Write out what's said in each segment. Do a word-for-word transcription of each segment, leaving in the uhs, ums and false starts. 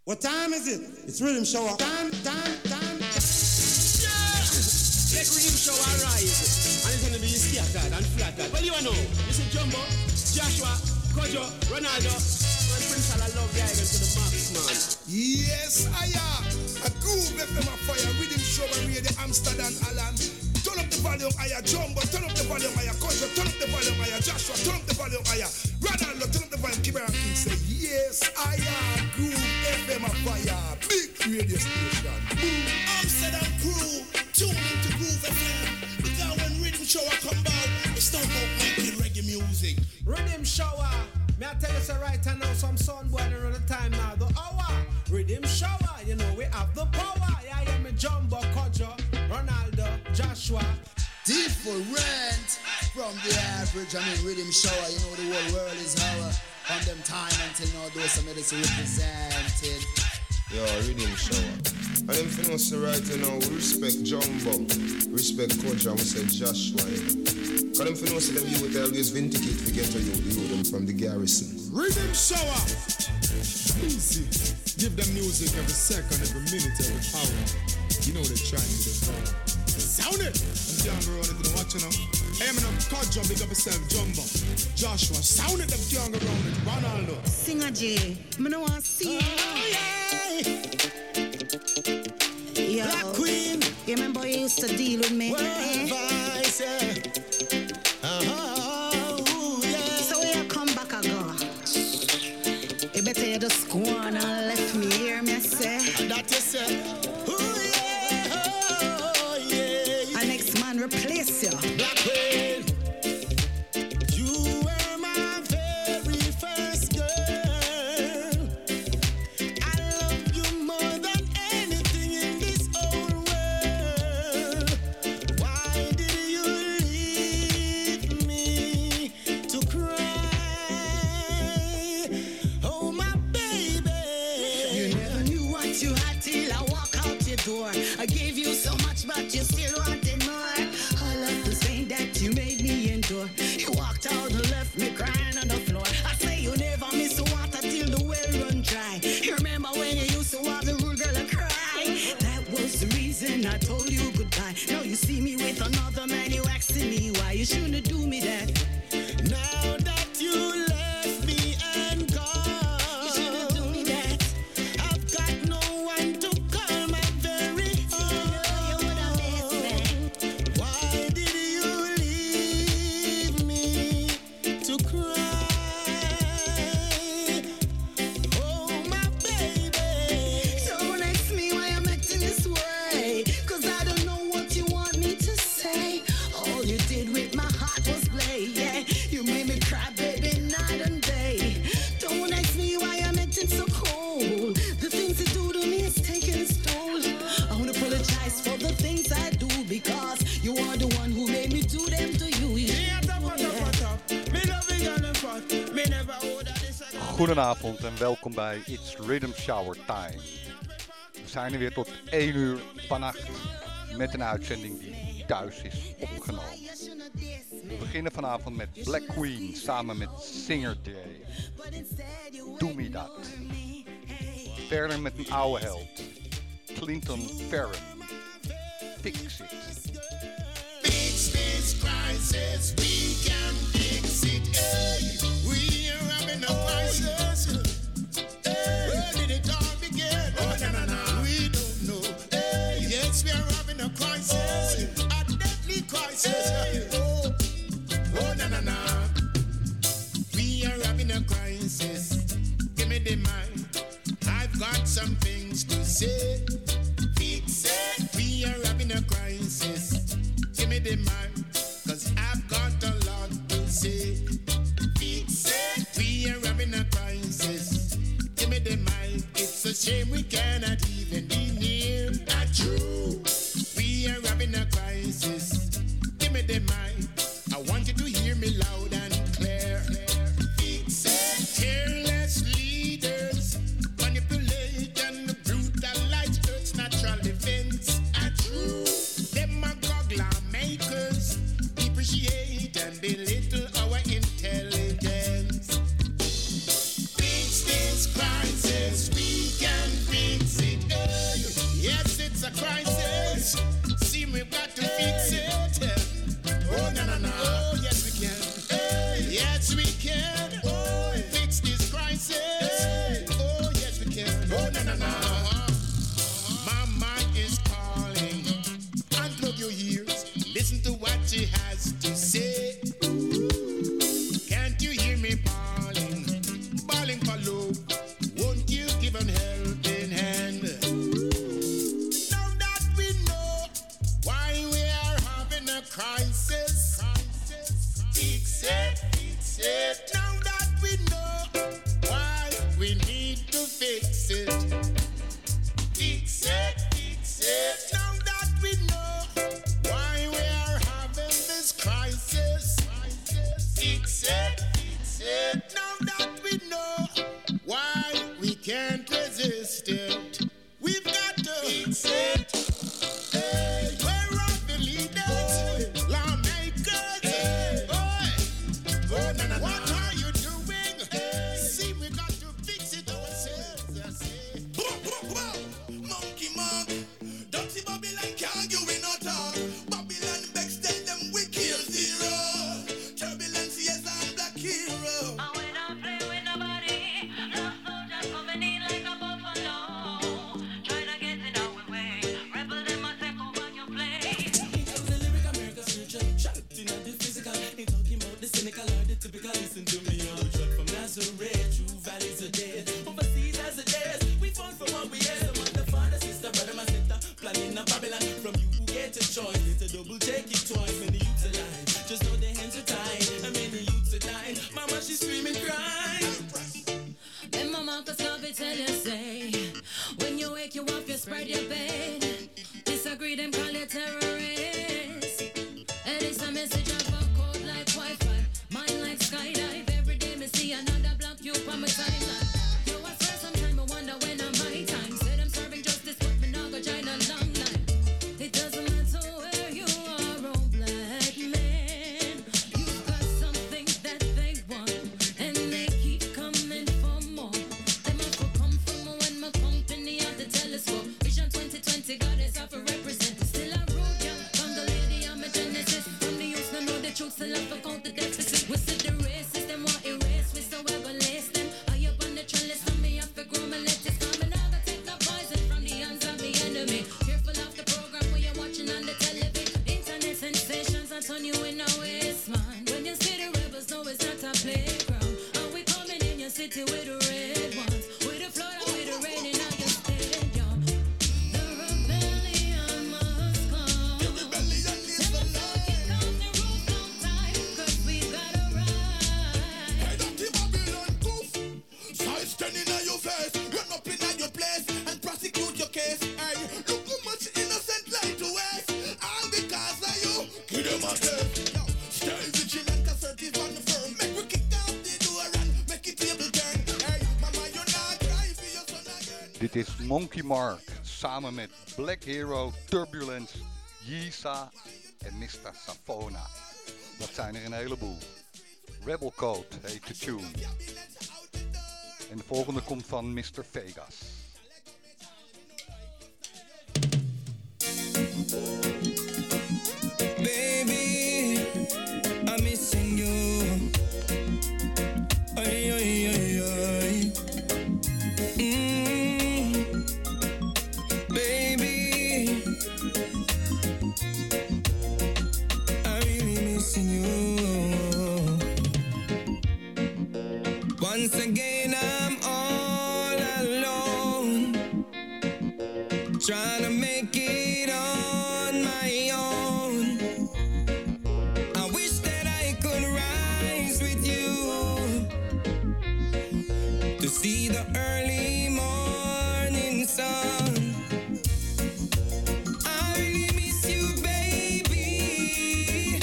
What time is it? It's Rhythm Show. Time, time, time. Yeah! Let Rhythm Show arise. And it's gonna be scattered and flattered. Well, you know, this is Jumbo, Joshua, Kojo, Ronaldo, and Prince Ala love the island to the max, man. Yes, I am. A groove F M a fire. Rhythm Show and Radio Amsterdam, Alan. Turn up the volume, higher. Jumbo, turn up the volume, higher. Kojo, turn up the volume, higher. Joshua, turn up the volume, higher. Ronaldo, turn up the volume. Keep it and say, yes, I am. Groove F M a fire. Big radio station. Amsterdam crew, tune into Groove F M. Because when Rhythm Shower come back, it's not about making reggae music. Rhythm Shower. May I tell you so right now, some sun boy around the time now. The hour. Rhythm Shower. You know we have the power. Yeah, I am a Jumbo, Kojo, Ronaldo, Joshua. Different from the average. I mean, Rhythm Shower. You know the whole world is our. From them time until now, those some medicine represented. Yo, Rhythm Shower. And them things right now, we respect Jumbo, respect Kojo, and we say Joshua. Because them things them you would always vindicate to get to you, you them from the garrison. Rhythm Shower. Easy. Give them music every second, every minute, every hour. You know they're trying to do. Sound it! I'm down the road, if you don't watch it now. Hey, I'm in a Kojo, big up yourself, Jumbo. Joshua, sound it, them young around it. Ronaldo. Sing a J. I don't want to see. Oh, yeah. Yo, Black Queen. You remember you used to deal with me? World eh? Vice, yeah. Uh-huh, yeah. So you come back again. You better you just go on and let me hear me say. That you say. Oh, yeah. Oh, yeah. And next man replace you. Black Queen. You were my very first girl. I love you more than anything in this whole world. Why did you leave me to cry? Oh, my baby. You never knew what you had till I walk out your door. I gave you so much, but you still wanted more. All of the pain that you made me endure. You walked out and left me crying on the floor. I say you never miss water till the well run dry. You remember when you used to have the rude girl and cry? That was the reason I told you goodbye. Now you see me with another man, you asking me why. You shouldn't do me that. Now that you left me and You shouldn't gone, do me that. I've got no one to call my very You would have missed own. me. Why did you leave me to cry? Oh, my baby. Don't ask me why I'm acting this way, 'cause I don't know what you want me to say. All you did with my heart was play, yeah. You made me cry, baby, night and day. Don't ask me why I'm acting so cold. The things you do to me is taking its toll. I wanna apologize for the things I do, because you are the one who made me do them to you. You Yeah, should top, know top, that. top, top. Me love it on the front. Me never order this again. Goedenavond en welkom bij It's Rhythm Shower Time. We zijn er weer tot één uur vannacht met een uitzending die thuis is opgenomen. We beginnen vanavond met Black Queen samen met Singer J. Doe me dat. Verder met een oude held. Clinton Farron. Fix it. Fix this crisis, we can fix it. Hey, we are having a crisis. Hey, where did it all begin? Oh, na na na, we don't know. Hey, yes, we are having a crisis, a deadly crisis. Hey, oh, oh, na na na, we are having a crisis. Give me the mic, I've got some things to say. Fix it, we are having a crisis. Give me the mic, cause I've got a lot to say. Fix it, we are having a crisis. Give me the mic, it's a shame we cannot even be near a true. We are having a crisis. Give me the mic, I want you to hear me loud and clear. Fix it, careless leaders, manipulation, brutalize Earth's natural defense. A true demagogue lawmakers depreciate and belittle our intelligence. Fix this crisis, we can can't resist it. We've got to fix it. Hey, where are the leaders? Lawmakers. Hey, boy. Oh, na, na, what are you doing? Hey, see, we got to fix it ourselves. I say. Monkey Mark, dirty Babylon can't give we no talk. Babylon Bex tell them we kill zero. Turbulence, yes, I'm black hero. And we don't play with nobody. Love soldiers coming in like a buffalo. Try to get in our way. Rebel them a take over your place. It was a lyric America spiritual. Shot in the physical. Ain't talking about the cynical or the typical. Listen to me, I'm a truck from Nazareth. True valleys are dead. Overseas as a dead. We fought for what we had. The mother, father, sister, brother, my sister. Planning a Babylon. From you who get a choice. It's a double check it twice. Many youths alive. Just know their hands are tied. And many youths are dying. Mama, she's screaming, crying. Then mama cause Garvey tell you say, when you wake you up, you spread your bed. Disagree, them call you terrorists. And it's a message of a code like Wi-Fi. Mine like skydive. Every day me see another block you on my timeline. Yo, I swear sometime I wonder when I'm my time. Said I'm serving justice, but me not go join a long line. It doesn't matter where you are, oh black man. You've got something that they want, and they keep coming for more. Them have to come from when my company at the telescope. Vision twenty twenty, goddess of a represent. Still I root ya, from the lady I'm a genesis. From the youth, no know the truth, still I for count the deficit. We see the racists, them want erase, we so ever lace them. I up on the trellis, so me have to grow my lettuce. Come and I take the poison from the hands of the enemy. Careful of the program when you're watching on the television. Internet sensations, I turn you in a waste, man. When you see the rebels, know it's not a playground. And we coming in your city with the red ones. With the flood and with the rain in all your stadium. The rebellion must come. The rebellion is the Let's kick off the roof long time, cause we gotta ride. Hey, dirty Babylon goof. Size ten in your face. Run up in your place and prosecute your case. Hey, look how much innocent life to waste. All because of you. Give them a step. Yo, stay vigilant, assertive and firm. Make we kick out the door and make it table turn. Hey, mama, you're not cry for your son again. Dit is Monkey Mark samen met Black Hero, Turbulence, Yisa en mister Safona. Dat zijn er een heleboel. Rebel Code heet de tune. En de volgende komt van mister Vegas. Baby, I'm missing you. Ay, ay, ay, ay. Mm. Baby, I'm really missing you. Once again, I'm all alone, trying to make it on my own. I wish that I could rise with you to see the early morning sun. I really miss you, baby,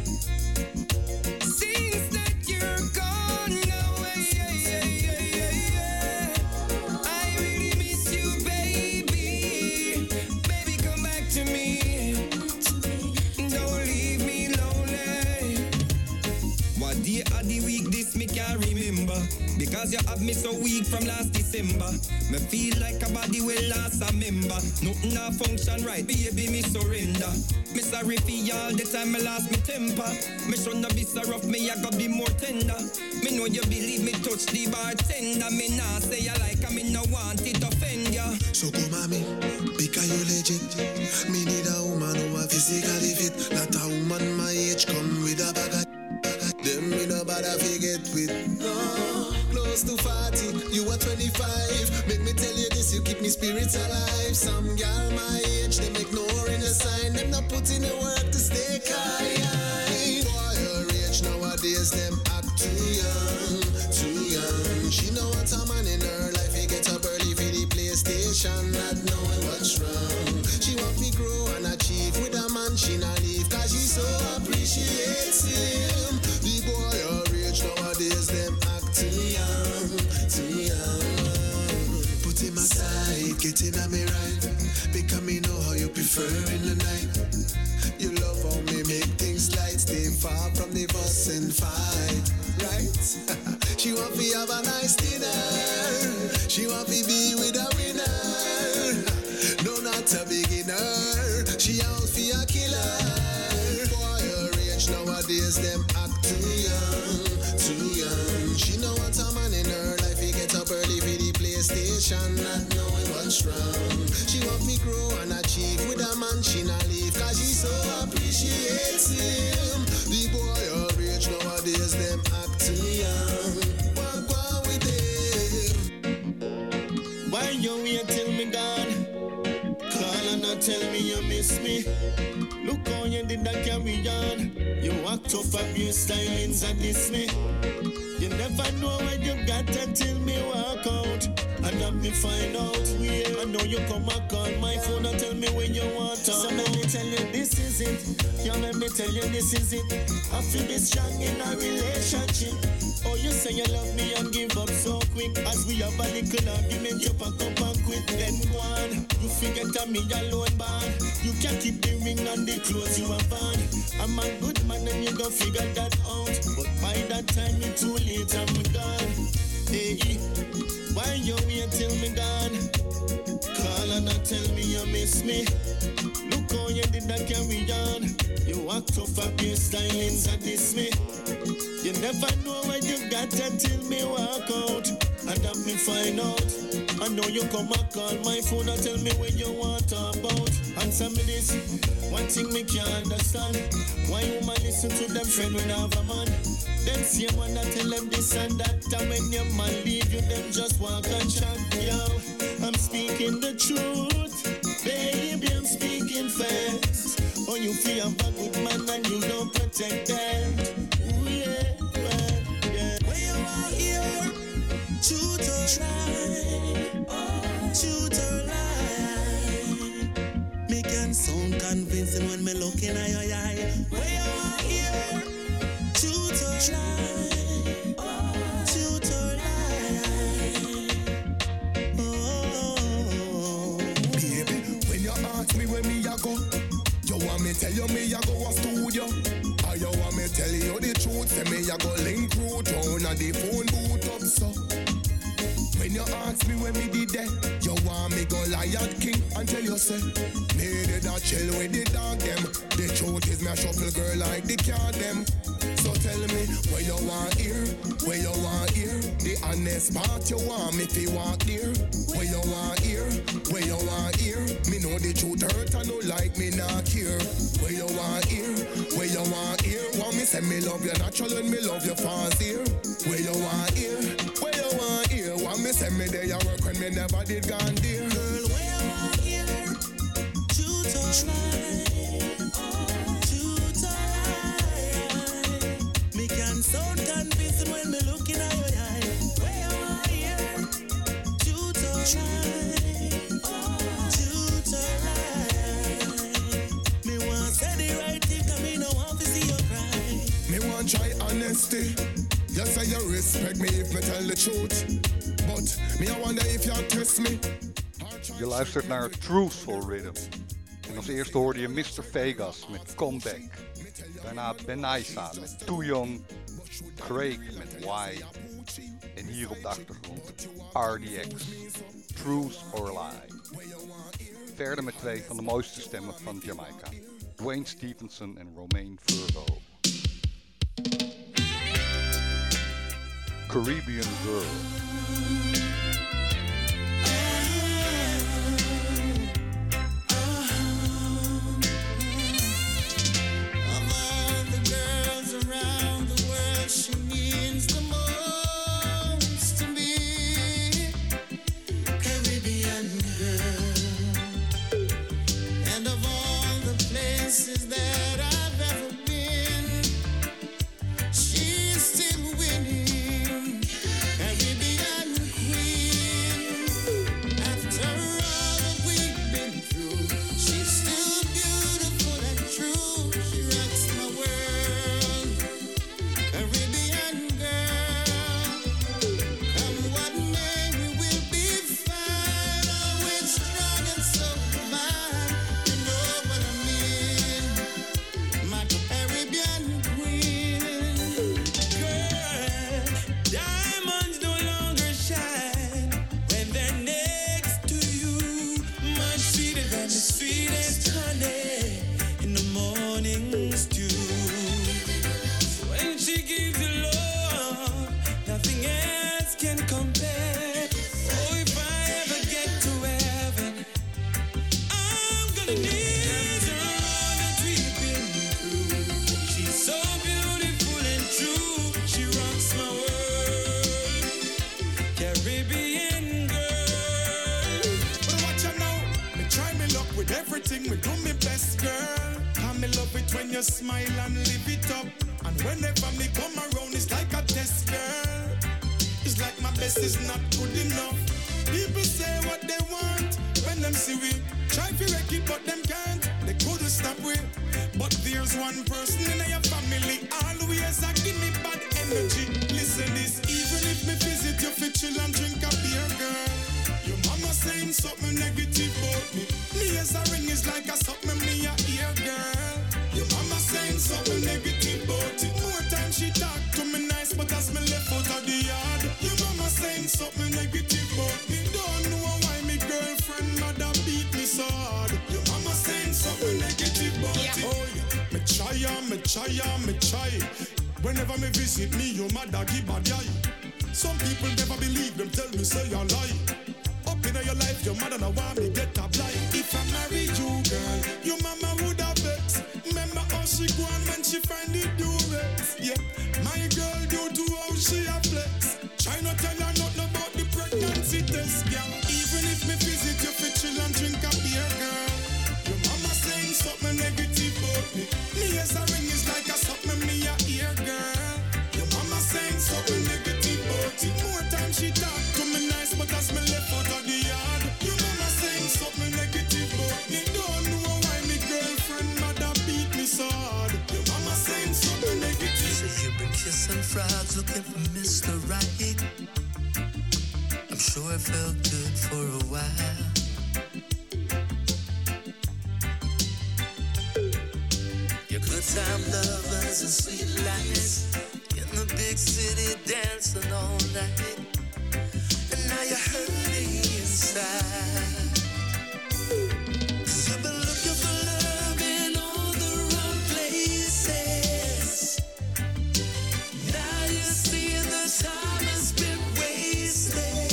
since that you're gone away. I really miss you, baby. Baby, come back to me. Don't leave me lonely. What day of the week this me can't remember, because you have me so weak from last December. Me feel like a body well lost a member. Nothing a function right, baby, me surrender. Me sorry for all the time me lost me temper. Me shouldn't be so rough, me I gotta be more tender. Me know you believe me touch the bartender. Me nah say you like I me no want it offend ya. So come at me, because you legit. Me need a woman who are physically fit. Not a woman my age come with a bag of them me no bother forget with. No, close to forty, you are twenty-five. Make me tell you this, you keep me spirits alive. Some gal my age, they make no in the sign. Them not put in the work to stay high. Boy, your age nowadays, them act too young, too young. She know what a man in her life, he get up early for the PlayStation, not knowing what's wrong. She want me grow and achieve with a man, she not leave, cause she so appreciates him. The boy your age nowadays, them act too young, too young. my side, get in on me right. Because me know how you prefer in the night. You love how me make things light. Stay far from the fuss and fight, right? She want me have a nice dinner. She want me be with a winner. No, not a beginner. She out for a killer. Boy, her age nowadays, them act too young, too young. She know what a man in her life. He get up early for the PlayStation, not knowing what's wrong. She want me grow and achieve with a man. She not leave, cause she so appreciates him. The boy her age nowadays, them act too young. What go with them? Why you wait till me gone? Call and not tell me you miss me. Look how you did that carry on. You walked off of your stylings and diss me. You never know what you got until me walk out. And then me find out where. I know you come and call my phone and tell me when you want to. So let me tell you this is it. Yeah, let me tell you this is it. I feel be strong in a relationship. Oh, you say you love me and give up so quick. As we have a little argument, you pack up and quit. Then go on. You forget that me alone bad. You can't keep the ring and the clothes you have on. I'm a good man and you go figure that out. But by that time it's too late, I'm gone. Hey, why you wait till me gone? Call and not tell me you miss me. Look how you did that carry on. You walked off of your stylings and diss me. You never know what you got until me walk out. And that me find out. I know you come and call my phone and tell me what you want to talk about. Answer me this. One thing me can't understand. Why you man listen to them friend when I have a man? Them same one that tell them this and that. And when your man leave you, them just walk and chat. Yo, I'm speaking the truth. Baby, I'm speaking fast. Oh, you feel I'm a good man and you don't protect that. Ooh, yeah, well, yeah. When you are here, shoot or try, shoot or lie. Me can sound convincing when me look in your eye. When you are here, shoot or try, shoot or lie. Oh, baby, when you ask me where me a go, you want me tell you me a go a studio. Or you want me tell you the truth, say me a go link route down and the phone boot up so. When you ask me when me did that, you want me go Lion King and tell you say me did not chill with the dog them. The truth is me a shuffle girl like the cat them. So tell me where you want here, where you want here. The honest part you want me to walk there. Where you want here, where you want here. Me know the truth hurt and no like me not care. Where you want here, where you want here. Want me say me love you natural and me love you fast here. Where you want here, where you want here. Want me say me there you work when me never did gone there. Girl, where you want here, shoot or try, shoot or lie. Me can sound convincing when me look in your eye. Where you want here, shoot or try, shoot or lie. Me want say the right thing, 'cause me no want to see you cry. Me want try honesty. You say you respect me if me tell the truth. But me I wonder if you test me. Je luistert naar Truthful Rhythm. En als eerste hoorde je mister Vegas met Comeback. Daarna Benaisa met Too Young. Craig met Why. En hier op de achtergrond R D X, Truth or Lie. Verder met twee van de mooiste stemmen van Jamaica. Dwayne Stevenson en Romain Verbo. Caribbean Girl. She means the most to me, Caribbean girl. And of all the places that I've ever been, she's still winning, Caribbean queen. when you smile and live it up. And whenever me come around, it's like a test, girl. It's like my best is not good enough. People say what they want when them see we try to wreck it, but them can't. They couldn't stop we. But there's one person in your family always a give me bad energy. Listen this, even if me visit you for chill and drink a beer, girl. Your mama saying something negative about me. Me as a ring is like a something me a ear, girl. Your mama saying something negative about it. More time she talk to me nice, but as me left out of the yard, your mama saying something negative about me. Don't know why me girlfriend mother beat me so hard. Your mama saying something negative about yeah. it. Oh yeah, me try and me try and me try. Whenever me visit me, your mother give a eye. Some people never believe them, tell me say you lie. Up in your life, your mother now want me get a blind. If I marry you, girl, your mama would have vexed. Remember how she go on when she find the durex. Yeah, my girl due to how she a flex. Try not tell her nothing about the pregnancy test, girl. Even if me visit you for chill and drink a beer, girl. Your mama saying something negative about me. Me as a ring is like a something me a ear, girl. Your mama saying something negative about it. More time she talk to me nice, but as me left out of the yard, your mama saying something negative about me. Don't know why me girlfriend mother beat me so hard. Your mama saying something negative. So you've been kissing frogs looking for Mister Right. I'm sure it felt good for a while. Your good time lovers and sweet lights in the big city dancing all night. And now you're hurting inside. You've been looking for love in all the wrong places. Now you see the time has been wasted.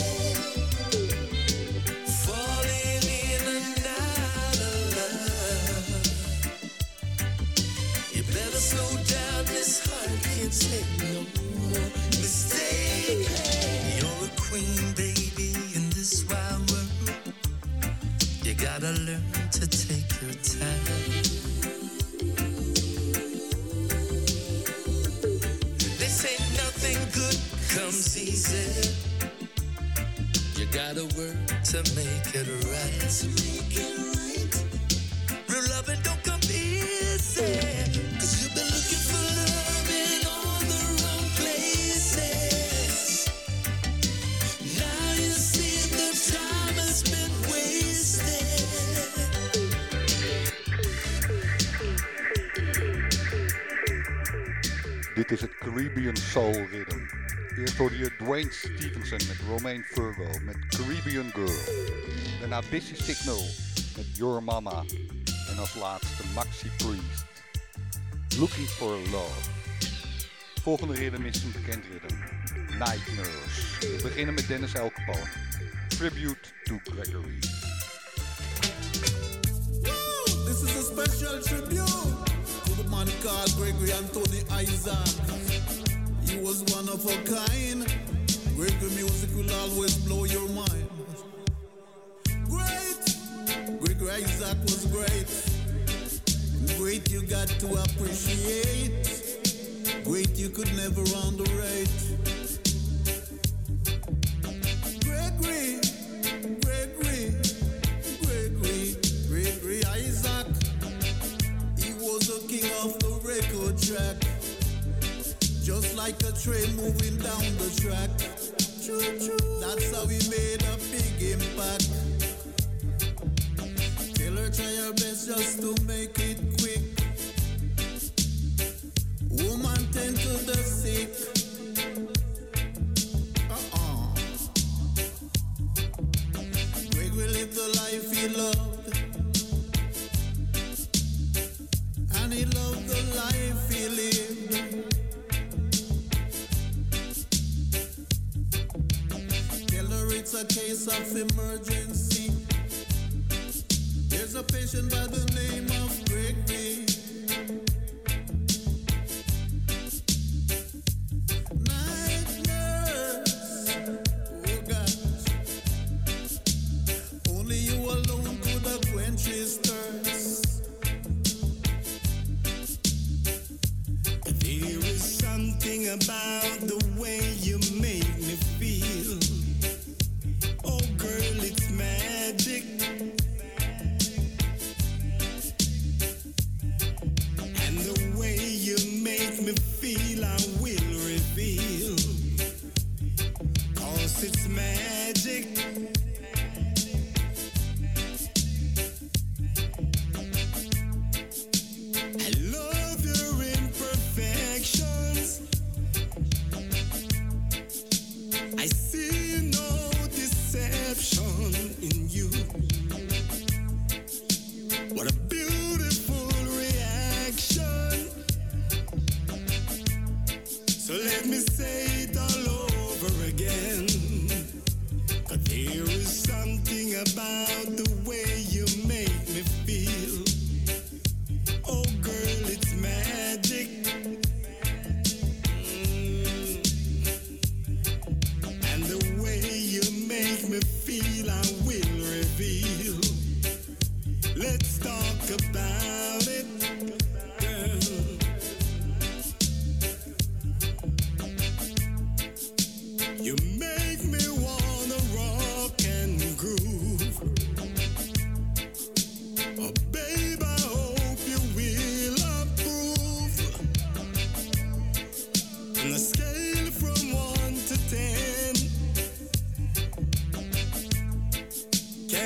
Falling in and out of love. You better slow down, this heart can't take no more mistake. You're a queen, baby, in this wild world. You gotta learn to take your time. They say nothing good comes easy. You gotta work to make it right. To make it right. Real loving don't come easy. Cause you've been looking for love in all the wrong places. Now you see the time has been wasted. Dit is het Caribbean Soul Rhythm. Eerst hoorde je Dwayne Stevenson met Romain Virgo met Caribbean Girl. Daarna Busy Signal met Your Mama. En als laatste Maxi Priest. Looking for Love. Volgende rhythm is een bekend rhythm. Night Nurse. We beginnen met Dennis El Capone. Tribute to Gregory. This is a special tribute to the man called Gregory Anthony Isaac. He was one of a kind. Gregory music will always blow your mind. Great! Gregory Isaac was great. Great you got to appreciate. Great you could never underrate. Gregory, Gregory, Gregory, Gregory Isaac. He was a king of the record track. Just like a train moving down the track. That's how he made a big impact. Tell her try her best just to make it quick. Woman tend to the sick. Uh-uh. Gregory lived the life he loved. And he loved the life he lived. Tell her it's a case of emergency. There's a patient by the name of Gregory. Night nurse, oh gosh. Only you alone could have quenched his thirst.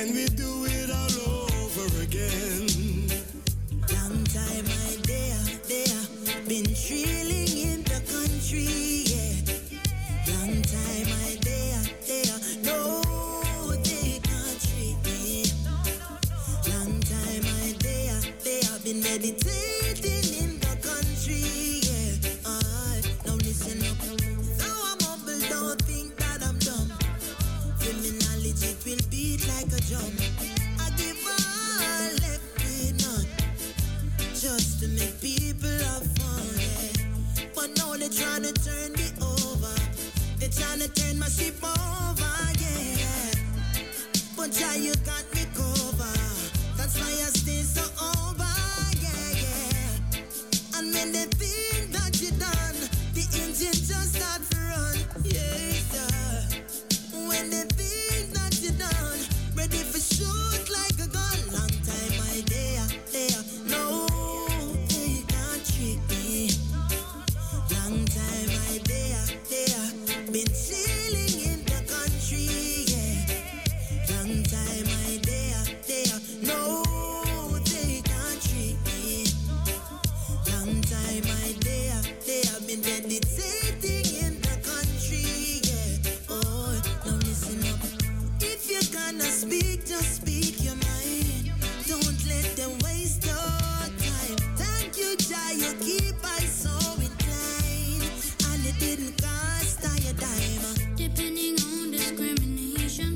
and we do it all over again. Long time I there, there, been trailing in the country, yeah. Long time I there, there, no, they can't treat me. Long time I there, there, been meditating in the country, yeah. I now listen up. Though I'm humble, don't think that I'm dumb. Criminality it will beat like a drum. I give all left with none, just to make people have fun, yeah. But now they're trying to turn me over. They're trying to turn my ship over, yeah. But yeah, you got me cover. That's why I stay so over, yeah, yeah. And when they think that you're done, the engine just start to run, yeah, sir. When they think that you're done, ready for shoot like a gun. Long time I there, there, no, they can't trick me. Long time I there, there, been chilling in the country, yeah. Long time I there, there, no, they can't trick me. Long time I there, there, been meditating in the country, yeah. Oh, now listen up. If you're gonna speak, just speak your mind. Don't let them waste your time. Thank you, Jah, you keep I so inclined, and it didn't cost I a dime. Depending on discrimination,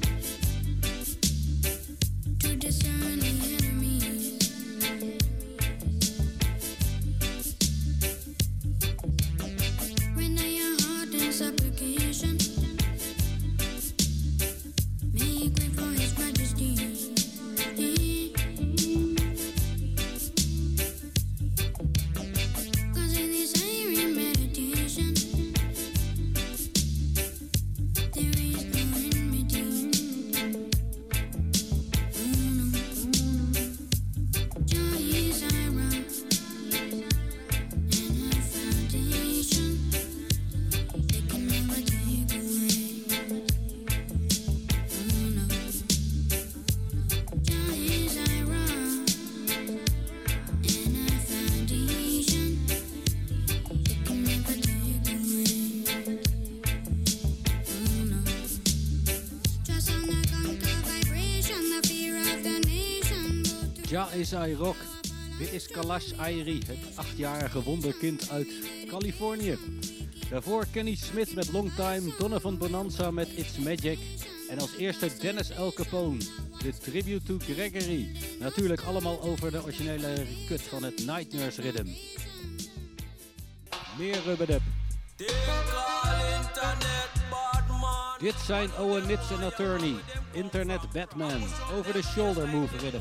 to discern the enemy. Render your heart in supplication. Make way for His Majesty. Cause in this airy meditation, there is no enmity. Oh no. Jah is our rock and our foundation. They can never take away. Oh no. Jah is our rock and our foundation. They can never take away. Oh no. Trust on the conquer vibration, the fear of the nation. Ja is I Rock. Dit is Kalash Airi, het achtjarige wonderkind uit Californië. Daarvoor Kenny Smith met Long Time, Donovan Bonanza met It's Magic. En als eerste Dennis El Capone, de tribute to Gregory. Natuurlijk allemaal over de originele cut van het Night Nurse Rhythm. Meer rubberdub. Dit zijn Owen Nips en Attorney, Internet Batman, over de shoulder move rhythm.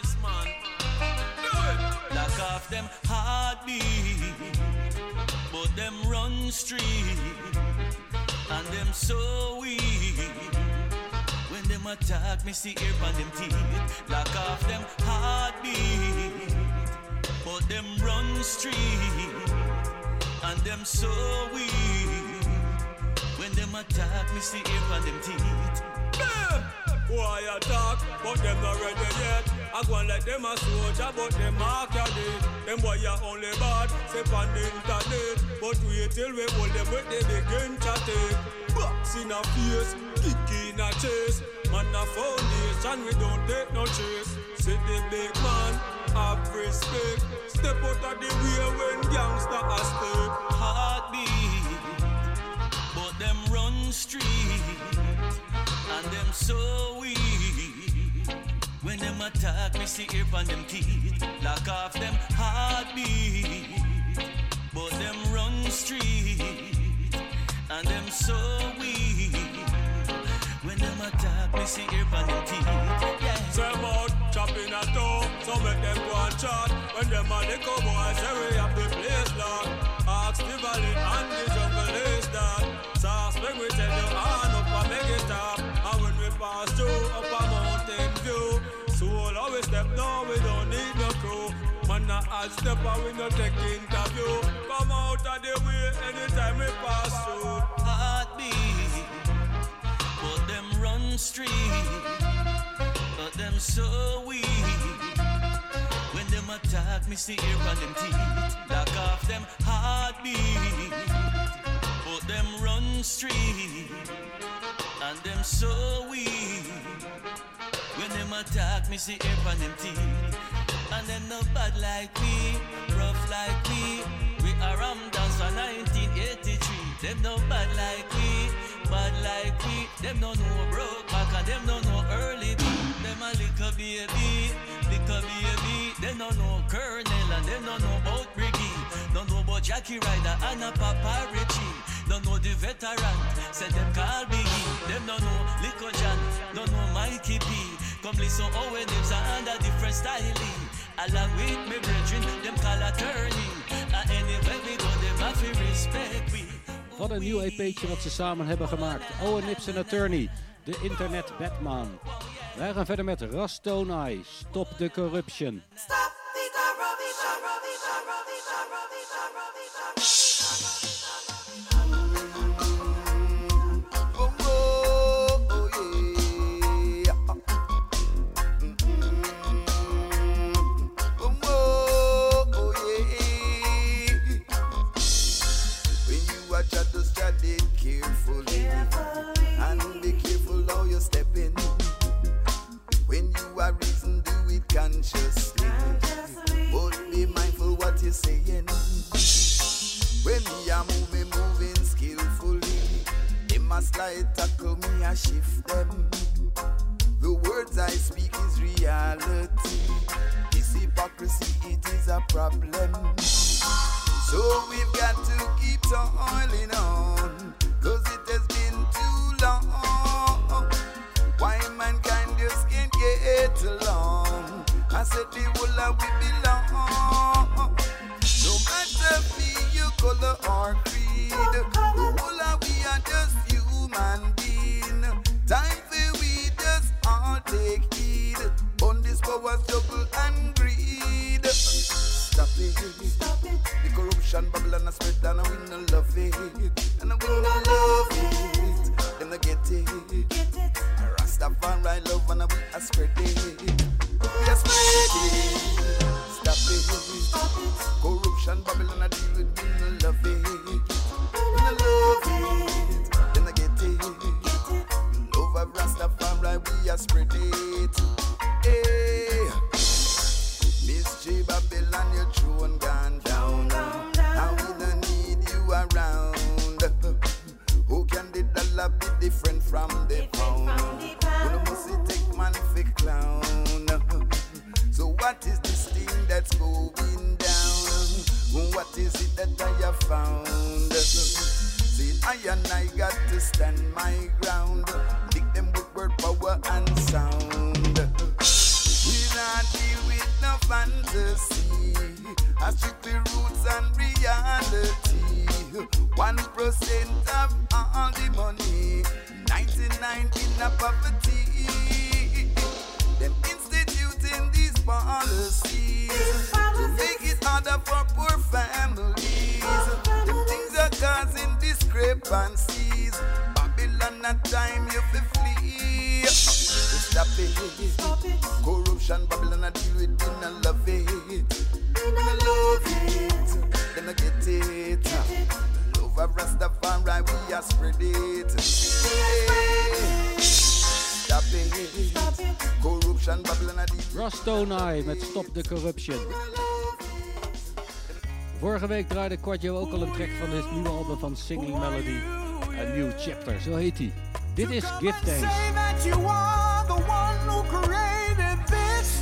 Lock off them heartbeat, but them run street, and them so weak. When them attack me, see ear on them teeth. Lock off them heartbeat, but them run street, and them so weak. When them attack me, see ear on them teeth. Why I talk, but them not ready yet. I go and let them a soldier, but them a candidate. Them boy are only bad, say on the internet. But wait till we hold them with they begin to take. Box in a face, kick in a chase. Man a foundation, we don't take no chase. Say the big man, have respect. Step out of the way when gangsta a step. Heartbeat, but them run street, and them so weak. When them attack me, see ear on them teeth. Lock off them heartbeat, but them run street, and them so weak. When them attack me, see ear on them teeth. Yeah. Say about chopping a toe, so make them go and chat. When them a little boys say we have the place locked. Ask the valley and the jungle is that. Sauce make we tell you on up and make it stop. And when we pass through up a mountain view, so all always step down, we don't need no crew. Man a hard step and we no take interview. Come out of the way anytime we pass through. Heartbeat, but them run street, them so weak. When them attack me, see ear on them teeth. Lock off them heartbeat. But them run street. And them so weak. When them attack me, see ear on them teeth. And them no bad like me, rough like me. We are Ram Dance for nineteen eighty-three. Them no bad like me, bad like me. Them no know broke back and them no know early beat. Them a little baby, little baby. Them no know Colonel and them no know about Briggy. Don't know about Jackie Ryder and a Papa Richie. Don't know the veteran, say them call Biggie. Them no know Lico John, don't know Mikey P. Come listen how when them's under different styling. Along with me brethren, them call attorney. And anyway we go, them have to respect we. Wat een nieuw E P'tje wat ze samen hebben gemaakt. Owen Nips en Attorney, de internet Batman. Wij gaan verder met Rastonai, Stop the Corruption. Stop the corruption. Consciously, but be mindful what you're saying. When me a move, me moving skillfully. They must slide tackle me, I shift them. The words I speak is reality. This hypocrisy, it is a problem. So we've got to keep toiling on, cause it has been too long. Why mankind just can't get along? I said the whole of we belong. No matter be your color or creed, the whole of we are just human being. Time for we just all take heed on this power struggle and greed. Stop it, stop it. The corruption bubble and a spread and we no love it, and we no love it. Them no get it, get it. Rastafari love and we a spread it. We are spread it. Stop it, stop it. Corruption bubble and a deal with we no love it, we no love it. Them no get it, get it. Love of Rastafari we a spread it. Hey. Miss J Babylon, your throne gone down. Now we don't need you around. Who can the dollar be different from the pound? Who must it take man for clown? So what is this thing that's going down? What is it that I have found? See, I and I got to stand my ground. Lick them with word, power and sound. We not deal with no fantasy. I strictly roots and reality. One percent of all the money, ninety-nine in a poverty. Them instituting these policies to make it harder for poor families. Them things are causing discrepancies. Babylon, at time you fi flee. Stop it, stop it. Corruption, Babylon, I deal with it, I love it. I love it, then I get it. Get it. Love of Rastafari, we are spread it. Hey. Stop it, stop it. Corruption, Babylon, I deal with it. Rastonai met Stop the Corruption. Vorige week draaide Quadjo ook al een track van het nieuwe album van Singing Melody. A New Chapter, zo heet hij. Dit is Give Thanks. Say that you are the one who created this.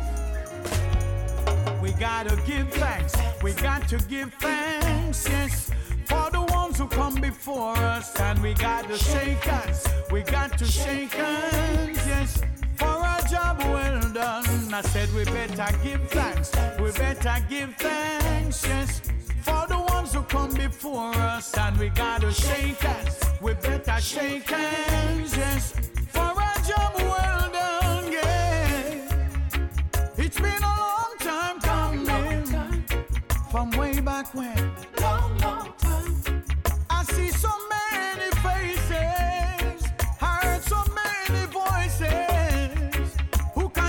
We gotta give thanks. We got to give thanks, yes, for the ones who come before us. And we gotta shake hands. We got to shake hands, yes, for a job well done. I said we better give thanks. We better give thanks, yes, for the ones who come before us. And we gotta shake hands. We better shake hands, yes, for a job well done, yeah. It's been a long time coming, from way back when. Long, long time. I see so many faces, heard so many voices, who can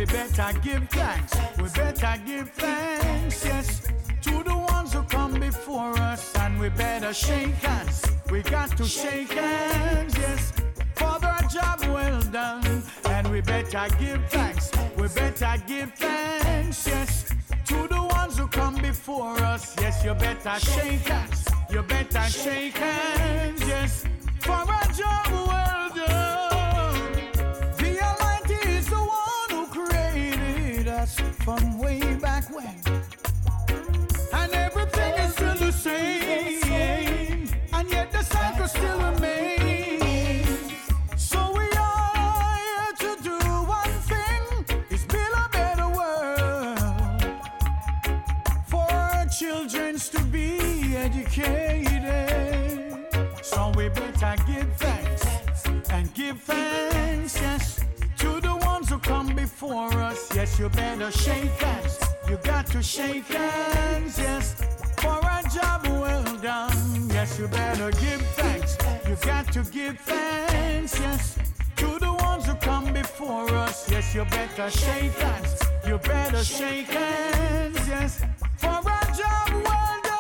we better give thanks. We better give thanks, yes, to the ones who come before us, and we better shake hands. We got to shake hands, yes, for the job well done, and we better give thanks. We better give thanks, yes, to the ones who come before us. Yes, you better shake hands. You better shake hands, yes, for a job well done. The Almighty is the one who created us from way back when, and everything is still the same, and yet the cycle still remains. So we are here to do one thing, is build a better world for our children to be educated. So we better give thanks and give thanks, yes, to the ones who come before us. Yes, you better shake hands. You got to shake hands, yes, for a job well done. Yes, you better give thanks. You got to give thanks, yes, to the ones who come before us. Yes, you better shake hands. You better shake hands, yes, for a job well done.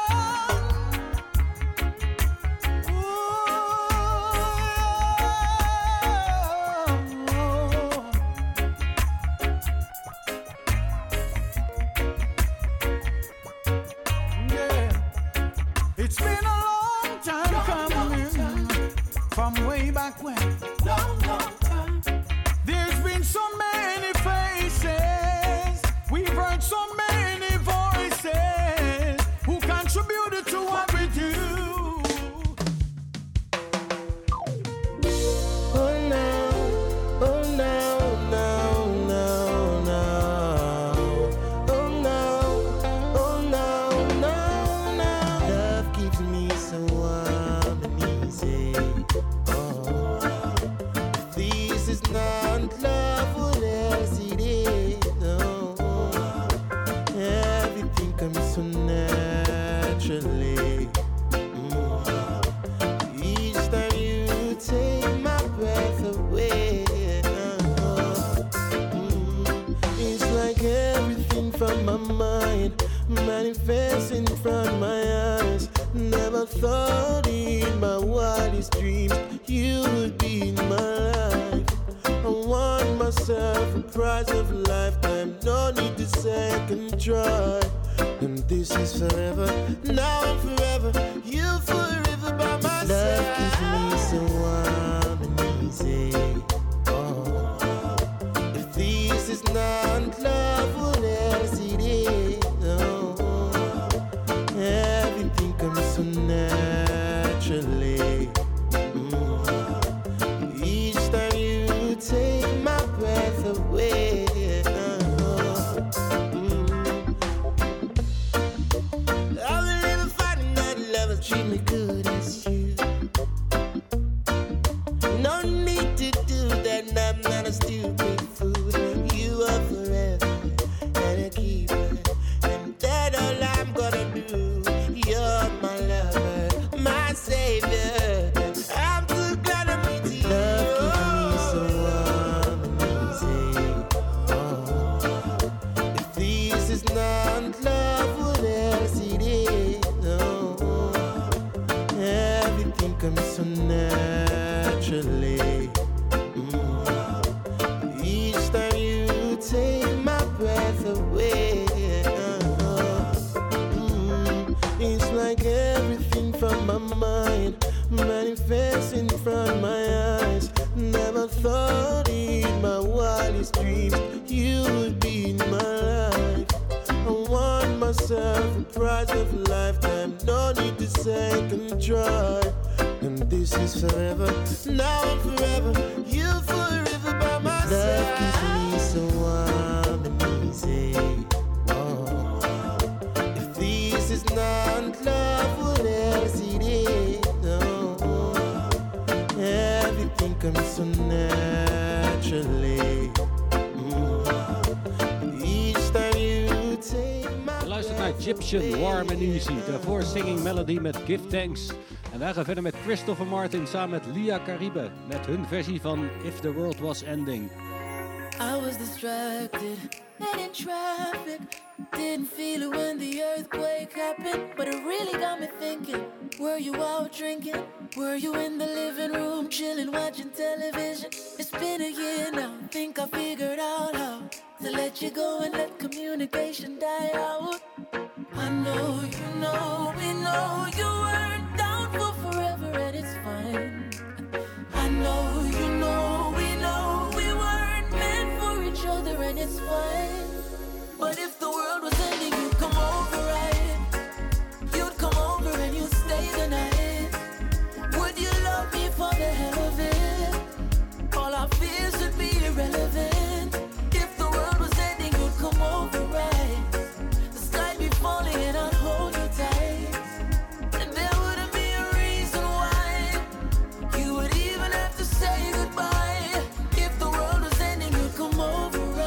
It's been a long time coming, from way back when. Long, long time. There's been so many faces, we've heard so many voices who contributed to what we do. Oh no, oh no, no, no, no. Oh no, oh no, no, no. Love keeps me so warm and easy. Oh, if this is not love, what else it is? No, everything comes so naturally. Mm. Each time you take my breath away, oh, mm. It's like everything from my mind manifests in front of my eyes. Never thought in my wildest dreams you would be in my life. I won myself a prize of a lifetime, no need to second try. And this is forever, now and forever, you forever by my side. Love keeps me so warm and easy. Oh, if this is not love, what else it is? No, everything comes so naturally. Mm. Each time you take my breath away. Oh, mm. I've never finding that lovers treat me good as you. No need to do that, I'm not a stupid fool. You are forever and a keeper, and that all I'm gonna do. You're my lover, my savior. I'm too glad to meet you. Love keeps me so warm and easy. Oh, if this is not love, what else it is? No, everything comes so naturally. Mm. Each time you take my breath away. Mm. It's like everything from my mind manifests in front of my eyes. Never thought in my wildest dreams you would be in my life. I won myself a prize of a lifetime, no need to second try. And this is forever, now and forever, you forever by my side. Love keeps me so warm and easy. Oh, if this is not love, what else it is? No, everything comes so naturally. Mm. Each time you take my Je luistert naar Egyptian, Warm and Easy. Daarvoor Singing Melody met Give Thanks. En wij gaan verder met Christopher Martin samen met Lia Caribe. Met hun versie van If the World Was Ending. I was distracted and in traffic. Didn't feel it when the earthquake happened, but it really got me thinking. Were you out drinking? Were you in the living room chilling, watching television? It's been a year now, think I figured out how to let you go and let communication die out. I know you know, we know you weren't down for forever and it's fine. I know you know, we know we weren't meant for each other and it's fine. But if the world was ending, you'd come over, right? You'd come over and you'd stay the night. Would you love me for the hell of it? All our fears would be irrelevant. If the world was ending, you'd come over, right? The sky be falling and I'd hold you tight. And there wouldn't be a reason why you would even have to say goodbye. If the world was ending, you'd come over, right?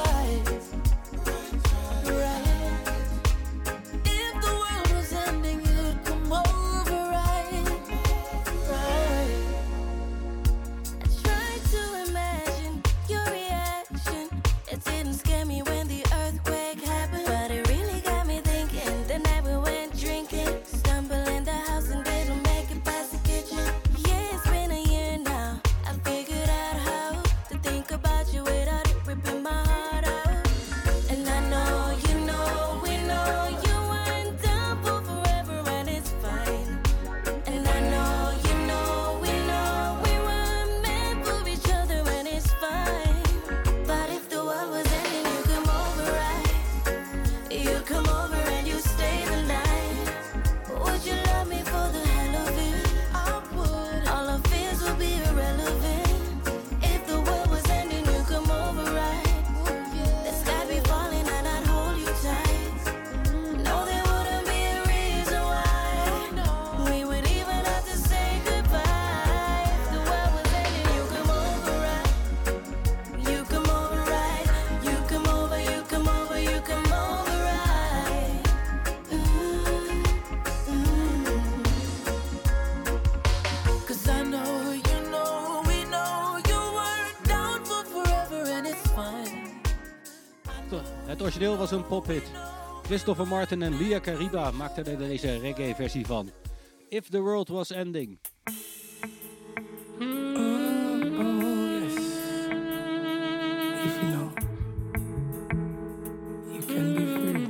Het origineel was een pophit. Christopher Martin en Lia Kariba maakten er deze reggae-versie van. If the World Was Ending. Oh, oh, yes. If you know, you can be free.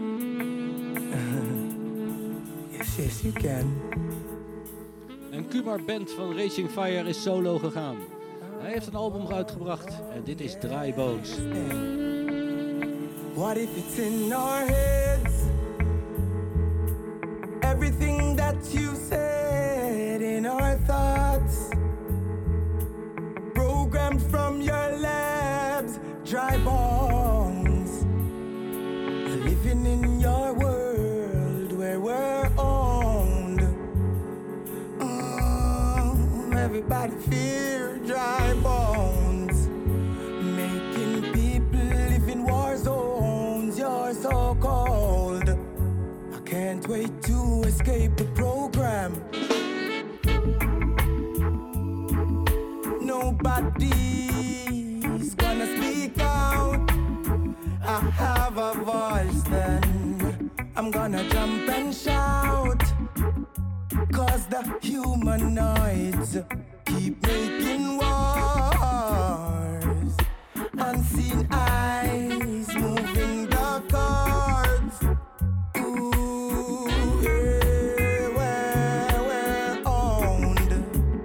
Yes, yes, you can. Een Kumar Band van Racing Fire is solo gegaan. Hij heeft een album uitgebracht en dit is Dry Bones. What if it's in our heads? Everything that you said in our thoughts, programmed from your labs, dry bones. Living in your world where we're owned. Oh, everybody fear dry bones, making people live in war zones. You're so cold. I can't wait to escape the program. Nobody's gonna speak out. I have a voice then I'm gonna jump and shout. Cause the humanoids keep making wars. Unseen eyes moving the cards. Ooh, yeah, we're, we're owned.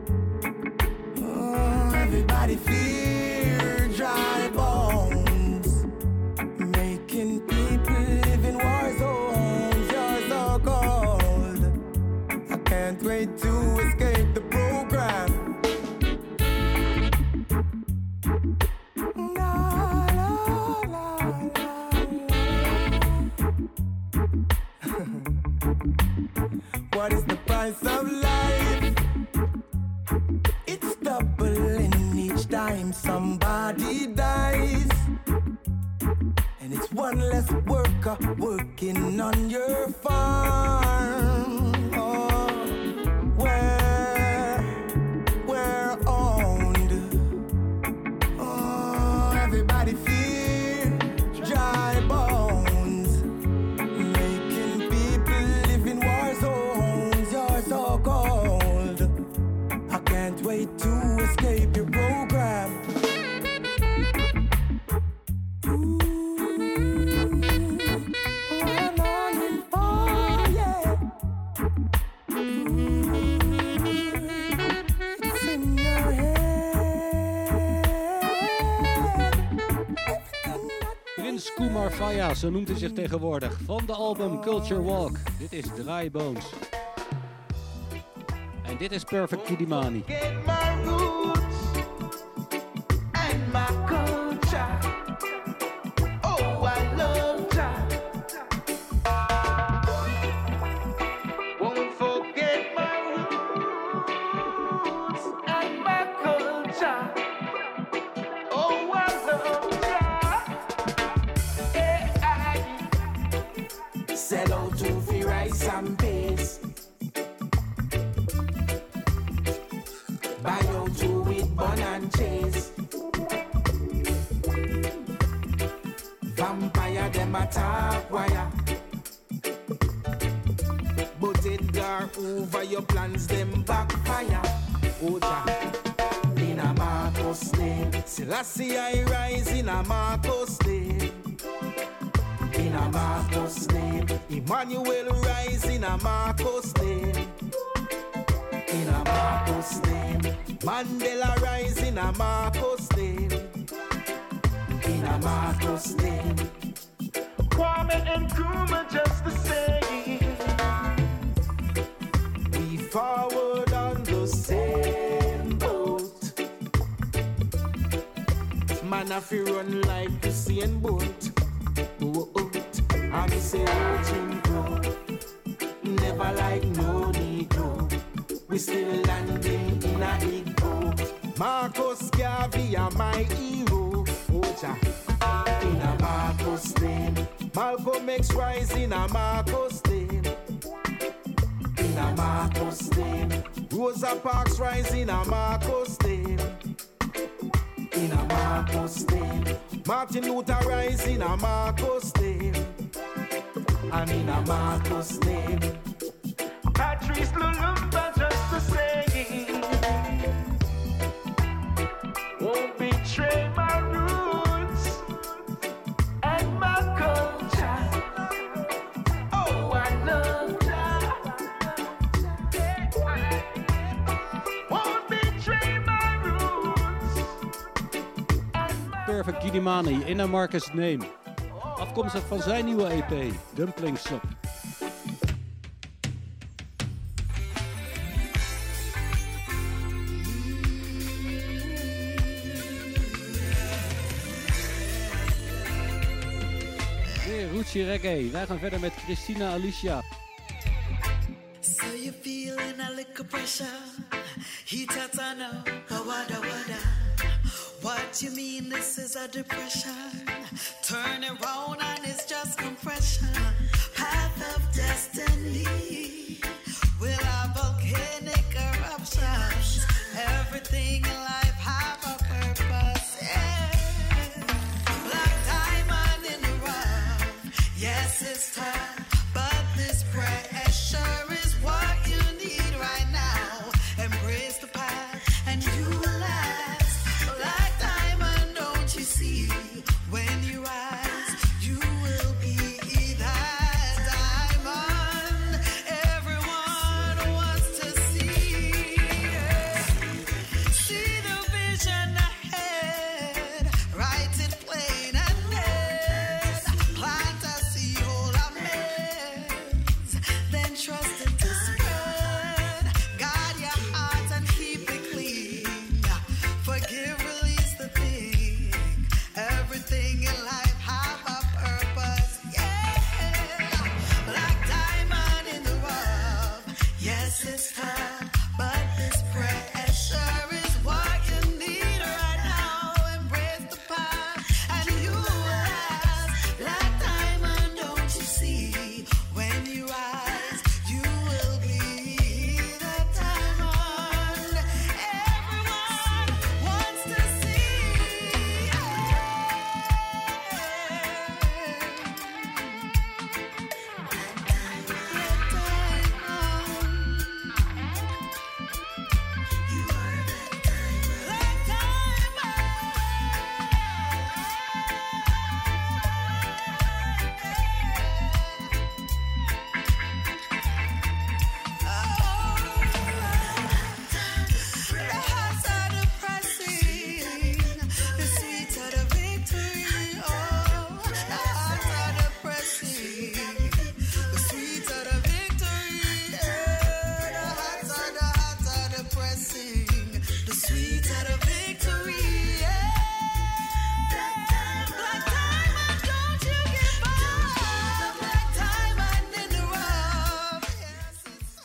Oh, everybody fear dry bones, making people live in war zones. You're so cold. I can't wait to escape the program. What is the price of life? It's doubling each time somebody dies. And it's one less worker working on your farm. Oh, where we're owned. Oh, everybody feels Faya, zo noemt hij zich tegenwoordig. Van de album Culture Walk. Dit is Dry Bones. En dit is Perfect Kidimani. Get my roots and my culture. Oh, I love that. Won't forget my roots and my culture. Oh, I love that. Yeah, I sell out to free rice and peas. Buy out two with bun and cheese. Vampire them attack wire. But Edgar over your plans them backfire. Oja in a Marcos name. Selassie I rise in a Marcos name. In a Marcos name. Emmanuel rise in a Marcos name. In a Marcos name. Mandela rise in a Marcos name. In a Marcos name. Kwame and Nkrumah just the same. We forward on the same boat. Man if you run like Usain Bolt. Oh, oh, I me say watching go. Never like no Negro. We still landing in a ego. Marcus Garvey are my hero. Oja, in a Marcos name. Malcolm X rise in a Marcos name. In a Marcos name. Rosa Parks rise in a Marcos name. In a Marcos name. Martin Luther rise in a Marcos name. And in a Marcos name. Patrice Lumumba just the same. Won't betray my roots and my culture. Oh, I love that. Won't betray my roots. Perfect Kidimani, in a Marcus Name. Afkomstig van zijn nieuwe E P, Dumpling Shop. Ruchi Reggae. Wij gaan verder met Christina Alicia. So you feeling a little pressure? Heat at now, wada wada. What you mean this is a depression? Turn around and it's just compression. Path of destiny will have volcanic eruptions. Everything in life have a purpose. Yeah. Black diamond in the rough. Yes, it's tough, but this pressure is what you need right now. Embrace the path and you will last. Black diamond, don't you see? When you rise, you will be that.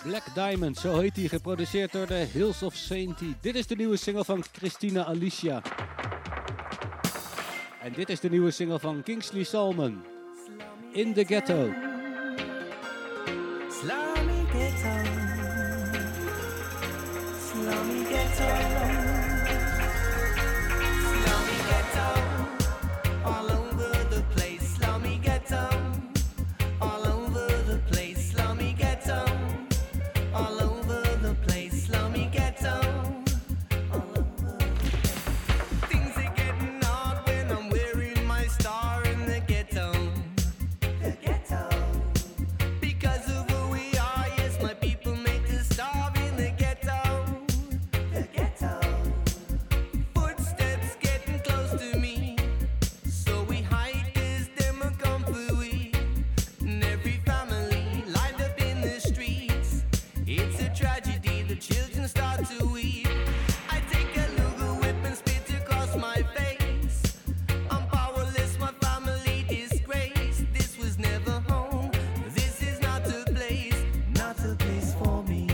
Black Diamond, zo heet hij, geproduceerd door de Hills of Sainty. Dit is de nieuwe single van Christina Alicia. En dit is de nieuwe single van Kingsley Salmon, In the Ghetto. Slummy ghetto, slummy ghetto, slummy ghetto, all over the place. Slummy ghetto, all over the place. Slummy ghetto, all over the place. Slummy ghetto, all over. Things are getting hard when I'm wearing my star in the ghetto. The ghetto. Because of who we are, yes, my people make us starve in the ghetto. The ghetto. Footsteps getting close to me, so we hide 'cause them a come for we. And every family lined up in the streets. It's a tragedy, the children start to weep. I take a Luger whip and spit across my face. I'm powerless, my family disgraced. This was never home, this is not a place, not a place for me.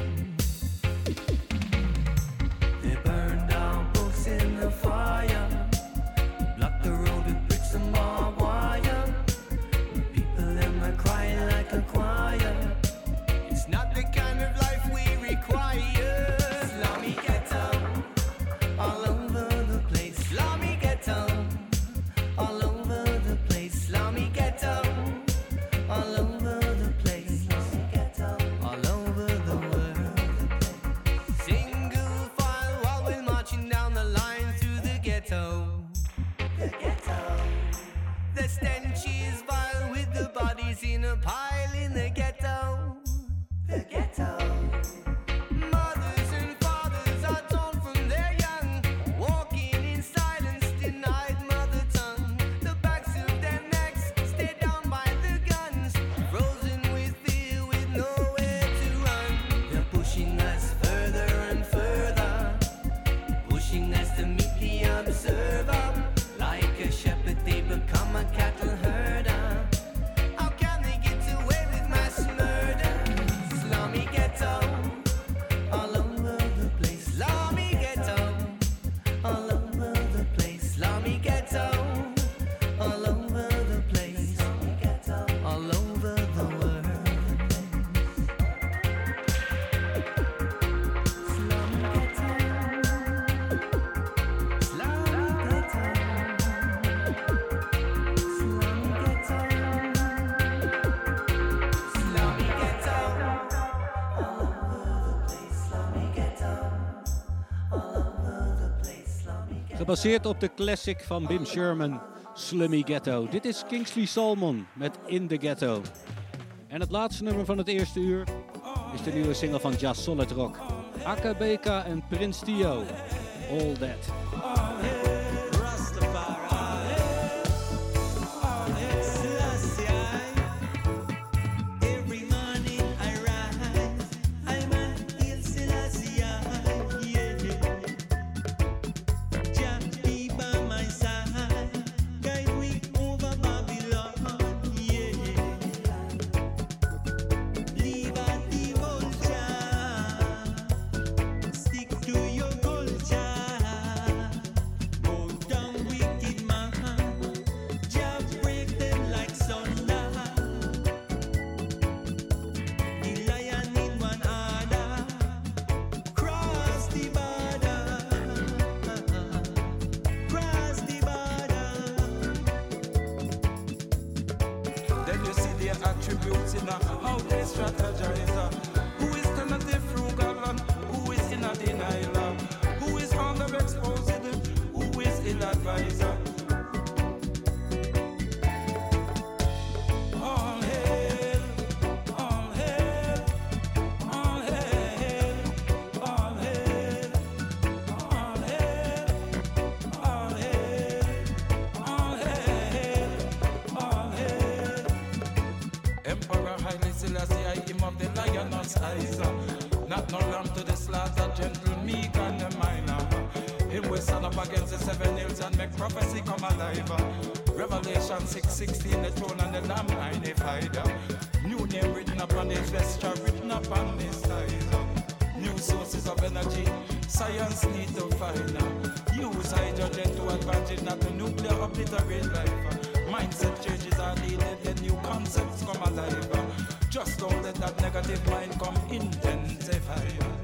They burn down books in the fire, block the road with bricks and barbed wire. People them are crying like a choir. It's not the kind of life we require. Slummy ghetto, all over the place. Slummy ghetto, all over the place. Slummy ghetto, all over the place. Slummy ghetto, all over the world. Single file while we're marching down the line through the ghetto. The ghetto. The stench is vile with the bodies in a pile in the ghetto. The ghetto. Mothers and fathers are torn from their young, walking in silence, denied mother tongue. The backs of their necks stay down by the guns, frozen with fear with nowhere to run. They're pushing us further and further, pushing us to meet the observer. Like a shepherd they become a cattle herder. How can they get away with mass murder? Slummy ghetto, all over the place. Slummy ghetto, all over the place. Slummy ghetto, all over the place. Slummy ghetto, all over the world. Slummy ghetto, slummy ghetto, slummy ghetto, slummy ghetto, all over the place. Slummy ghetto, all over the place. Slummy ghetto. Gebaseerd op de classic van Bim Sherman, Slummy Ghetto. Dit is Kingsley Salmon met In the Ghetto. En het laatste nummer van het eerste uur is de nieuwe single van Jazz Solid Rock. Aka B K en Prince Tio, All That. Every morning I rise, I'm a Hail Selassie, yeah. Jah be by my side, guide me over Babylon, yeah. Leave out the vulture, stick to your culture. Go down wicked man, Jah break them like thunder. The lion in one order, cross the border, cross the border. Then you see their attributes in a how they strategize. uh, Who is tentative, frugal, and who is in a denial? Who is underexposed, who is ill advisor? All hail, all hail, all hail, all hail, all hail, all hail, all hail, all hail. Emperor Haile Selassie, I him of the lioness eyes. uh, Not no lamb to the slaughter, gentle, meek and the minor. Him will stand up against the seven hills and make prophecy come alive. uh. Revelation six sixteen, the throne and the lamb magnified. uh. New name written upon his vesture, written upon his side. of energy. Science need to find out. Use hydrogen to advantage, not to nuclear obliterate life. Mindset changes are needed, then new concepts come alive. Just don't let that negative mind come intensify.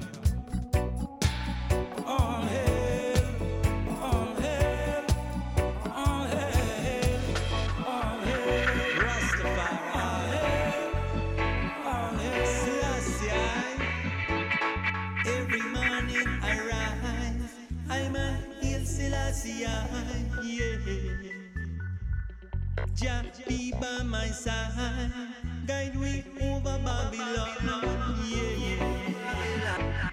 All hail, all hail, all hail, all hail, Rastafari, all hail, all hail, Selassie. Every morning I rise, I'm a hail Selassie, yeah. Jah be by my side, guide me over Babylon, yeah, yeah.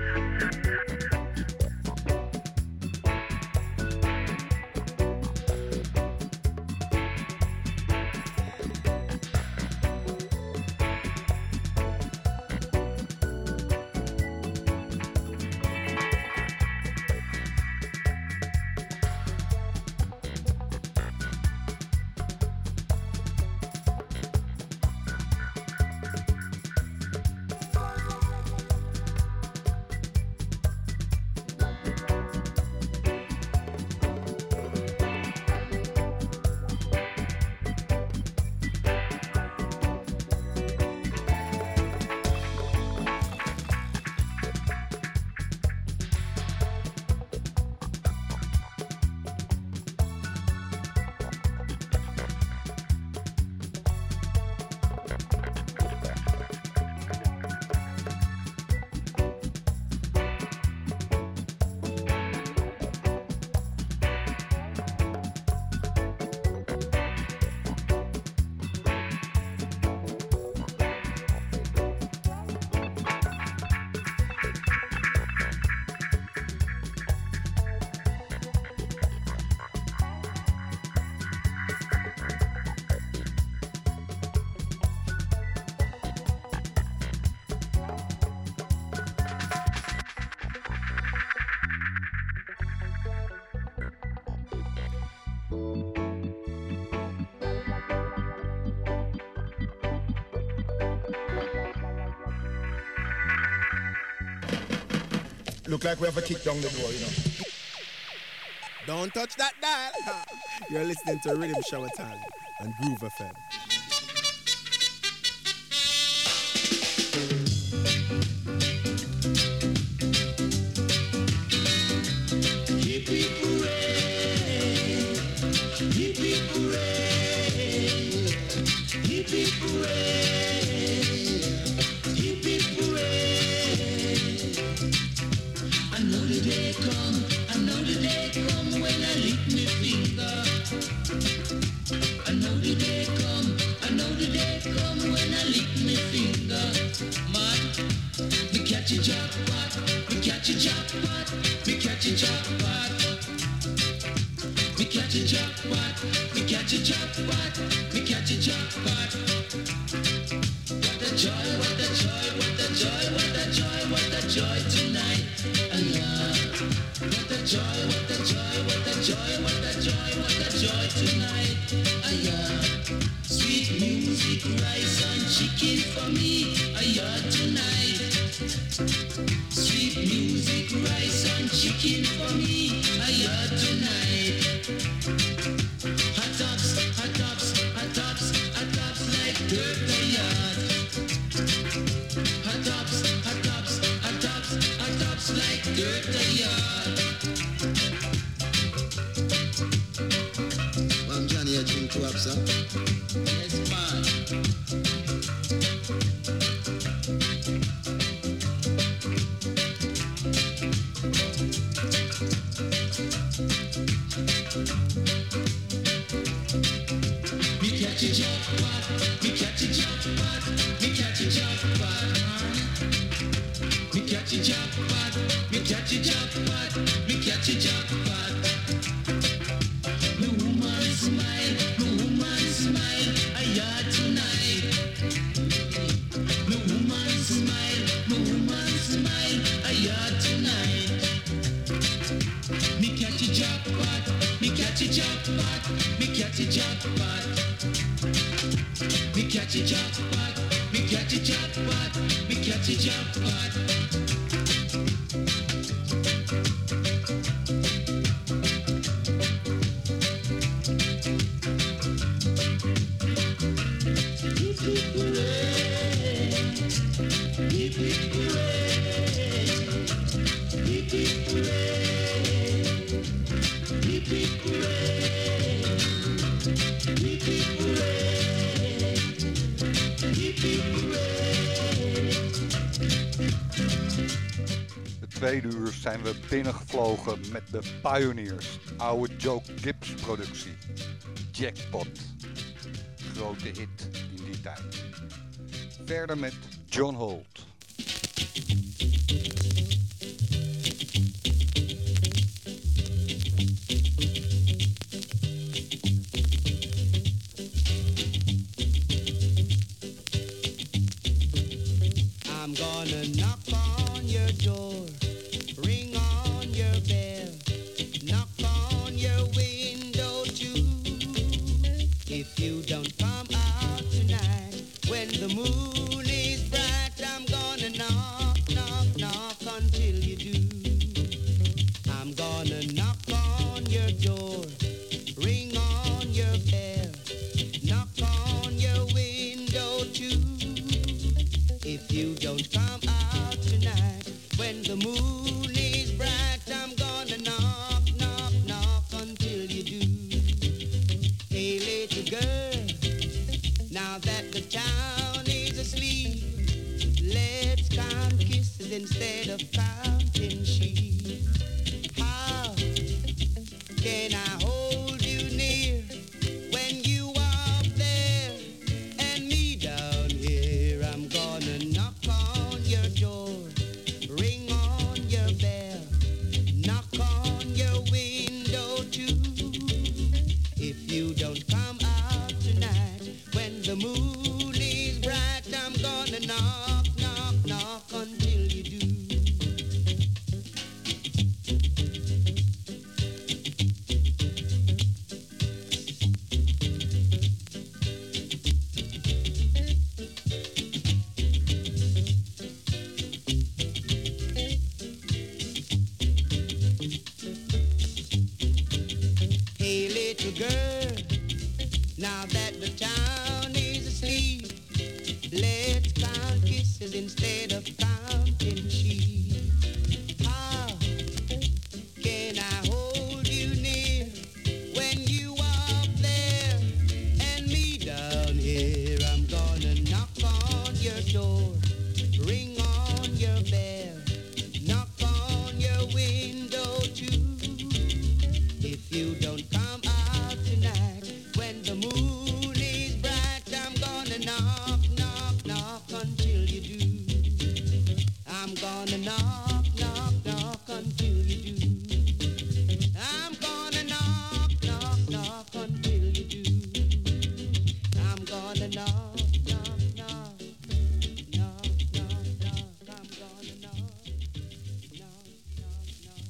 Look like we have a kick down the door, you know. Don't touch that dial. You're listening to Rhythm Shower Time and Groove F M. tweede uur zijn we binnengevlogen met de Pioneers. Oude Joe Gibbs productie. Jackpot. Grote hit in die tijd. Verder met John Holt. I'm gonna knock on your door, ring on your bell, knock on your window too. If you don't come out tonight, when the moon is bright, I'm gonna knock, knock, knock until you do. I'm gonna knock on your door, ring on your bell, knock on your window too. If you don't come out tonight, when the moon is bright, I'm gonna knock, knock, knock until you do. Hey, little girl, now that the town is asleep, let's count kisses instead of counting sheep. How can I hold you near when you are up there and me down here? I'm gonna knock on your door, ring on your bell, knock on your window too. If you don't come out tonight, when the moon is bright, I'm gonna knock, knock, knock until you do. Hey, little girl, now that the town is asleep, let's count kisses instead of counting sheep. How can I hold you near when you are up there and me down here? I'm gonna knock on your door, ring on your bell, knock on your window too. If you don't come out tonight, when the moon is bright, I'm gonna knock, knock, knock until you do. I'm gonna knock, knock, knock until you do. I'm gonna knock, knock, knock until you do. I'm gonna knock, knock, knock, knock, knock, knock. I'm gonna knock, knock, knock, knock.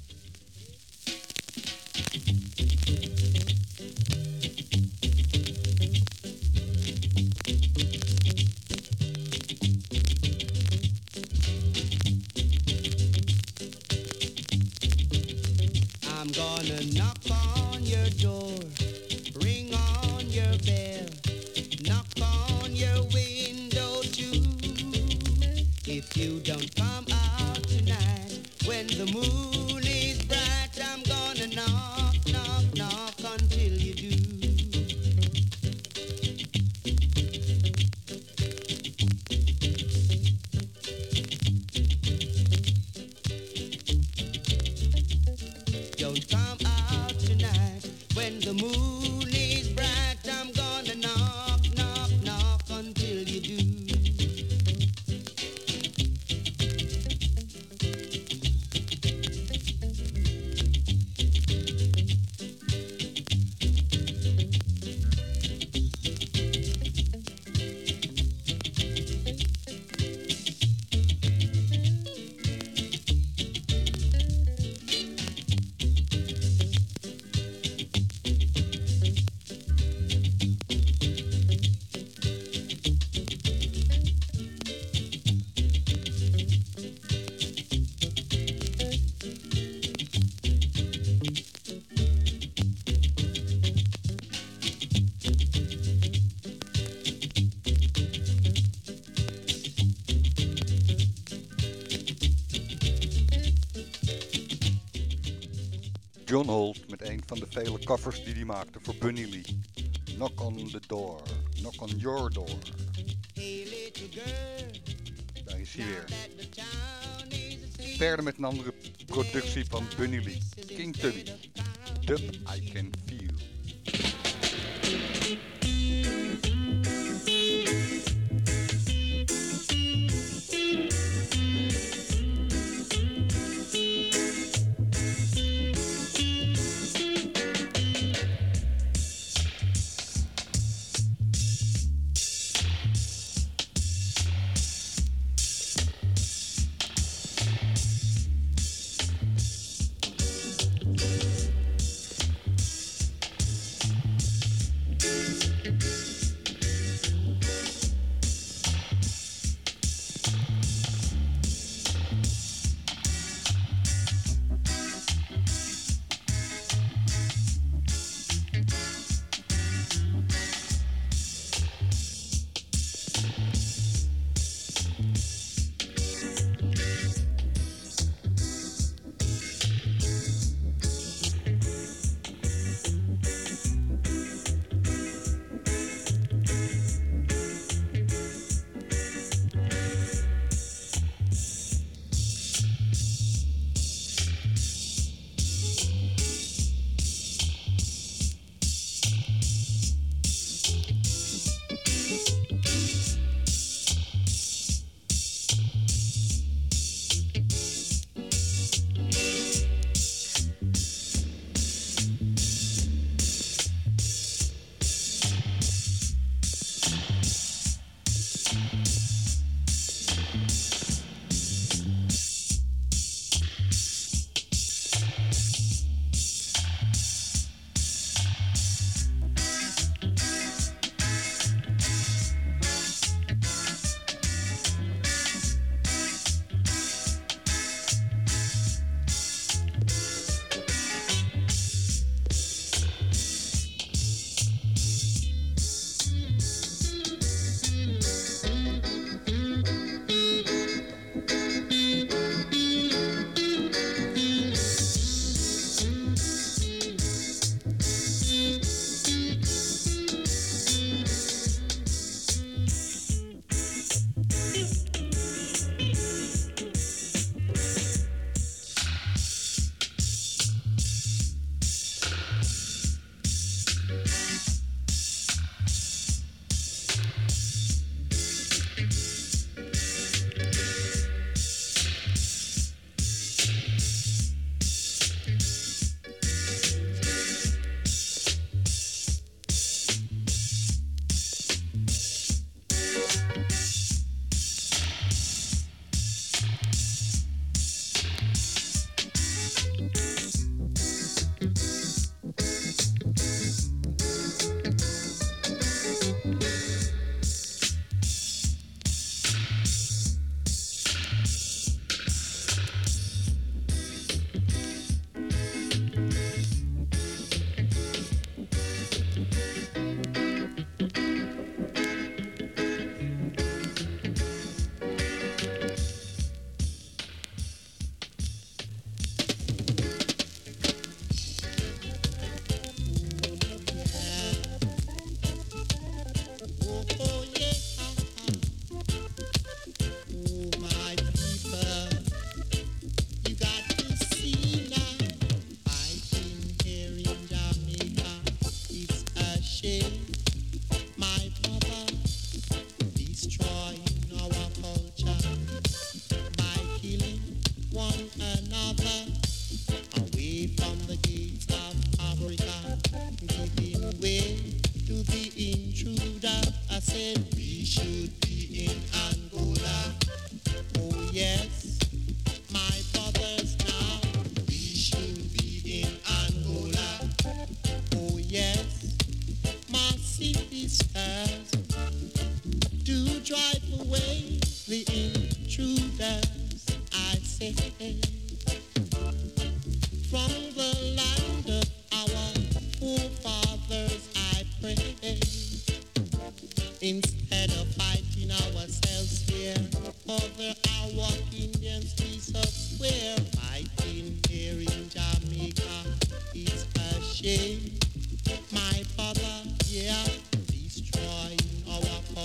I'm gonna knock on your door, ring on your bell, knock on your window too. If you don't come out tonight, when the moon is bright, I'm gonna knock, knock, knock until you do. Don't come out tonight, when the moon is bright, I'm gonna knock, knock, knock until you do. John Holt met een van de vele covers die hij maakte voor Bunny Lee. Knock on the door, knock on your door. Daar is hij weer. verder met een andere productie van Bunny Lee. King Tubby. Dub I Can Feel.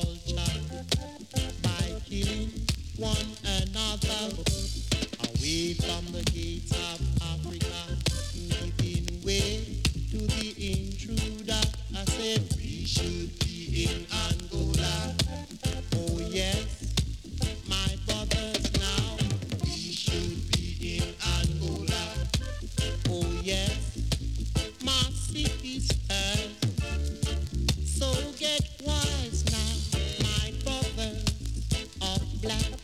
One another away We from the gates of Africa, giving way to the intruder. I said we should be in Angola. Oh yes, my brothers now. We should be in Angola. Oh yes, my city's hers. So get wise now, my brothers of black.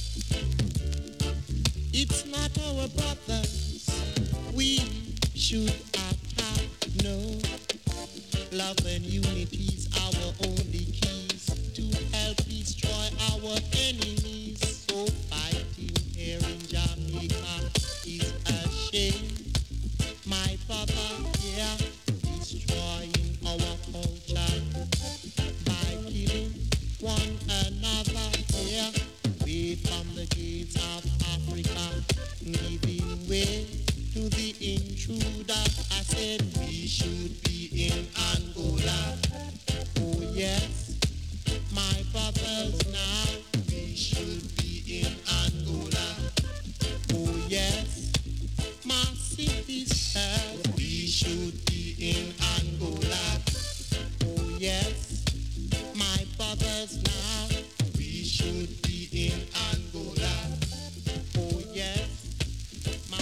It's not our brothers we should attack, no. Love and unity's our only keys to help destroy our enemies. So fighting here in Jamaica is a shame. My brother here destroying our culture by killing one another here. Way from the gates of Africa, giving way to the intruder. I said we should be in Angola. Oh yes, my brothers now. We should be in Angola. Oh yes, my city's hers. We should be in Angola. Oh yes, my brothers now. We should be in Angola. Oh yes, my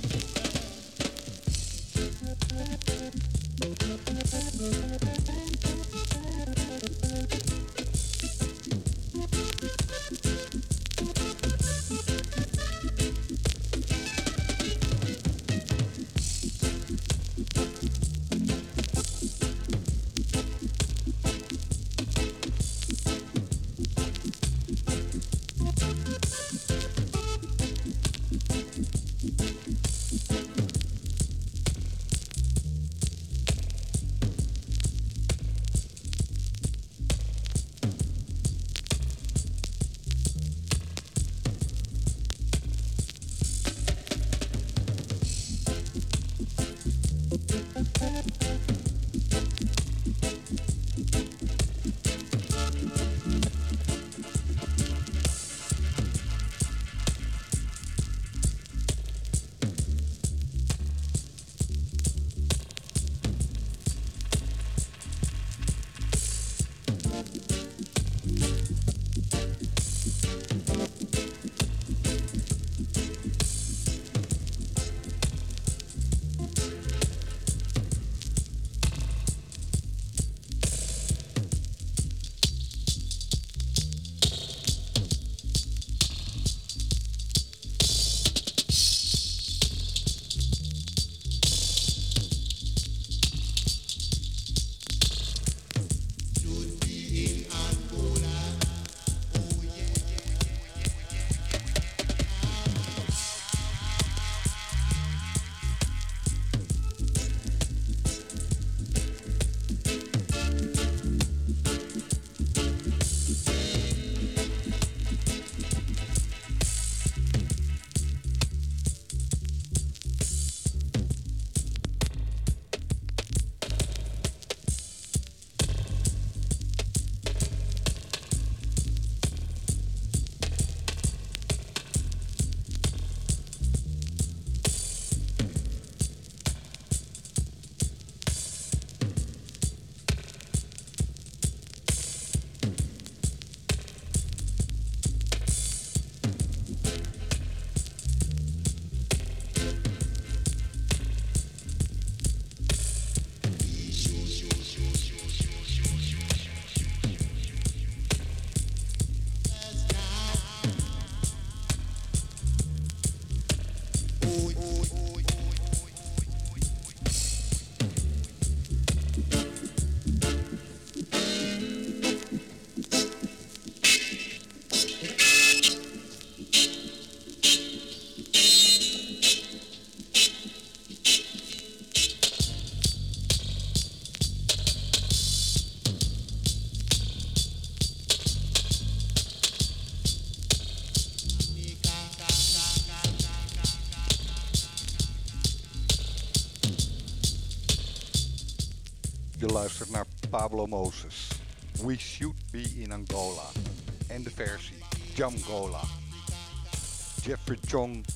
Je luistert naar Pablo Moses. We Should Be in Angola. En de versie Jamgola. Jeffrey Chong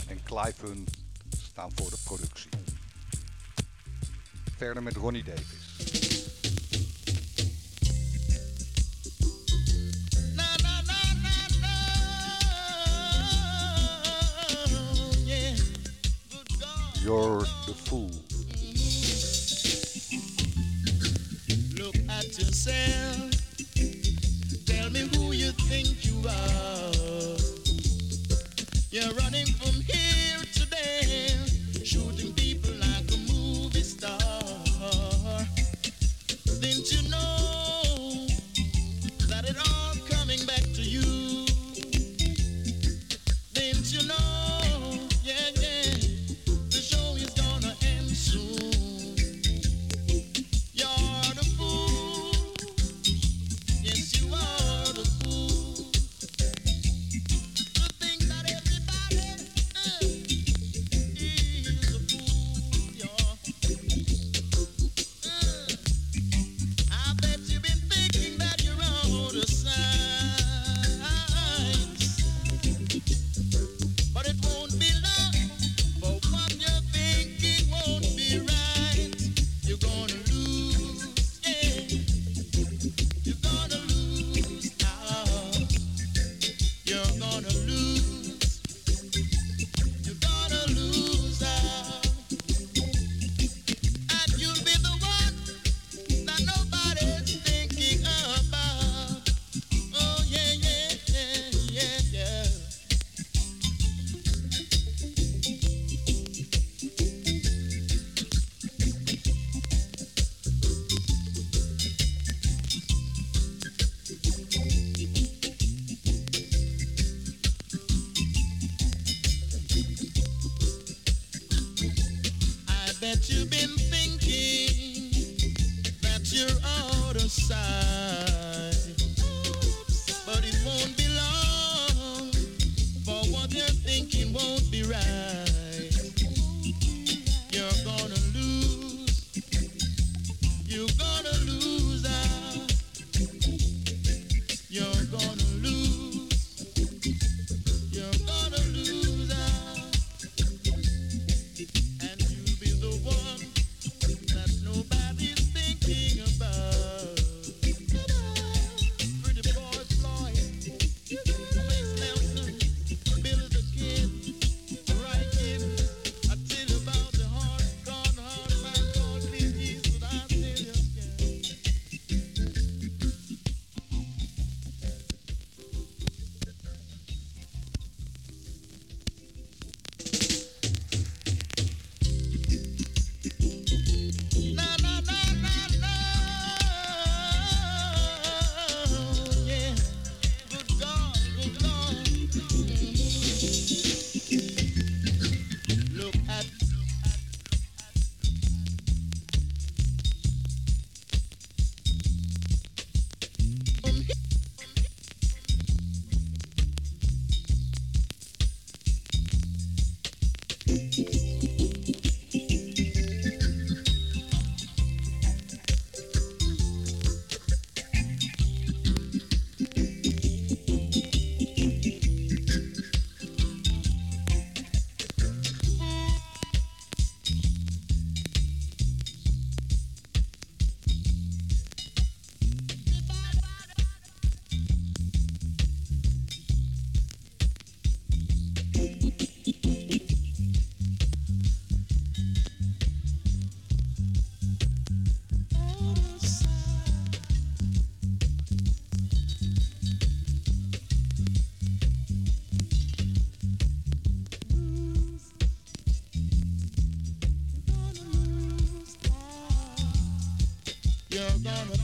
en Clive Hunt staan voor de productie. Verder met Ronnie Davis. You're the fool. Look at yourself. Tell me who you think you are. You're running from here to there, shooting people like a movie star. Didn't you know that it all coming back to you? Didn't you know? Yeah, yeah. The show is gonna end soon. You're the fool. Yes, you are the fool. To think that everybody uh, is a fool. You're, uh, I bet you've been thinking that you're out of sight, but it won't be long. For what you're thinking won't be right. You're gonna lose, yeah. You're gonna lose out. You're gonna lose. You're gonna lose out. And you'll be the one that nobody's thinking about. Oh yeah, yeah, yeah, yeah, yeah. I bet you've been thinking that you're out of sight, but it won't be long, for what you're thinking won't be right. You're gonna lose, you're gonna lose out, you're gonna lose, you're gonna lose out. And you'll be the one that nobody's thinking about. Pretty boy Floyd, Max Nelson, Billy the Kid, Right Kid. I tell you about the hard, gone hard man called Clint Eastwood. I tell you, na na na na na, yeah. Good God, good Lord. Look at. You're gonna.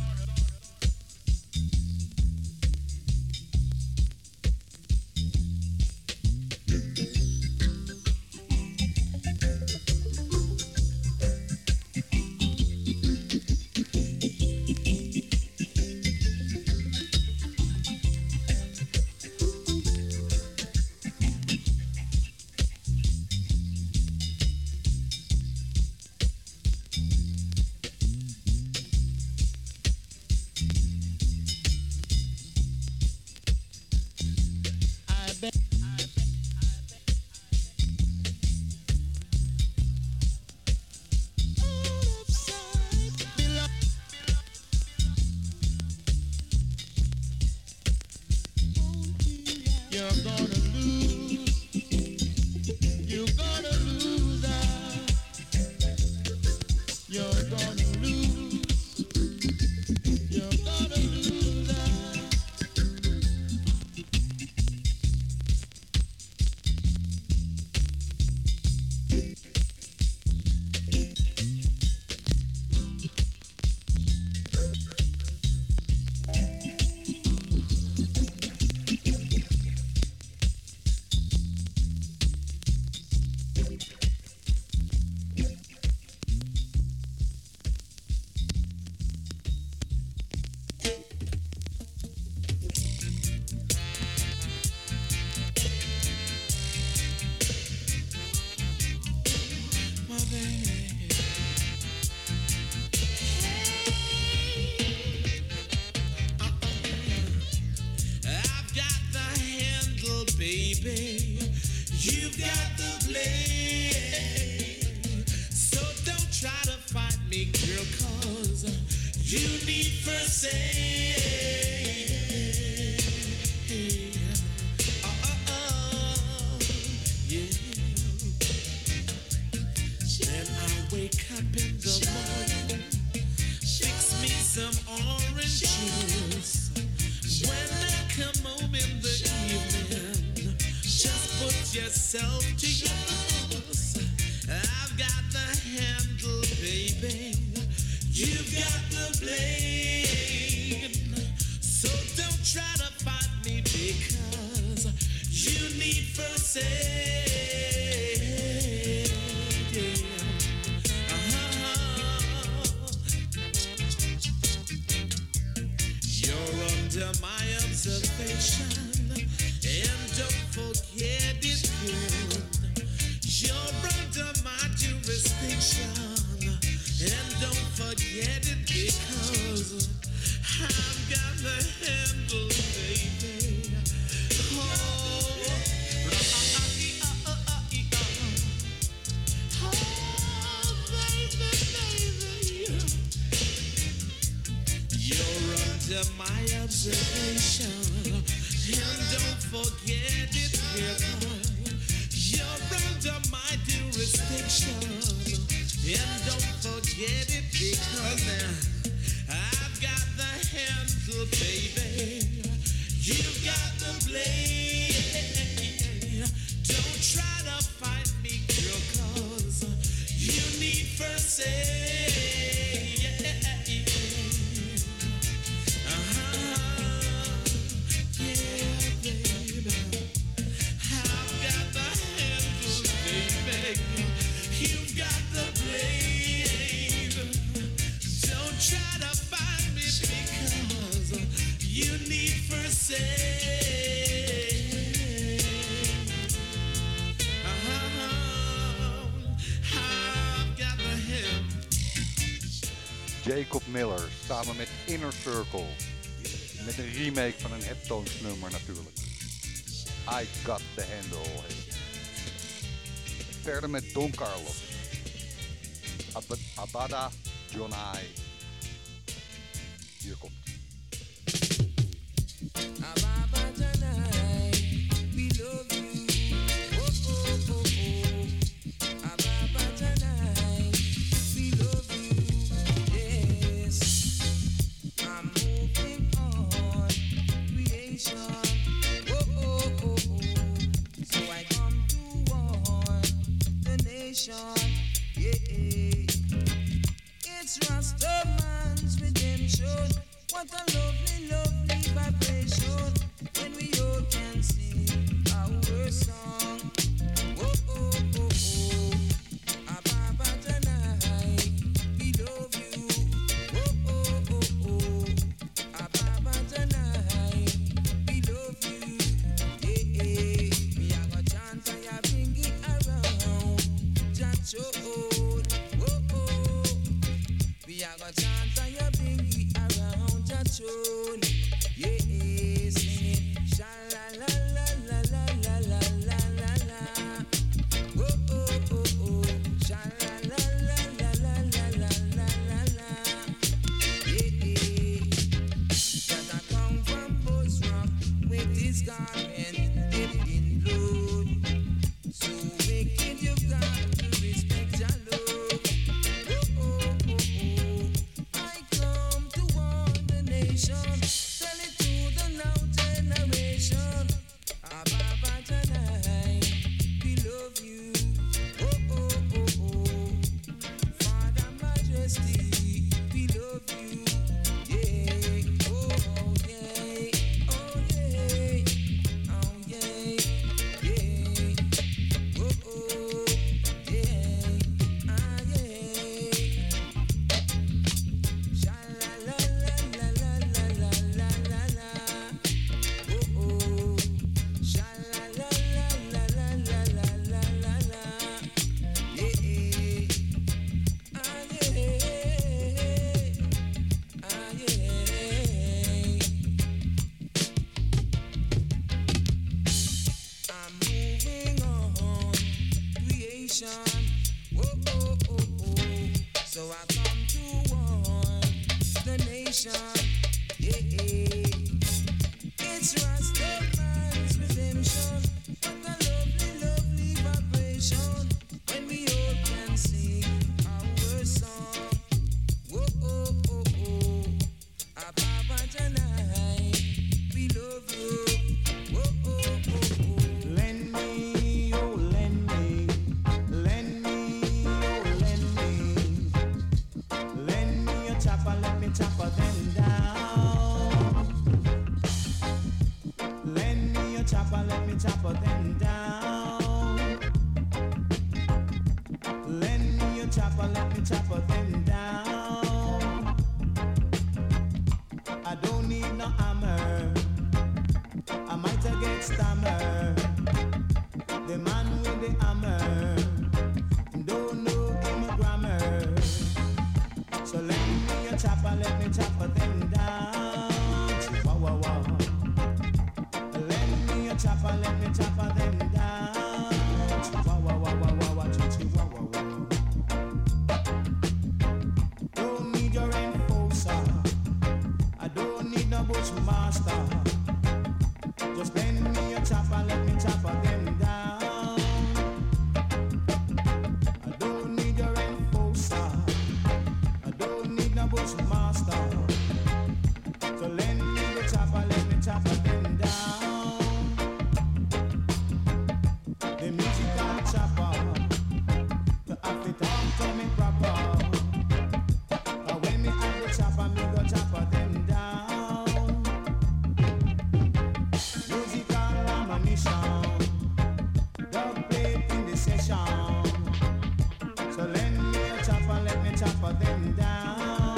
you're gonna lose. You're gonna lose out. You're gonna lose. You're gonna lose out. I've got the handle, baby. You've got the blade. So don't try to fight me, girl, cause you need first aid. Uh, uh, uh, yeah. Then I wake up in the morning, fix me some orange juice. When I come home in the evening, just put yourself to use. I've got the handle, baby. You've got the blade. So don't try to fight me because you need first aid. Yeah. Uh-huh. You're under my observation, and don't forget it, girl. You're under my jurisdiction, and don't forget it because I've got the handle, baby. Oh, oh, baby, baby. You're under my observation, and don't forget it, girl. You're under my jurisdiction, and don't forget it because now I've got the handle, baby. You've got the blade. Don't try to fight me, girl, cause you need first aid. Uh-huh. Yeah, baby. I've got the handle, baby. You've got the blade. Don't try to find me because you need first aid. Uh-huh. I've got the handle. Jacob Miller samen met Inner Circle. Met een remake van een Heptones nummer natuurlijk. I Got The Handle. Verder met Don Carlos. Ab- Abada Jonai. Hier komt. Ababa tonight, we love you. Oh, oh, oh, oh. Ababa tonight, we love you. Yes, I'm moving on, creation. Oh, oh, oh, oh. So I come to warn the nation. Yeah, it's Rastaman's redemption. What a lovely, lovely vibration when we all can sing our song. Oh, oh, oh, oh. Ababa tonight, we love you. Oh, oh, oh, oh. Ababa tonight, we love you. Yeah, yeah. We have a chance and you bring it around. Just oh, oh, oh. We have a chance and you bring it around. Just show. chopper them down. Lend me your chopper, let me chopper them down. I don't need no hammer, I might a get stammer. The man with the hammer don't know him grammar. So lend me your chopper, let me chopper them down. Chihuahua. Lend me your chopper, let me chopper them down. Chihuahua, chihuahua. Don't need your enforcer, I don't need no bushmaster. Just lend me your chopper, let me chopper them down. I don't need your enforcer, I don't need no bushmaster. So lend me the chopper, let me chopper them down. The musical chopper, to have it on to me proper. But when me have the chopper, me go chopper them down. Musical ammunition, dub plate in the session. So lend me a chopper, let me chopper them down.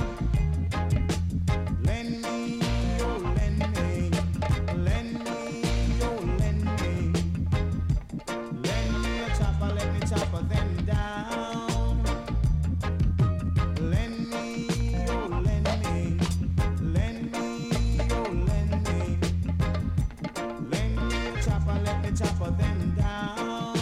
Lend me, oh lend me, lend me, oh lend me. Lend me a chopper, let me chopper them down. Lend me, oh lend me, lend me, oh lend me. Lend me a chopper, let me chopper them down.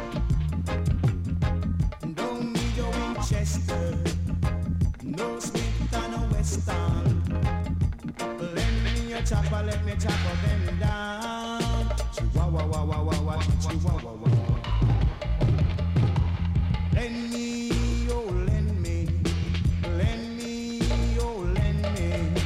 Don't need your Winchester, no Smith and no Western. Lend me a chopper, let me chopper them down. Chihuahua, wah, wah, wah, wah, chihuahua, wah. Lend me, oh lend me, lend me, oh lend me.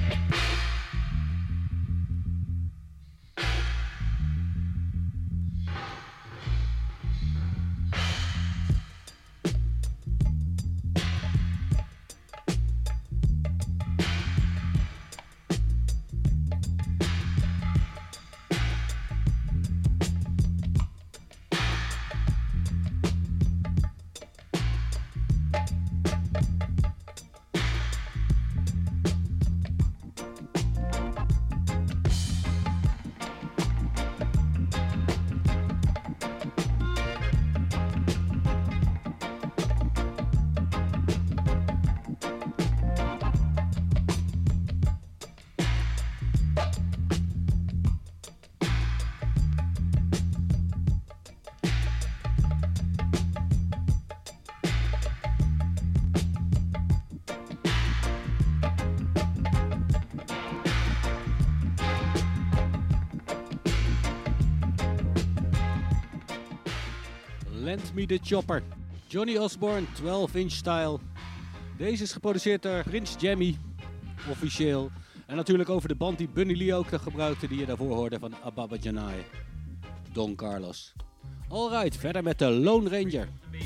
Lend Me The Chopper. Johnny Osborne, twaalf inch style. Deze is geproduceerd door Prince Jammy, officieel. En natuurlijk over de band die Bunny Lee ook gebruikte, die je daarvoor hoorde van Ababa Janai. Don Carlos. Alright, verder met de Lone Ranger.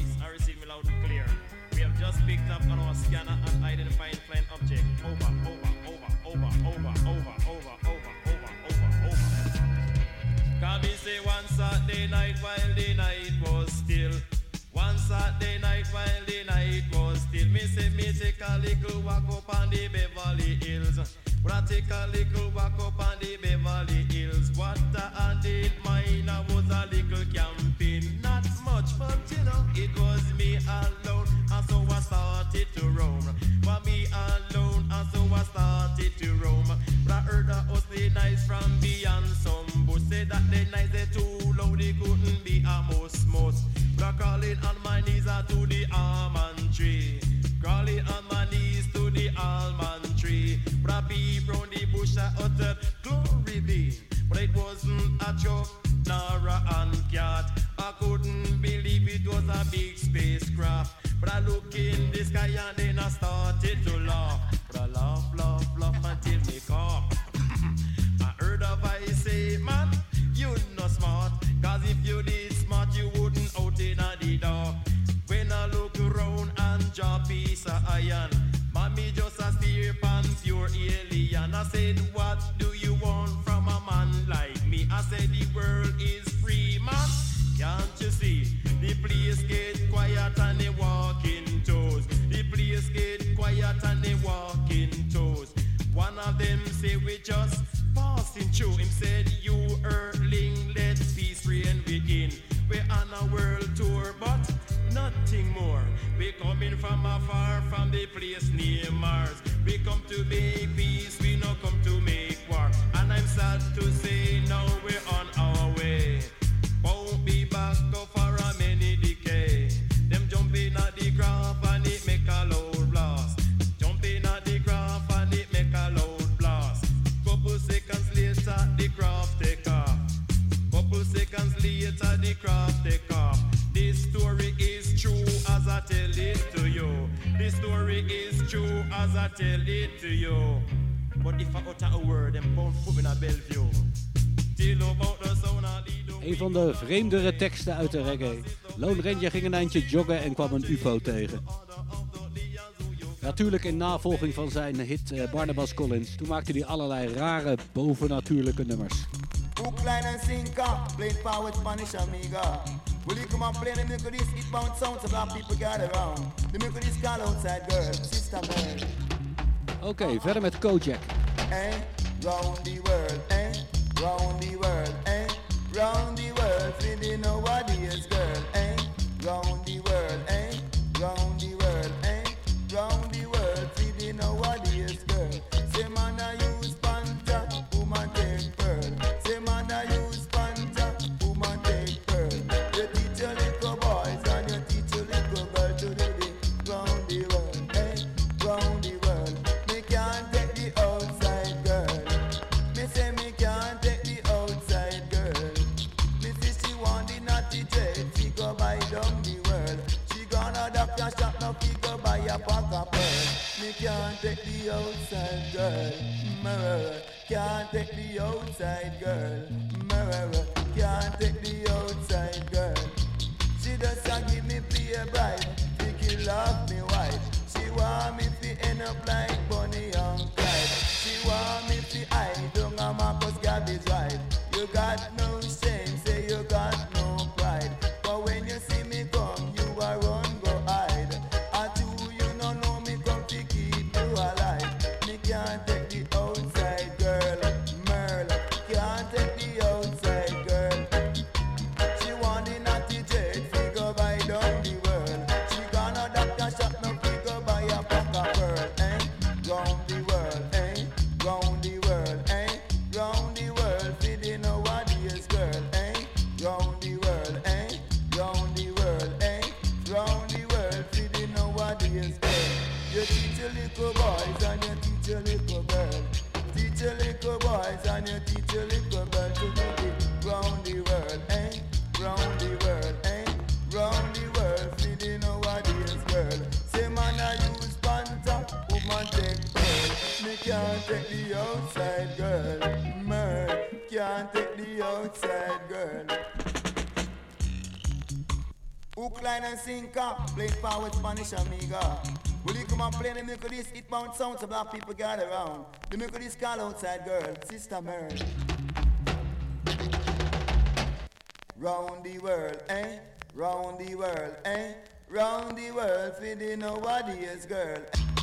We have just picked up on our scanner and identifying flying object. Over, over, over, over, over, over, over, over, over, over, over. Can we say one Saturday night while the night was still? One Saturday night while the night was still. Me say me take a little walk up on the Beverly Hills. When I take a little walk up on the Beverly Hills, what I did mine was a little camping. Not much, but you know, it was me alone. And so I started to roam. For me alone, and so I started to roam. But I heard a hustle nice from beyond some bush. Say that the nights they too loud, they couldn't be a most most. But I crawling on my knees uh, to the almond tree. Crawling on my knees to the almond tree. But I peep round the bush, I uttered glory be. But it wasn't a joke, nor a ant cat. I couldn't believe it was a big spacecraft. But I look in the sky and then I started to laugh. But I laugh, laugh, laugh until me cough. I heard a voice say, man, you not smart. Cause if you did smart, you wouldn't out in the dark. When I look around and jaw piece of iron, mommy just a steer pan pure alien. I said, what do you want from a man like me? I said, the world is seconds later the craft take off. This story is true as I tell it to you. This story is true as I tell it to you. But if I utter a word, then both put in a Bellevue. Till about the sound of the... Een van de vreemdere teksten uit de reggae. Lone Ranger ging een eindje joggen en kwam een U F O tegen. Natuurlijk in navolging van zijn hit uh, Barnabas Collins. Toen maakte hij allerlei rare bovennatuurlijke nummers. Hook, line and sinker, played power with Spanish amiga. Will you come and play the milk of this eatbound sound so black people gather around? The milk of this call outside girl, sister man. Oké, okay, verder met Kojak. Eh, round the world, eh, round the world, eh, round the world, feeling nobody's girl, eh, round the world, eh, round the world, eh, round the world, feeling nobody's girl. Say man I use panta, woman take pearl. Say man I use panta, woman take pearl. You teach your little boys and you teach your little girl to do it round the world, eh, round the world. Me can't take the outside girl. Me say me can't take the outside girl. Me say she want the naughty trade, she go buy down the world. She gonna duck your shop, now she go buy a pack of pearl. Me can't take the outside girl. Murder. Can't take the outside girl. Murder. Can't take the outside girl. She just a give me play bribe. She kill off me wife. She want me to end up like Bonnie and Clyde. She want me to hide down a Marcus Garvey's right. You got no shame, say you got no pride. But when you see me come, you are run, go hide. I do you no know me come to keep you alive. Me can't take the outside girl, Merle. Can't take the outside girl. She want the naughty trade, she go buy down the world. She gonna doctor shop, no she go buy a pack of pearl, eh? Round the world, eh? Round the world, eh? Round the world, feeding nobody's girl, eh? Round the world, eh? Round the world, eh? Round the world, feeding nobody's girl. You teach your little boys and you teach your little girl. Teach your little boys and you teach your little girl to do it round the world, eh? Round the world, eh? Round the world, feeding nobody's girl. Say man I use panta, woman take pearl. Me can't take the outside girl, man. Can't take the outside girl. Hook, line and sinker, played power with Spanish amiga. Will you come and play the milk of this eatbound sound so black people gather around? The milk of this call outside girl, sister Mary. Round the world, eh? Round the world, eh? Round the world, feeding nobody's girl.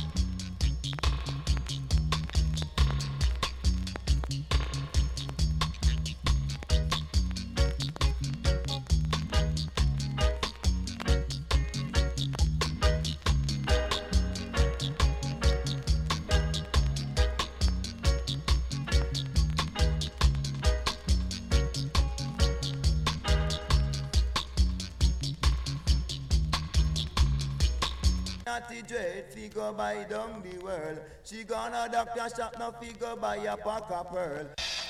Naughty dread, fi go buy down the world. She gonna doctor shop, now fi go buy a pack of pearl.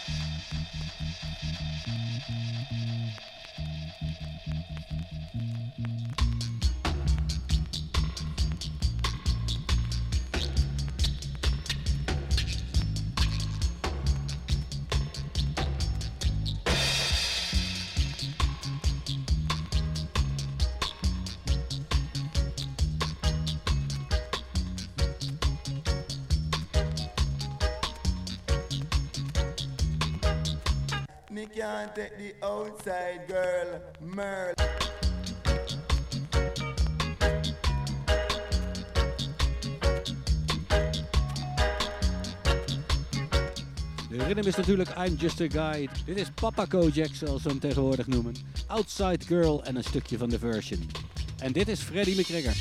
Me can't take the outside girl, Merle. De rhythm is natuurlijk I'm Just a Guy. Dit is Papa Kojak, zoals we hem tegenwoordig noemen. Outside Girl en een stukje van de version. En dit is Freddie McGregor.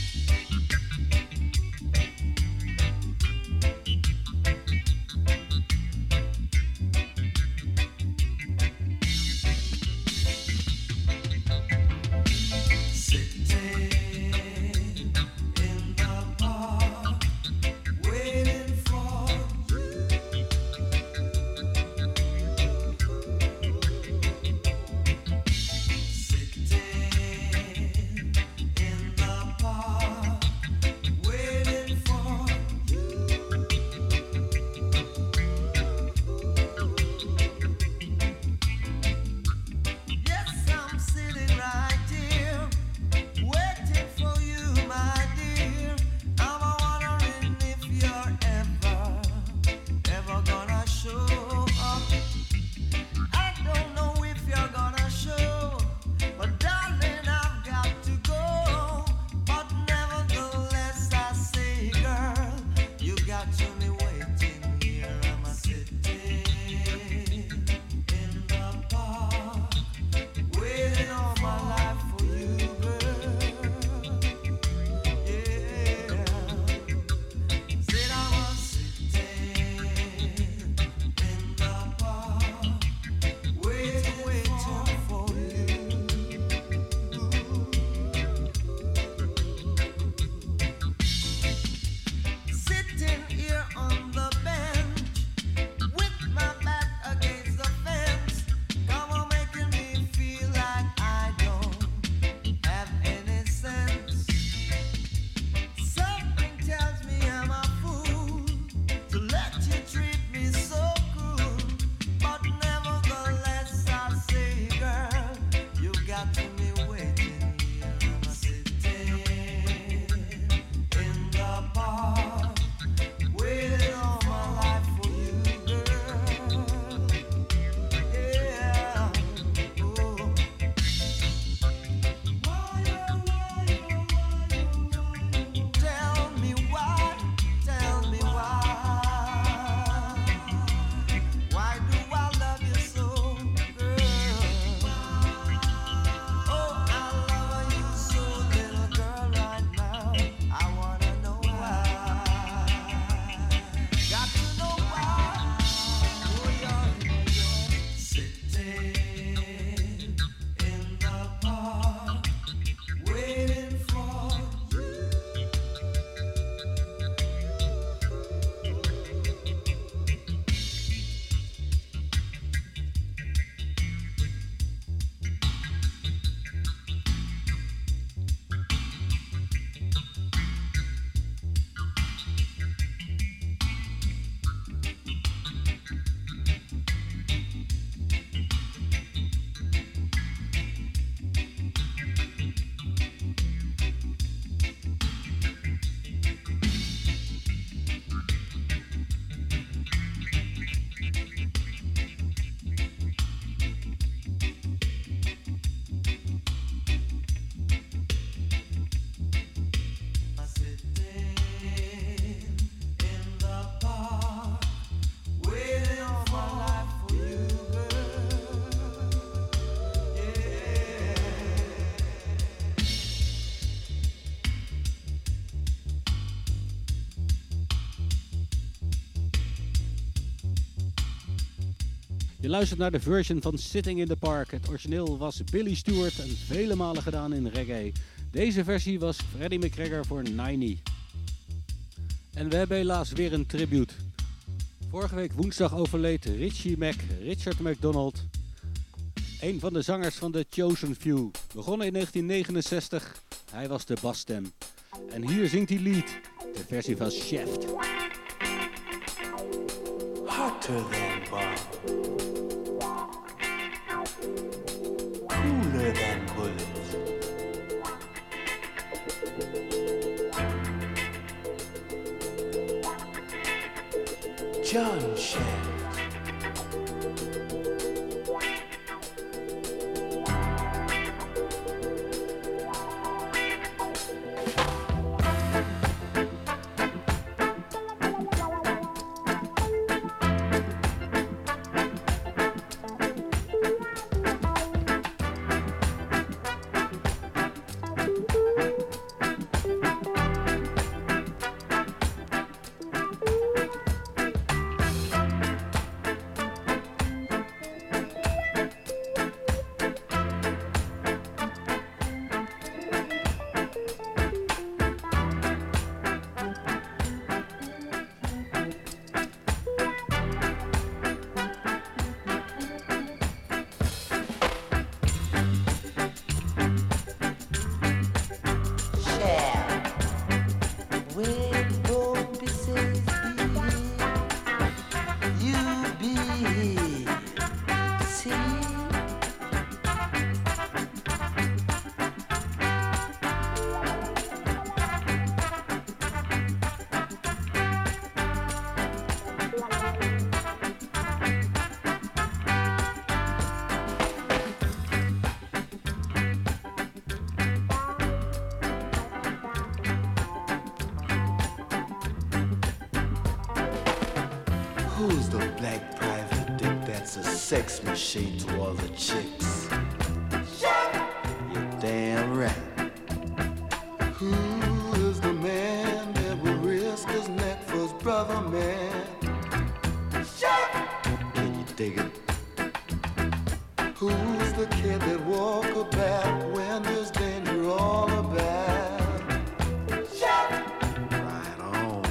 Je luistert naar de version van Sitting in the Park. Het origineel was Billy Stewart en vele malen gedaan in reggae. Deze versie was Freddie McGregor voor Ninety. En we hebben helaas weer een tribute. Vorige week woensdag overleed Richie Mac, Richard McDonald. Een van de zangers van The Chosen Few. Begonnen in negentien negenenzestig. Hij was de basstem. En hier zingt hij lead. De versie van Shaft. Hotter than bomb. Cooler than bullets. John Shaft. Who's the black private dick that's a sex machine to all the chicks? You're damn right. Who is the man that would risk his neck for his brother, man? Can you dig it? Who's the kid that walk about when there's danger all about? Right on.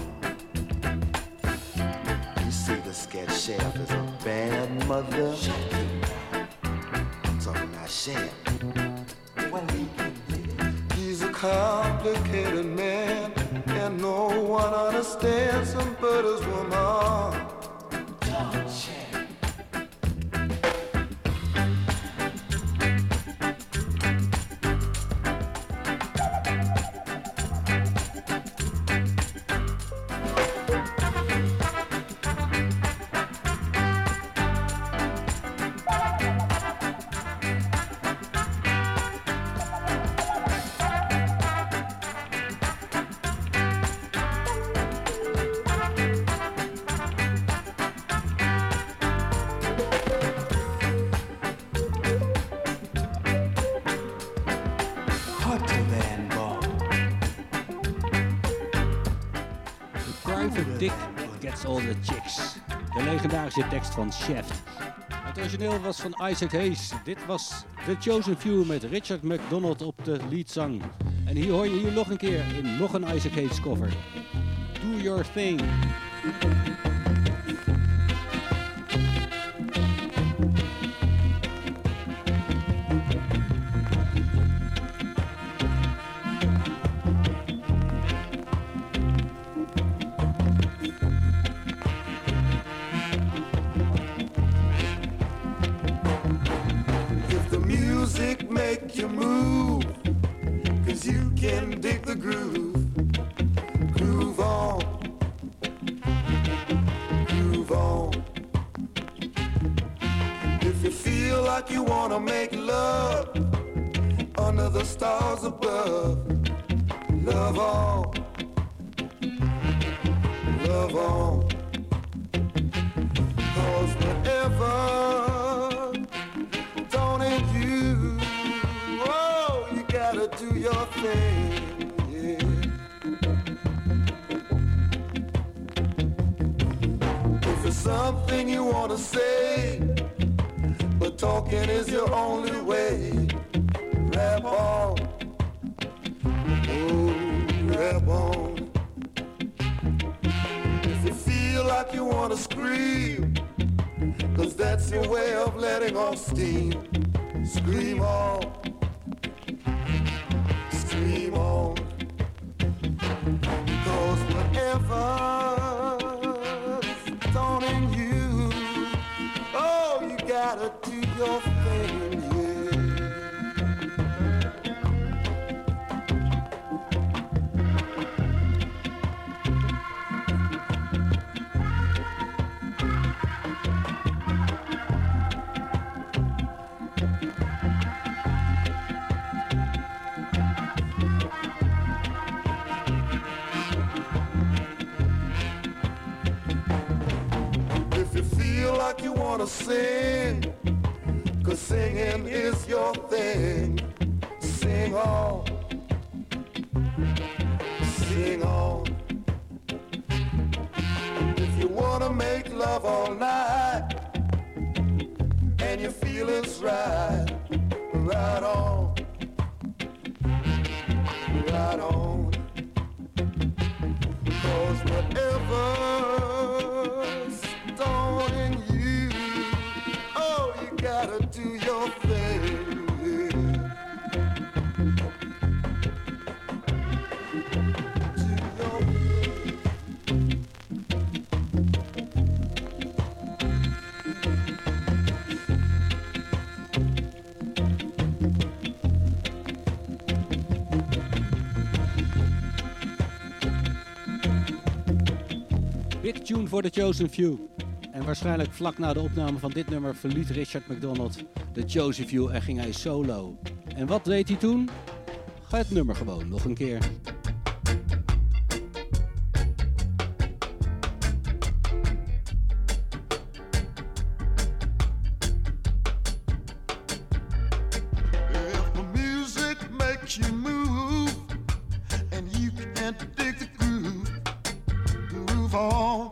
You see, this cat Shaft is a bad mother. I'm talking about Shaft. Well, he can dig it. He's a complicated man, and no one understands him but his woman. John Shaft. Dick gets all the chicks. De legendarische tekst van Shaft. Het origineel was van Isaac Hayes. Dit was The Chosen Few met Richard McDonald op de leadzang. En hier hoor je hier nog een keer in nog een Isaac Hayes cover. Do Your Thing. Make you move, cause you can dig the groove. Groove on, groove on. If you feel like you wanna make love under the stars above, love on, love on. Cause whenever do your thing, yeah. If there's something you wanna say, talking is your only way. Rap on, oh, rap on. If you feel like you wanna scream, cause that's your way of letting off steam, scream on, scream on. Cause whatever's daunting you, oh, you gotta do your thing, yeah. Like you wanna sing, cause singing is your thing. Sing on, sing on. If you wanna make love all night and your feelings right, right on, right on. Cause whatever's daunting you, oh, you gotta do your thing. Big tune voor de Chosen Few. En waarschijnlijk vlak na de opname van dit nummer verliet Richard McDonald de Chosen Few en ging hij solo. En wat deed hij toen? Ga het nummer gewoon nog een keer. If the music makes you move and you can't dig the groove, groove on.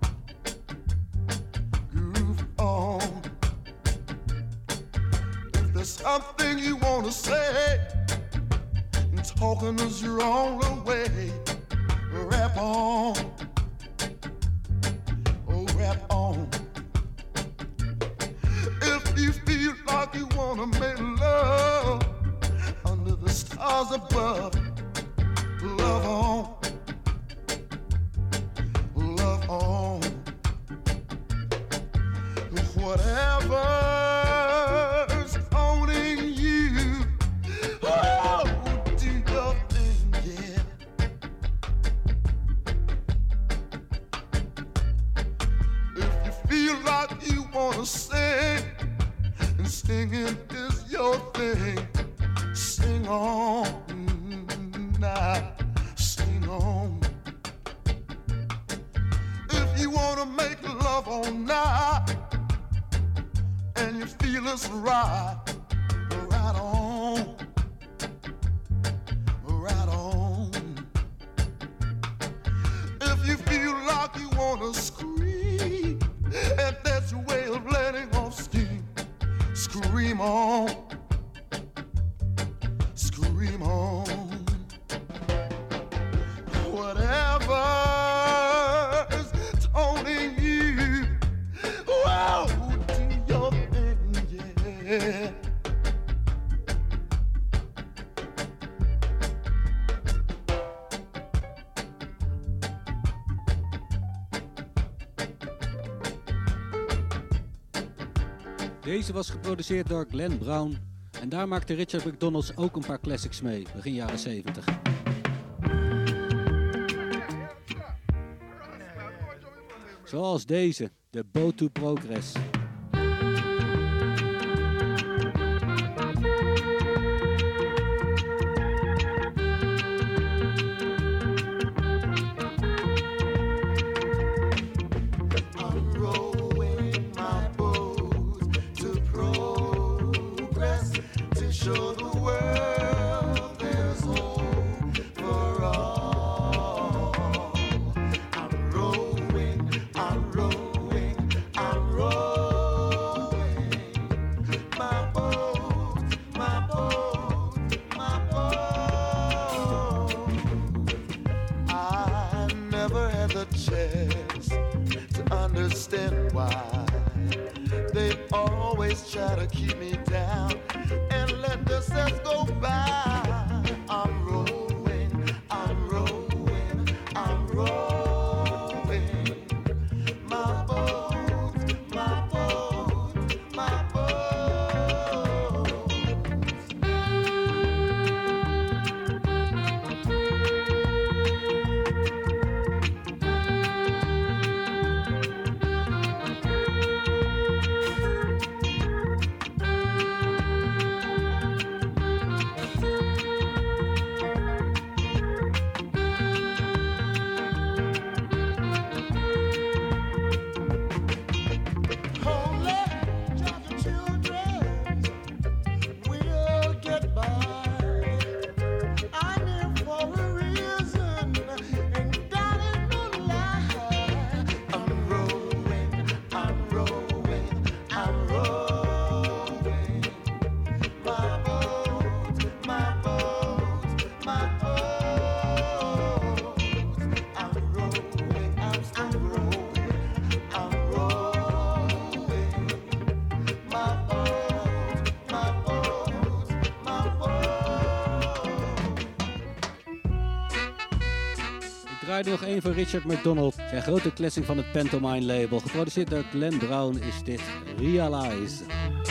Something you wanna say, talking is your only way. Rap on, oh rap on. If you feel like you wanna make love under the stars above, love on, love on. Whatever. Sing, and singing is your thing. Sing on, now, sing on. If you wanna make love all night and you feel it's right, right on, right on. If you feel like you wanna scream, and that's your way of letting off steam, scream on, scream on. Whatever's taunting you, wow, do your thing, yeah. Deze was geproduceerd door Glenn Brown en daar maakte Richard McDonald ook een paar classics mee, begin jaren zeventig. Zoals deze, de Boat to Progress. wanna keep me down and let the sets go by. I'm rolling, I'm rolling, I'm rolling. My boat, my boat, my boat. Ik draai nog één van Richard McDonald. Zijn grote classic van het Pantomime label. Geproduceerd door Glenn Brown is dit Realize.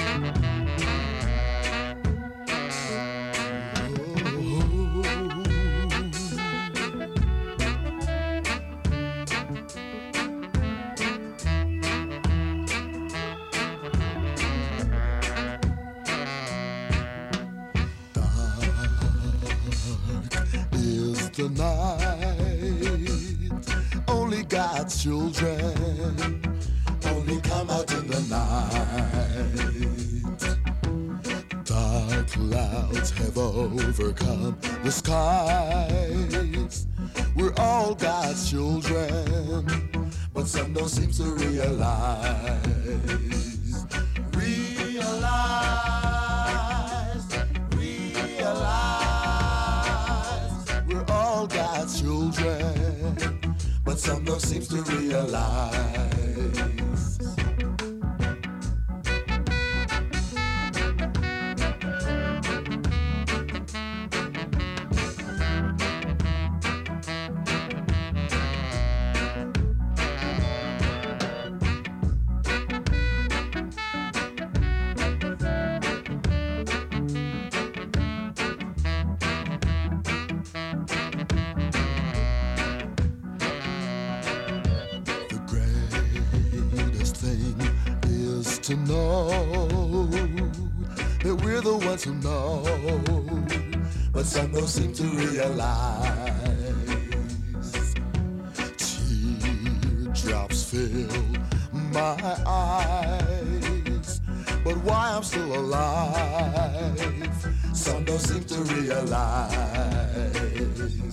Is the night, only God's children only come out in the night. Dark clouds have overcome the skies. We're all God's children, but some don't seem to realize. Realize, realize. We're all God's children, but some don't seem to realize. To know that we're the ones who know, but some don't seem to realize. Teardrops fill my eyes, but why I'm still alive, some don't seem to realize.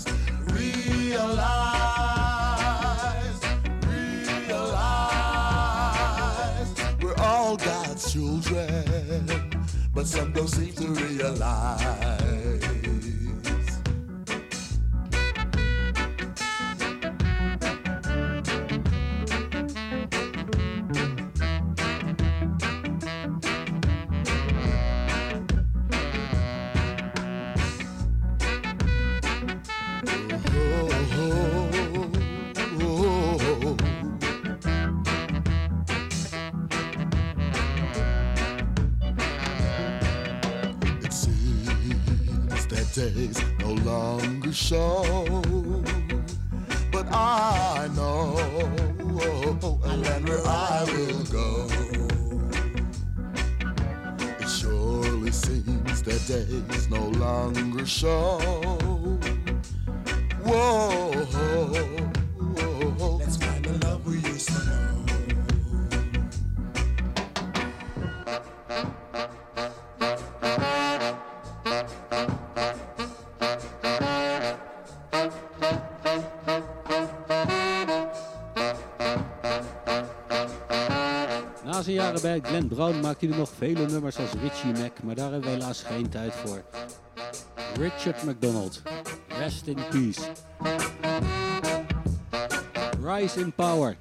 Realize, realize. We're all God's children, but some don't seem to realize. Days no longer show, but I know a land where I will go. It surely seems that days no longer show. Whoa, let's find the love we used to know. Na zijn jaren bij Glenn Brown maakte hij nog vele nummers als Richie Mac, maar daar hebben we helaas geen tijd voor. Richard McDonald, rest in peace. Rise in power.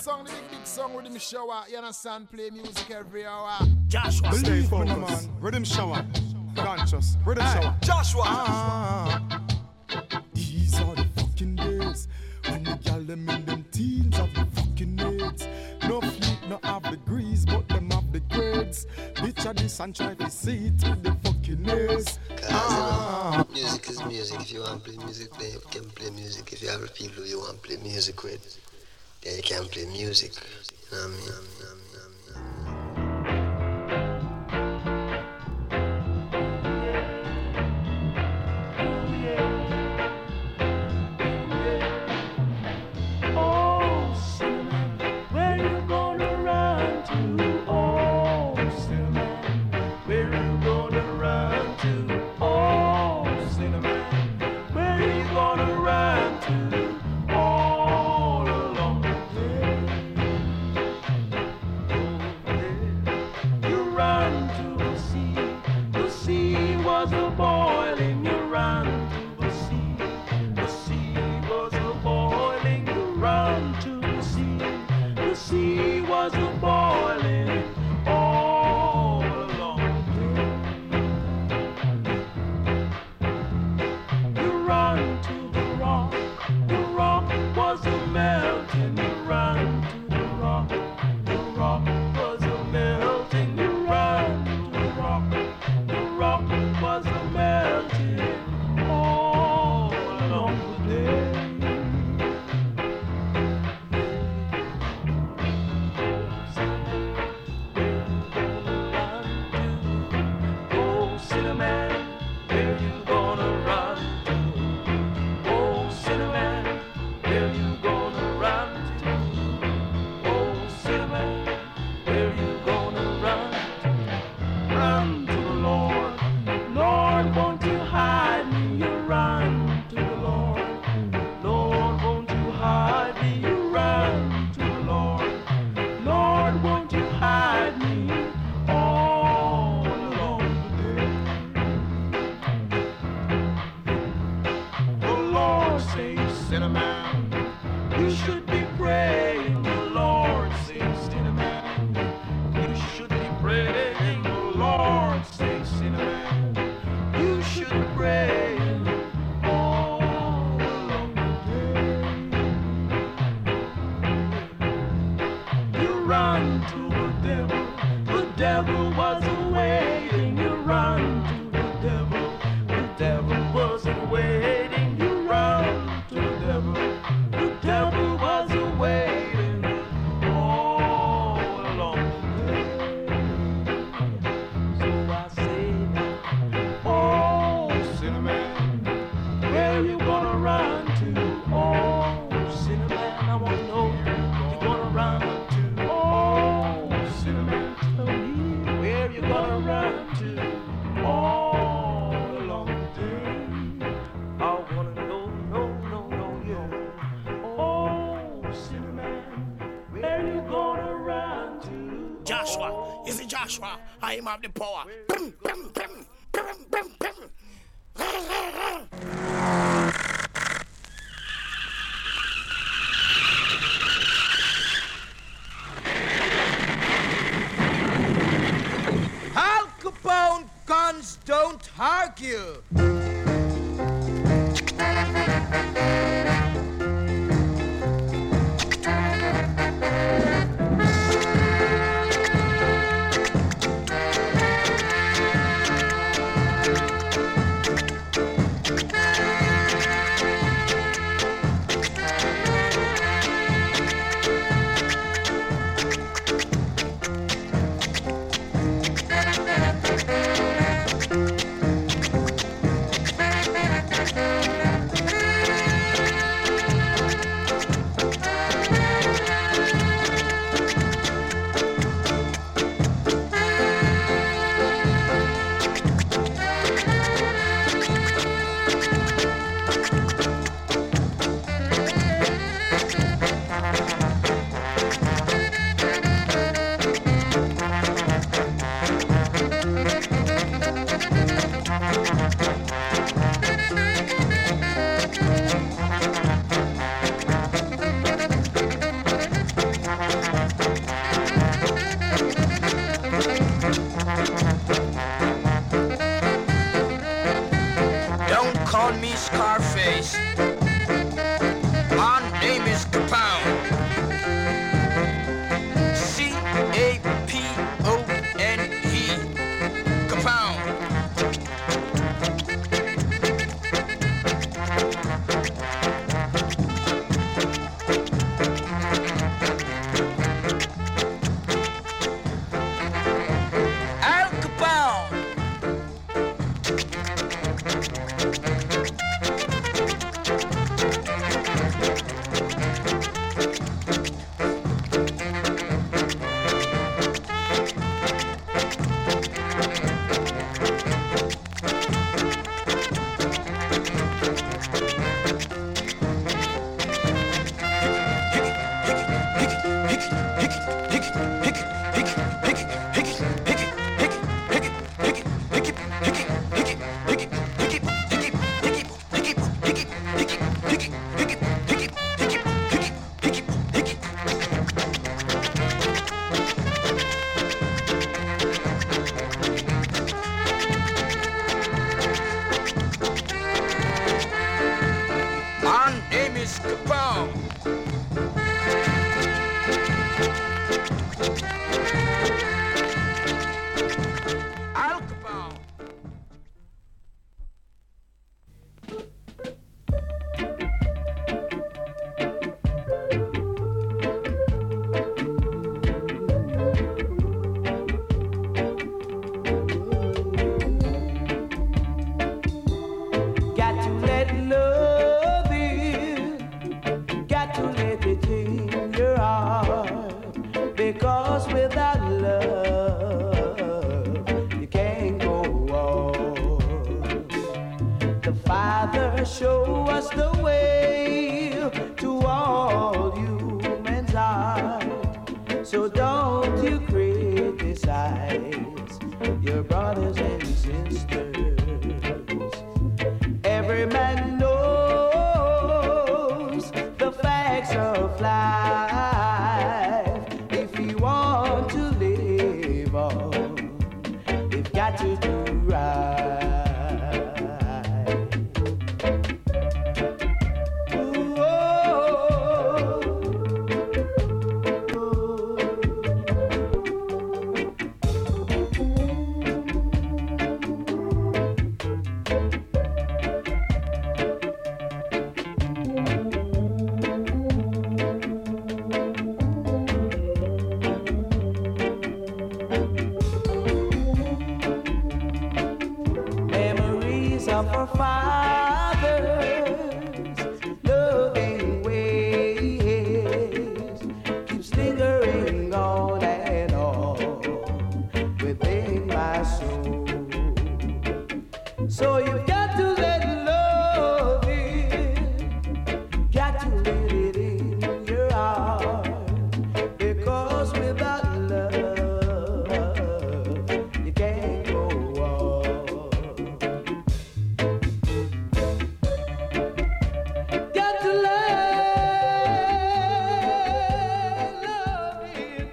song, the big, big song, Rhythm Shower. You understand? Play music every hour. Joshua. Stay Believe me, focused. man. Rhythm Shower. Conscious. Rhythm Hey, Shower. Joshua. Ah, These are the fucking days when the gal them in them teens have the fucking aids. No fleet, no have degrees, but them have the grades. Picture this and try to see it with the fucking aids. Ah. Music is music. If you want to play music, then you can play music. If you have people you want to play music with, then you can play music. You know what I mean? You know what I mean? Joshua. Is it Joshua? I am of the power. Bim, bim, bim, bim, bim, bim. Al Capone guns don't argue. Capone. Al Capone. Got to let love in, got to let it in your heart, because without love you can't go on. The Father show us the way to all humans' heart, so don't you criticize your brothers and sisters. Every man knows the facts of life. If you want to live on, you've got to do right. Ooh, oh, memories of our fathers, loving ways, keeps lingering on and on within my soul. So you've got to let love in, got to let it in your heart, because without love you can't go on. Got to let love in.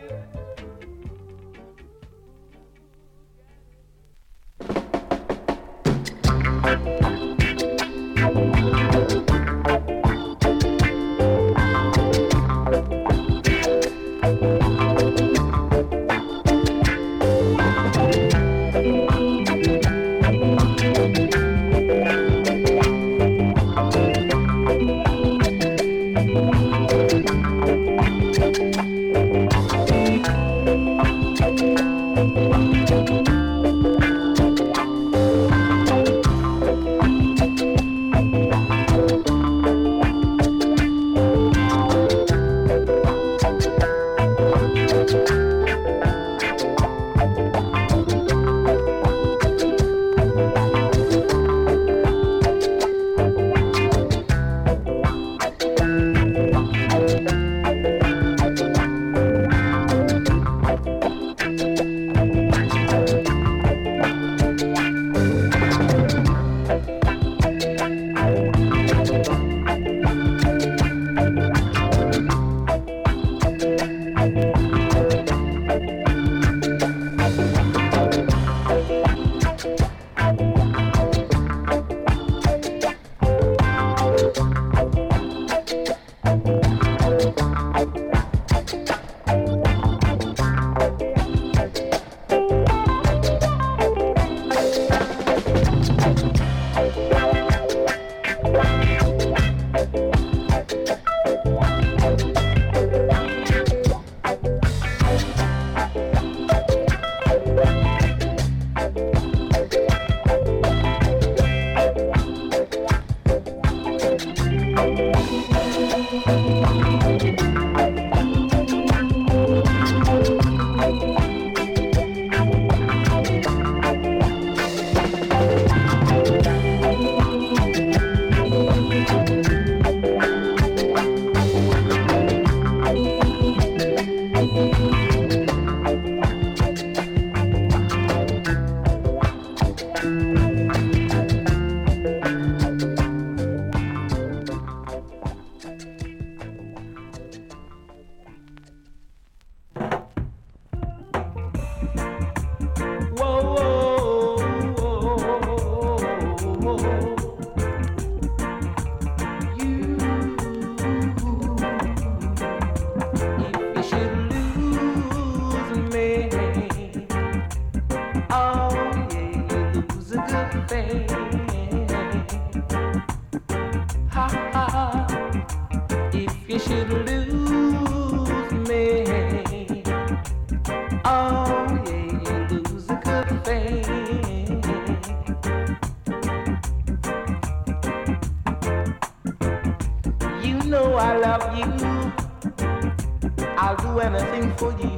you should lose me, oh yeah, you lose a good thing. You know I love you, I'll do anything for you.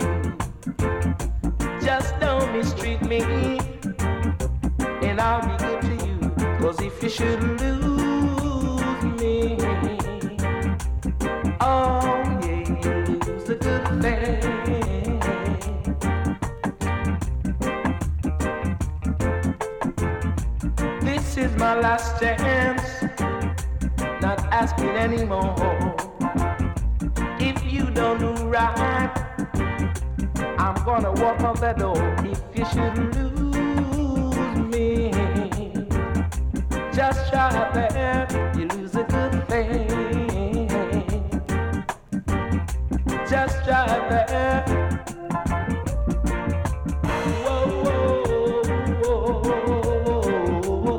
Just don't mistreat me, and I'll be good to you. Cause if you should lose me, oh yeah, you lose a good thing. This is my last chance, not asking anymore. If you don't do right, I'm gonna walk on the door. If you should lose me, just try that, you lose a good thing. Just try that. Whoa, whoa, whoa, whoa.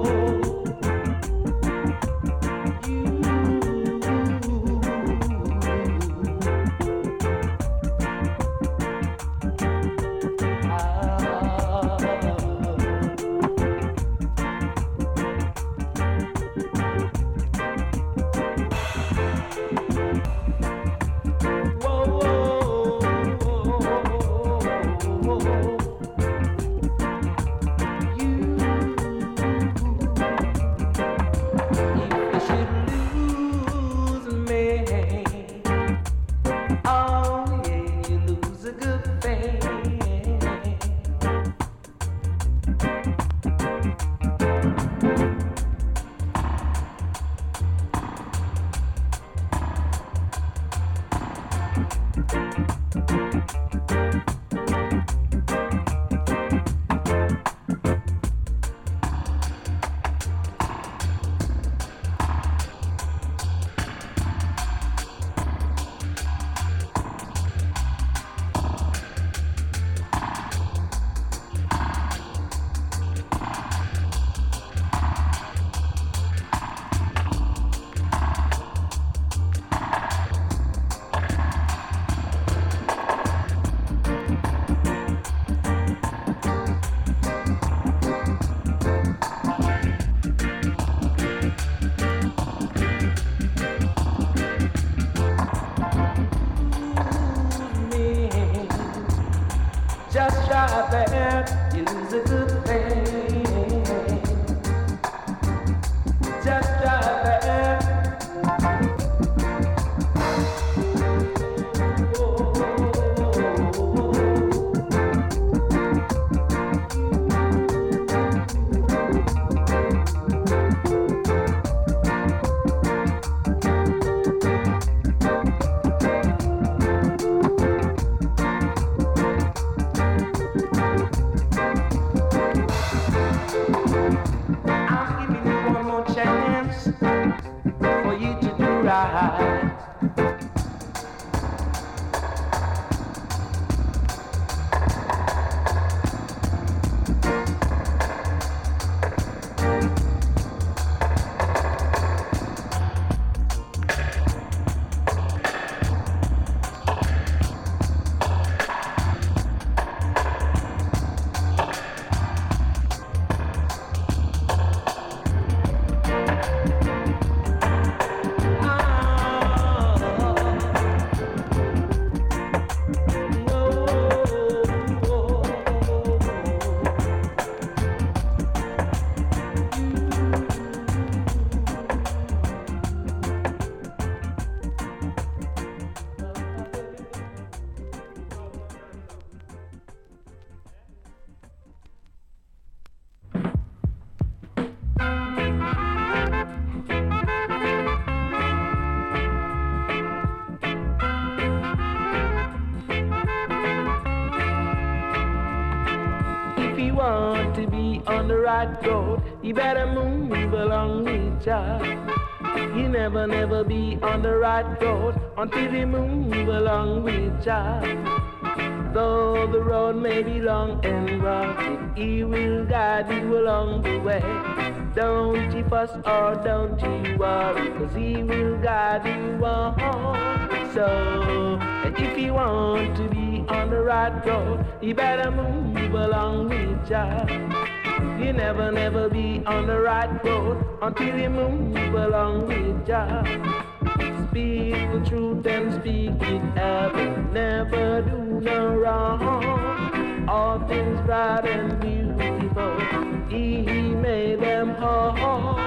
want to be on the right road, you better move along with ya. You never, never be on the right road until you move along with Jah. Though the road may be long and rugged, He will guide you along the way. Don't you fuss or don't you worry, 'cause He will guide you on. So, if you want to be on the right road, you better move along with Jah. You never, never be on the right road until you move along with Jah. Speak the truth and speak it ever, never do no wrong. All things bright and beautiful, He made them all.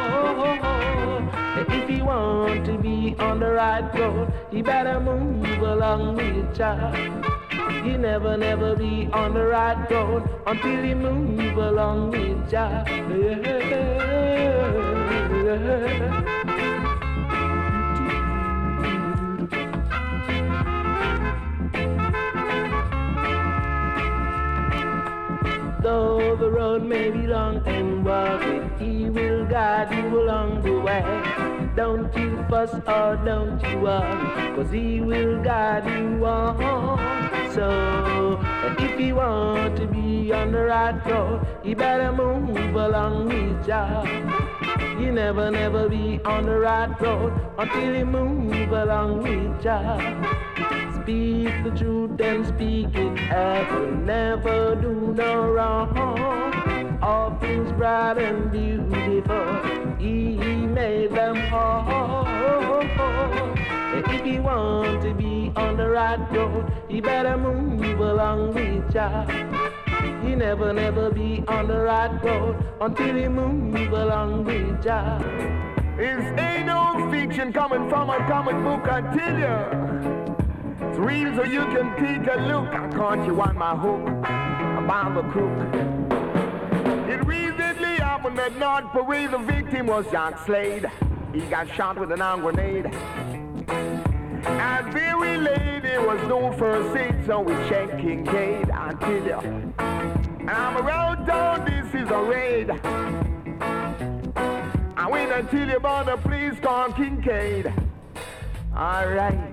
If you want to be on the right road, you better move along with Jah. You never, never be on the right road until you move along with Jah. Though the road may be long and rugged, He will guide you along the way. Don't you fuss or don't you worry, 'cause He will guide you on. So, if you want to be on the right road, you better move along with Jah. You never, never be on the right road until you move along with Jah. Speak the truth and speak it ever, never do no wrong. All things bright and beautiful, He made them all. If you want to be on the right road, you better move along with Jah. You never, never be on the right road until you move along with Jah. This ain't no fiction coming from a comic book, I tell you. It's real, so you can take a look. I caught you on my hook, about the crook. It recently happened at North Parade. The victim was Jack Slade. He got shot with an arm grenade. And very late, it was no first aid, so we checked Kincaid, I tell you. And I'm around town, this is a raid. I wait until you about a place called Kincaid. Alright.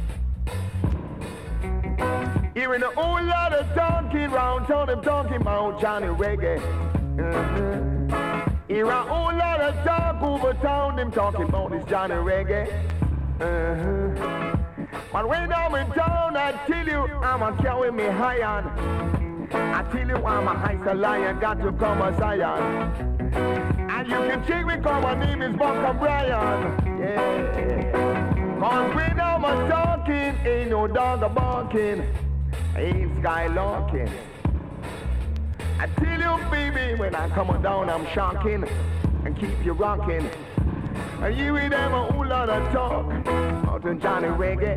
Hearing a whole lot of talking round town, them talking about Johnny Reggae. Uh-huh. Hear a whole lot of talk over town, them talking about this Johnny Reggae. Uh-huh. But when I'm in town, I tell you, I'm a carry me high on. I tell you, I'm a high lion, got to come a Zion. And you can check me, cause my name is Bunker Brian. Yeah. Cause when I'm a talking, ain't no dog a barking. Ain't skylarking. I tell you, baby, when I come down, I'm shocking and keep you rocking. And you with them a whole lot of talk about Johnny Reggae.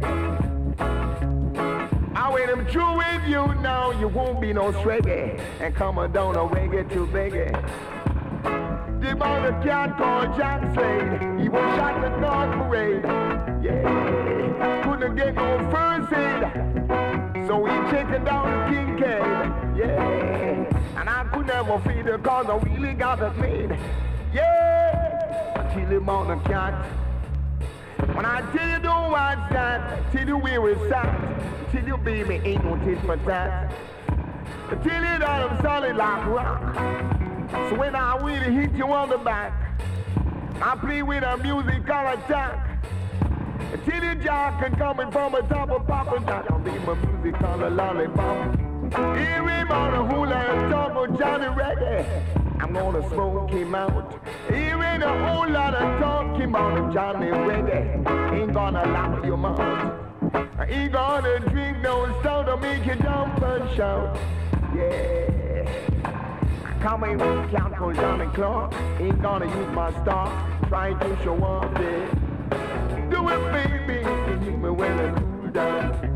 I when I'm through with you now, you won't be no reggae. And come down a reggae to reggae. The about a cat called Jack Slade. He was shot at North Parade. Yeah, couldn't get no first aid. So he taken down to Kincaid. Yeah, and I could never feed her cause I really got it made. Yeah, until him on the cat. When I tell you don't watch that, tell you where it's at, tell you baby ain't no tit for tat. Tell you that I'm solid like rock. So when I really hit you on the back, I play with a musical attack. Tell you Jack and coming from the top of Papa Jack, I'll be my musical lollipop. Here him on a hula and talk of Johnny Reggae. I'm gonna smoke him out. Here ain't a whole lot of talking about Johnny Reggae. Ain't gonna lock your mouth. Ain't gonna drink no stout to make you jump and shout. Yeah. Coming with Count for Johnny Clark. Ain't gonna use my star. Trying to show off it. Do it, baby. Keep me when I cool down.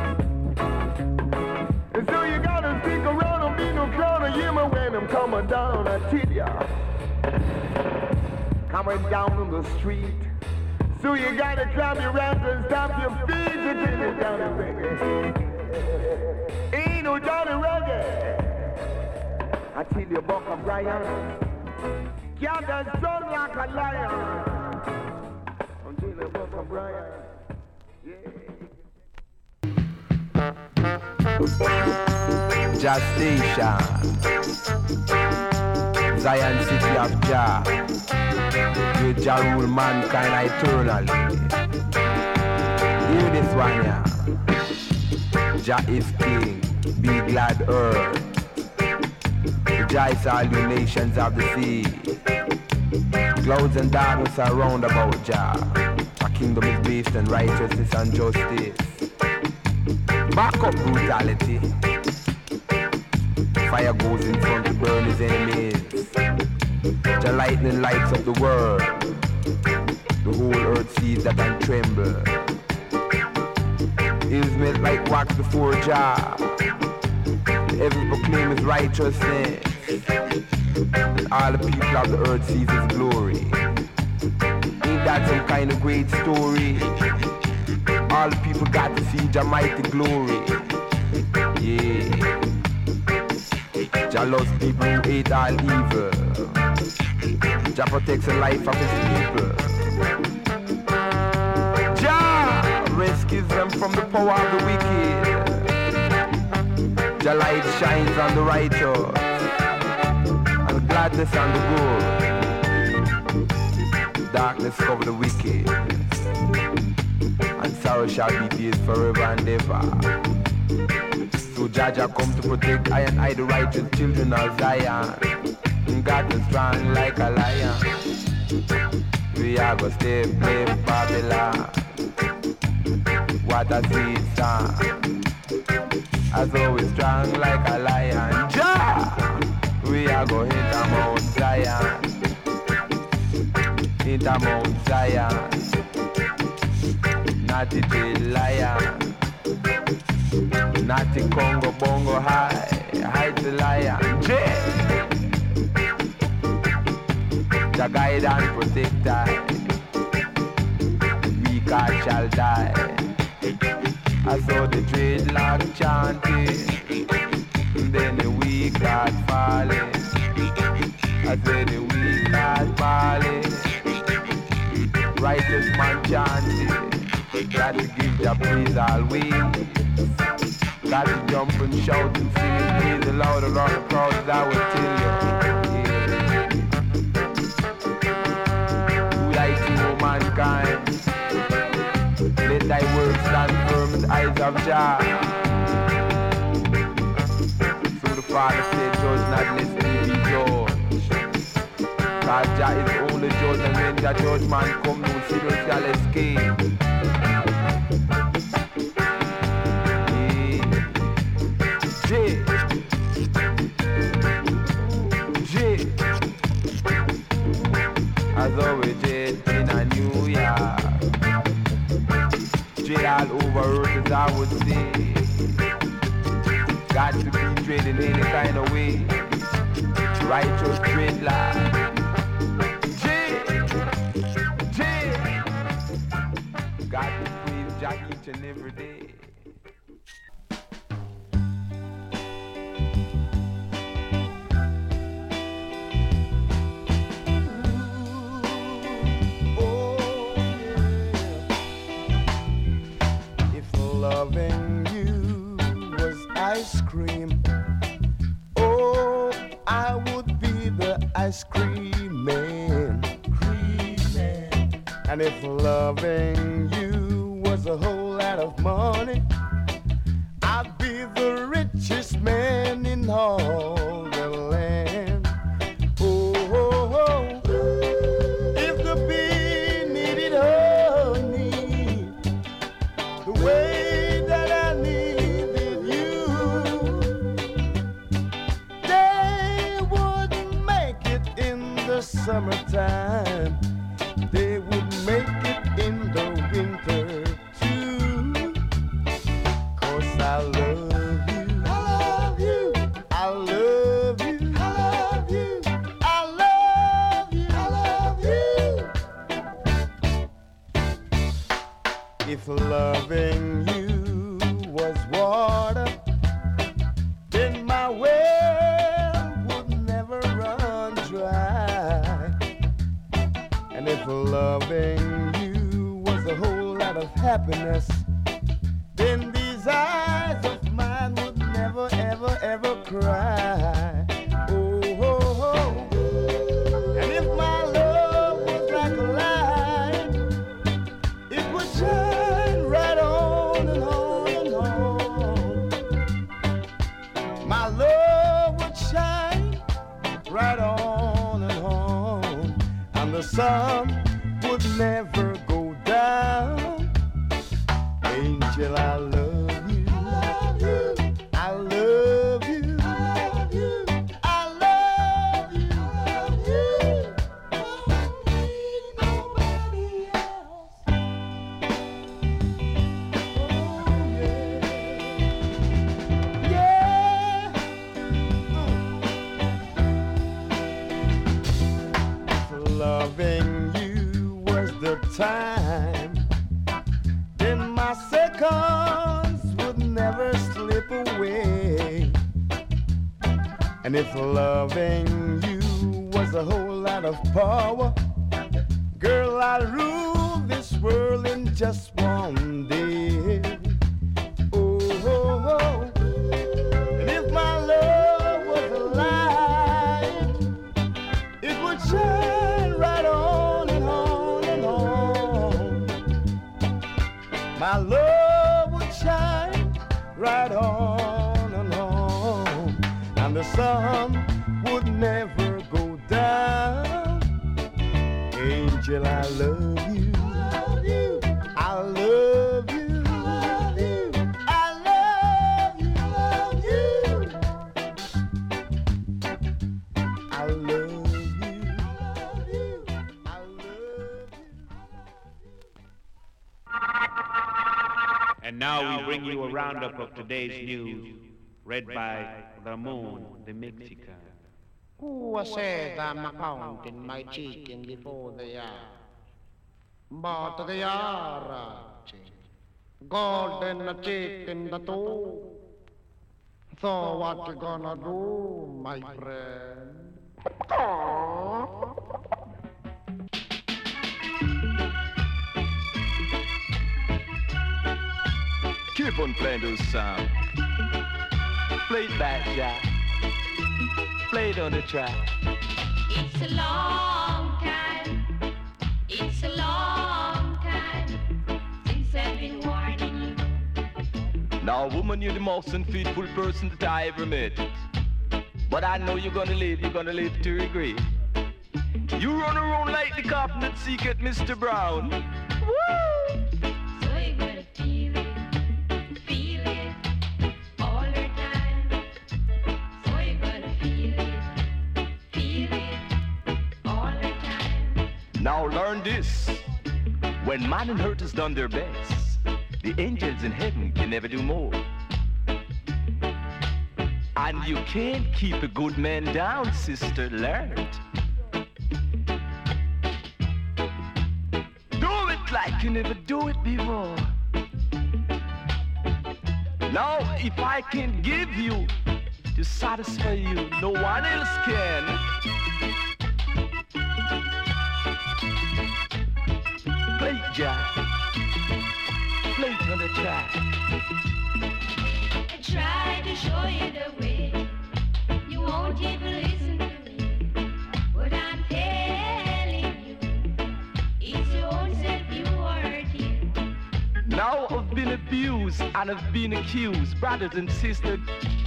And so you gotta stick around and be no clown and hear me when I'm coming down, I tell ya. Coming down on the street. So you gotta clap your hands and stamp your feet to get it down the reggae. Ain't no Johnny Reggae. I tell you about a Brian. Cat that strong like a lion. Brian. Justation, Zion City of Jah, where Jah rule mankind eternally. Hear this one, yeah. Jah is king, be glad earth. Rejoice all you nations of the sea. Clouds and darkness are round about Jah. A kingdom is based on righteousness and justice. Back up brutality. Fire goes in front to burn his enemies. The lightning lights up the world. The whole earth sees that and tremble. Hills melt like wax before Jah. The heavens proclaim his righteousness. And all the people of the earth sees his glory. Ain't that some kind of great story? All the people got to see Jah mighty glory. Yeah. Jah loves people who hate all evil. Jah protects the life of his people. Jah rescues them from the power of the wicked. Jah light shines on the righteous, and gladness on the good. Darkness cover the wicked, and sorrow shall be days forever and ever. So Jah Jah come to protect I and I, the righteous children of Zion. And God is strong like a lion. We are gonna stay play Babylon. What a sweet song. As always strong like a lion. Jah! We are gonna hit a Mount Zion. Hit a Mount Zion. Not the dead lion. Not the Congo Bongo high. Hide the lion. Jah! Jah guide and protect I. We God shall die. I saw the dreadlock chanting, then the weak God falling. I said the weak God falling. Righteous man chanting, got to give Jah praise always. Got to jump and shout and sing and praise the Lord around the crowd, I will tell you. Yeah. Who like you, O mankind? Let thy word stand firm in the eyes of Jah. So the Father said, judge not lest ye be judged. God Jah is the only judge, and when the judgment come, no sinner shall escape. As always, Jade in a New York. Jade all over earth, as I would say. Got to be dreaded in any kind of way. Righteous dreadlock. Jade, Jade. Got to praise Jah each and every day. Loving you was ice cream. Oh, I would be the ice cream man. Cream man. And if loving you was a whole lot of money, I'd be the richest man in all the land. Oh, oh, oh. If the bee needed honey, the way summertime, they would make it in the winter too. 'Cause I love you, I love you, I love you, I love you, I love you, I love you. If loving you was water, then my well would never run dry. And if loving you was a whole happiness, then these eyes of mine would never, ever, ever cry. Oh, oh, oh. And if my love was like a light, it would shine right on and on and on. My love would shine right on and on, and the sun would never go down. Angel, I love you. I love you. I love you. Nobody else. Oh, yeah. Yeah. Loving you was the time, then my seconds would never slip away. And if loving you was a whole lot of power, girl, I'd rule this world in just one day. Oh, oh, oh. And if my love was alive, it would shine right on and on and on. My love would shine right on and on, and the sun would never go down. Angel, I love you. I love you. I love you. I love you. And now we bring you a roundup of today's news, read by Ramon the Mexican. Who said I'm counting my chicken before they are? But they are golden chicken the two. So what you gonna do, my friend? Keep on playing those sounds. Play it back, Jack. Play it on the track. It's a long time. It's a long time since I've been warning you. Now, woman, you're the most unfaithful person that I ever met. But I know you're gonna live, you're gonna live to regret. You run around like the cop that seek at Mister Brown. Woo! So you're gonna feel it, feel it all the time. So you're gonna feel it, feel it all the time. Now learn this. When man and earth has done their best, the angels in heaven can never do more. And you can't keep a good man down, sister, learn it. Do it like you never do it before. Now, if I can give you to satisfy you, no one else can. Play Jack, play it on the track. I try to show you the way. You won't even listen to me. What I'm telling you, it's your own self you are hurting. Now I've been abused and I've been accused, brothers and sisters.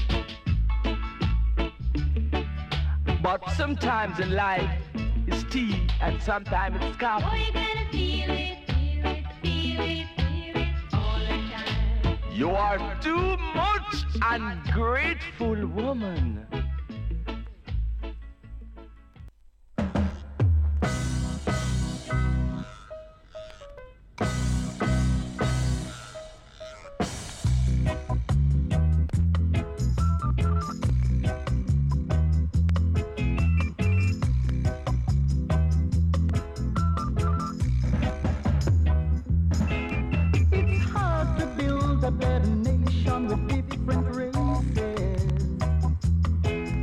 But sometimes in life it's tea and sometimes it's coffee. Oh, you're gonna feel it, feel it, feel it, feel it all the time. You are too much ungrateful woman. It's hard to build a better nation with different races.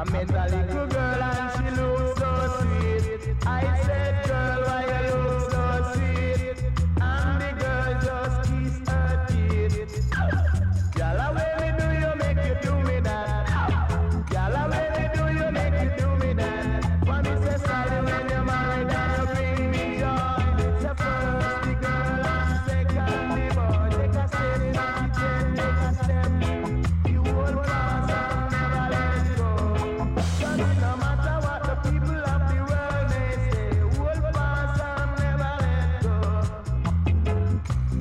I met a little girl and she looked so sweet. I said, girl, why you look so sweet? And the girl just kissed her teeth. Girl, how when me do you make you do me that? Girl, how when me do you make you do me that? For me say sorry when you're married and you bring me joy. Say first the girl and second the boy. Take a step, not the take a step. You hold fast and never let go. Cause it no matter what the people of the world may say, hold fast and never let go.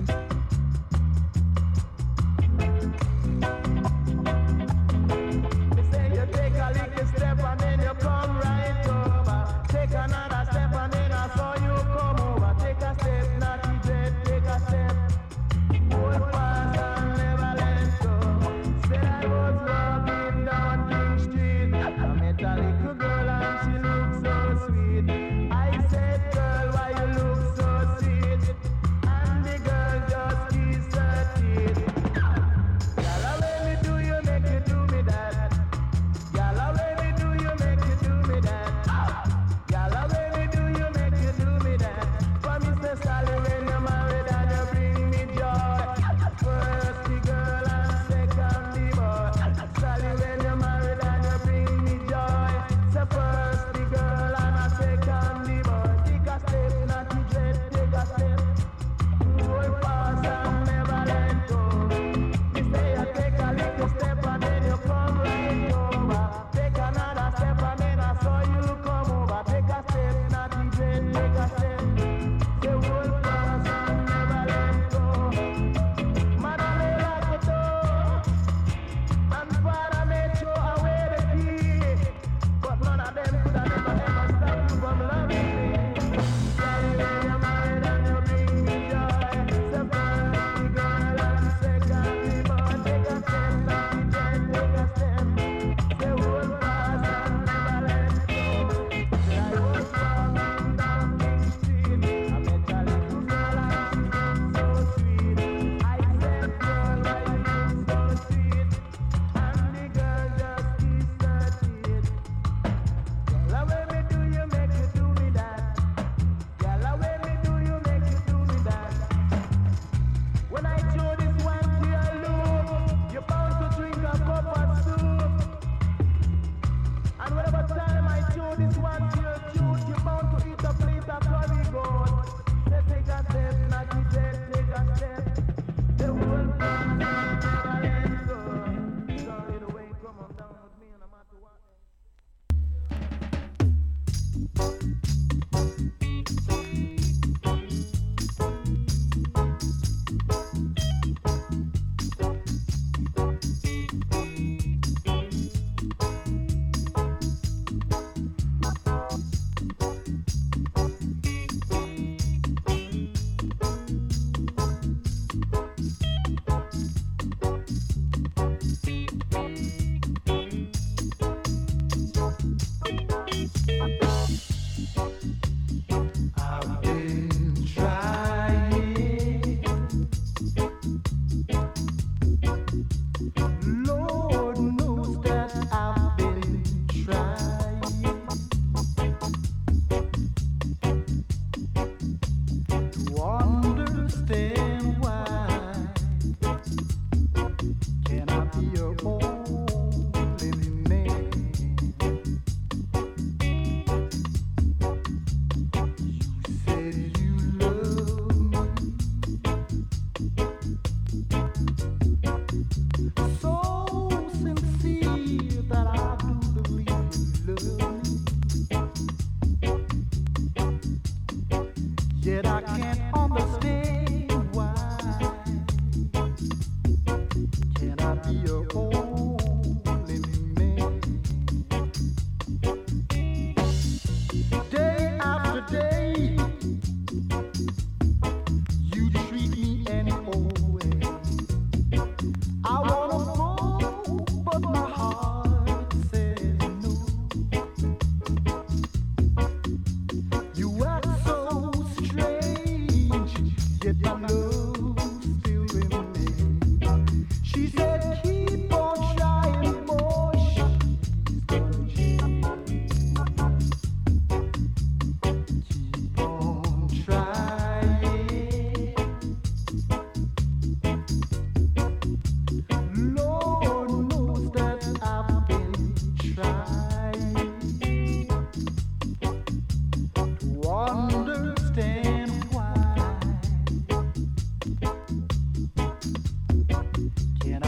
They say you take a little step and then you come right over. Take another step and then I saw you come over. Take a step, not the dread, take a step. Hold fast and never let go. Said I was walking down King Street. I met a little girl and she looked so sweet. I said, girl, why you look so sweet? And the girl just kissed her teeth. Girl, how when me do you make you do me that? Girl, how when me do you make you do me that? Girl, how when me do you make you do me that? For Mister Sally, when you're married and you bring me joy. First the girl and second the boy. Sally, when you're married and you bring me joy. So first the girl and a second the boy. Take a step, not the dread, take a step. Hold fast and never let go. You say you take a little step and then you come right over. Take another step and then I saw you come over. Take a step, not the dread, take a step. Say hold fast and never let go. Madam, they like it though. And Father made sure I wear the key. But none of them could have ever ever stop you from loving me. Sorry when you're married and you bring me joy. Say first the girl and second the boy. Take a step, not the dread, take a step. Say hold fast and never let go. Say I was walking down King Street. I met a little girl and she looked so sweet. I said, girl, why you look so sweet? And the girl just kissed her teeth. Girl, how when me do you make you do me that? Girl, how when me do you make you do me that? When I show this one to your look, you're bound to drink a cup of soup. And whenever time I show this one to your tooth, you're bound to eat a plate of curry goat. Say take a step, not the dread, take a step. Say hold fast and never let go. Sorry the way, come on down with me no matter what.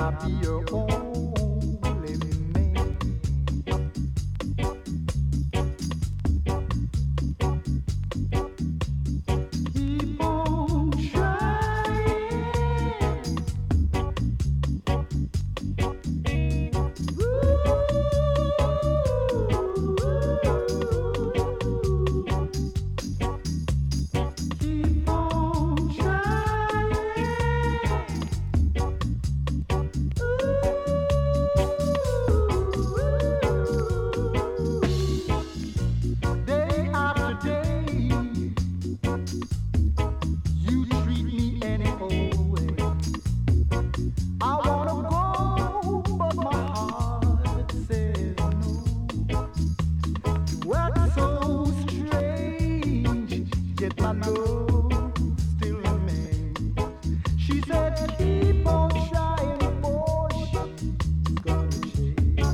I'll be your only man. Keep on trying. Keep on Day after day, you treat me any old way. I wanna go, but my heart says no. You act so strange, yet my love still remains. She said, keep on trying, boy, she's gonna change.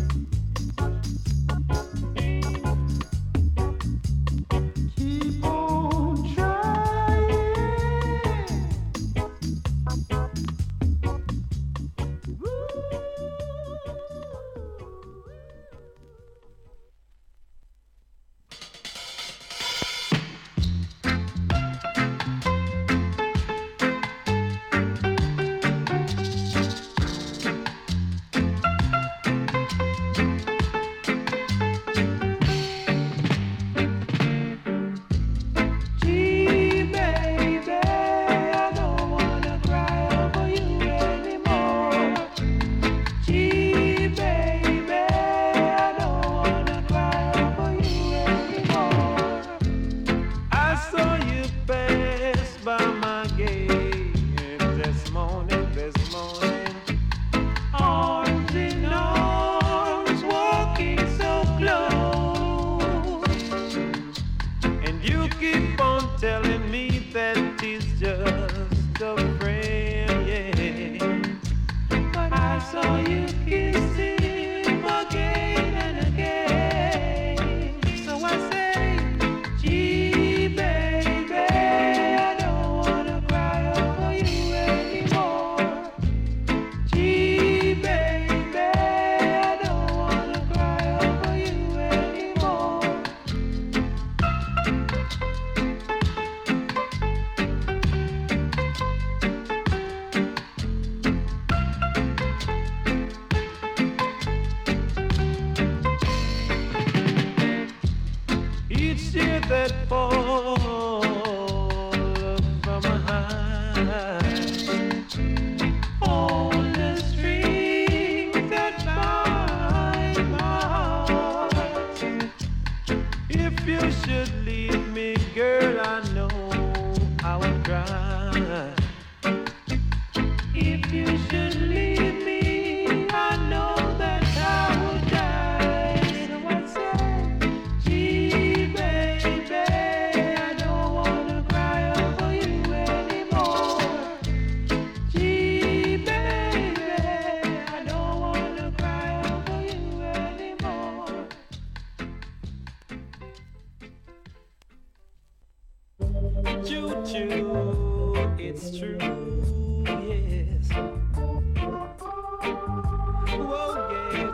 Keep on trying. Gee, baby, I don't wanna cry over you anymore. Gee, baby, I don't wanna cry over you anymore. I saw you pass by my gate this morning, this morning. Arms in arms, walking so close. And you keep on telling me that it's just a friend, yeah. But I saw you kissing him again and again. So I say, gee, baby, I don't wanna cry over you anymore. Gee, baby, I don't wanna cry over you anymore. Each tear that falls from my eyes on the string that binds my heart. If you should leave me, girl, I know I would cry. If you should leave me, I know that I would die. So I say, gee, baby, I don't wanna cry over you anymore. Gee, baby, I don't wanna cry over you anymore. Choo-choo, it's true, yes. Whoa, yeah,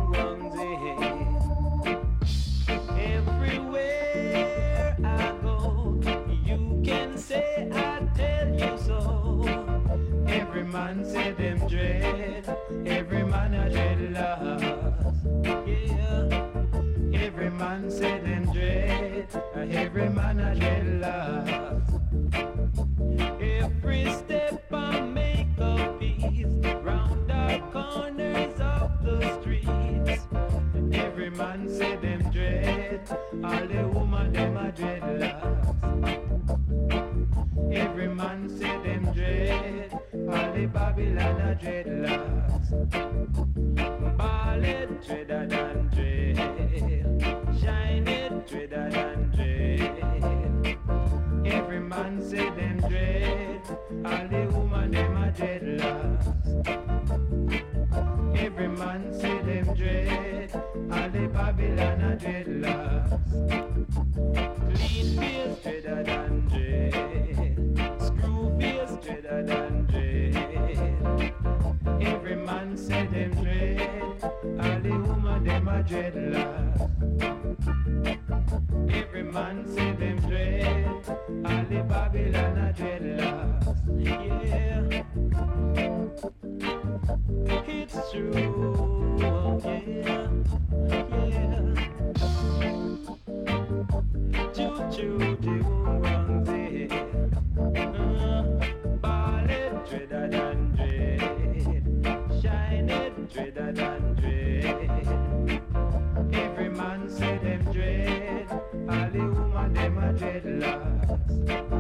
everywhere I go, you can say I tell you so. Every man say them dread, every man a dread loss. Yeah, every man say them dread, every man a dread loss. Every step I make a piece round the corners of the streets. Every man say them dread, all the woman them a dread locks. Every man say them dread, all the Babylon a dread locks. Ballet dreader than dread, shine it dreader than dread. Every man say them dread, all the woman them a dread locks. Every man say them dread, all the Babylon a dreadlocks. Clean face dreader than dread, screw face dreader than dread. Every man Babylon a dreadlocks. Yeah, it's true. Yeah, yeah. Choo choo the ones here. Ball it dreader than dread. Shine it dreader than dread. Every man say them dread. All the woman them a dreadlocks.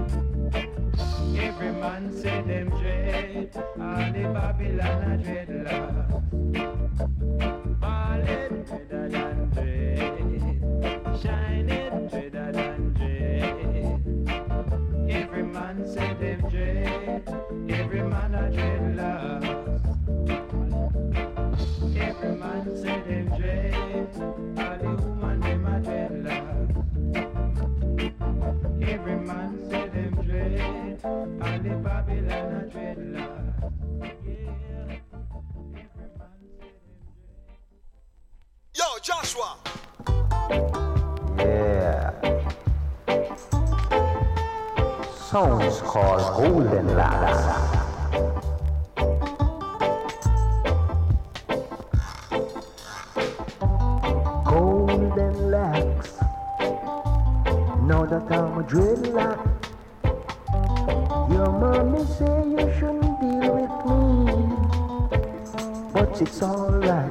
Every man say them dread. All the Babylon a dreadlocks. Ball it dreader than dread. Shine it dreader than dread. Every man say them dread. Every man a dreadlocks. Every man say them dread. All the woman them a dreadlocks. Every man say them dread. All the Babylon a dreadlocks. Yo, Joshua. Yeah. Song is called Golden Locks. Golden Locks. Now that I'm a dreadlock, your mommy say you shouldn't deal with me, but it's alright.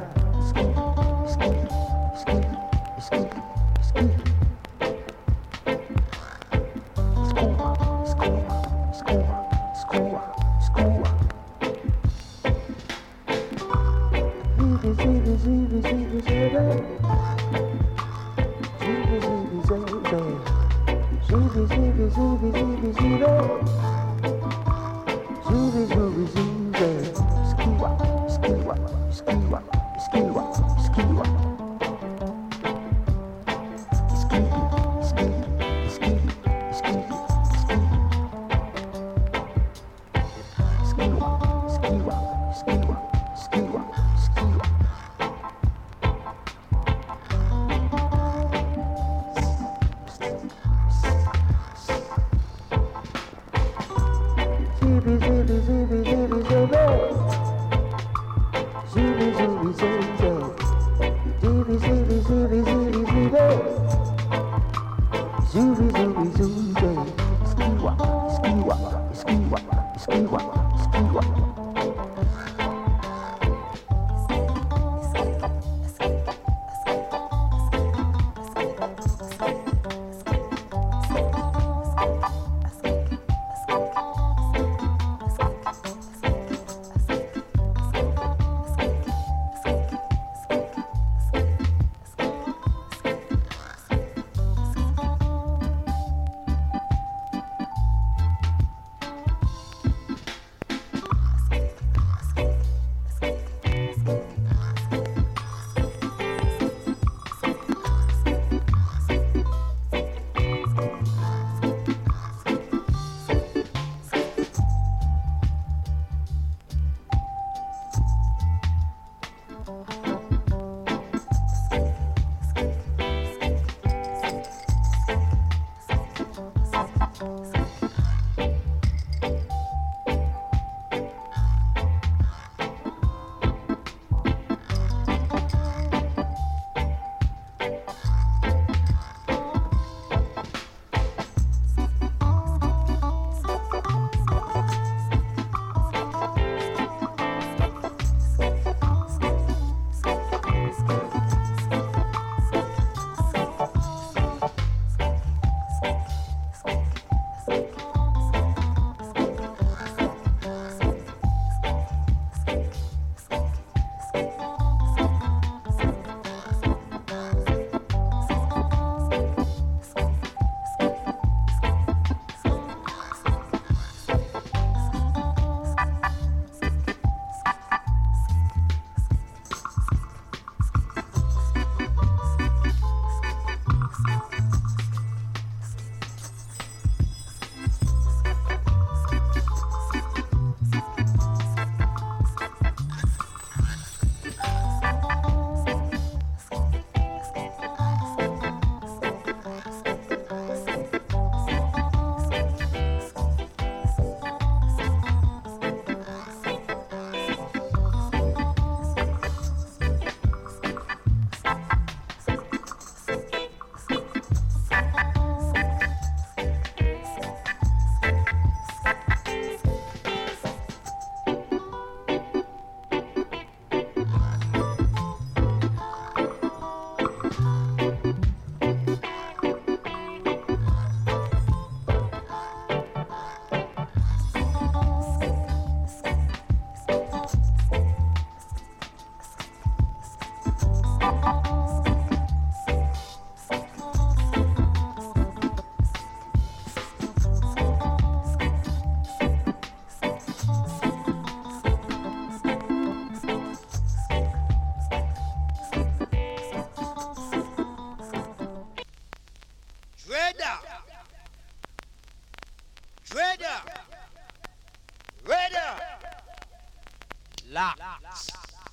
Locks.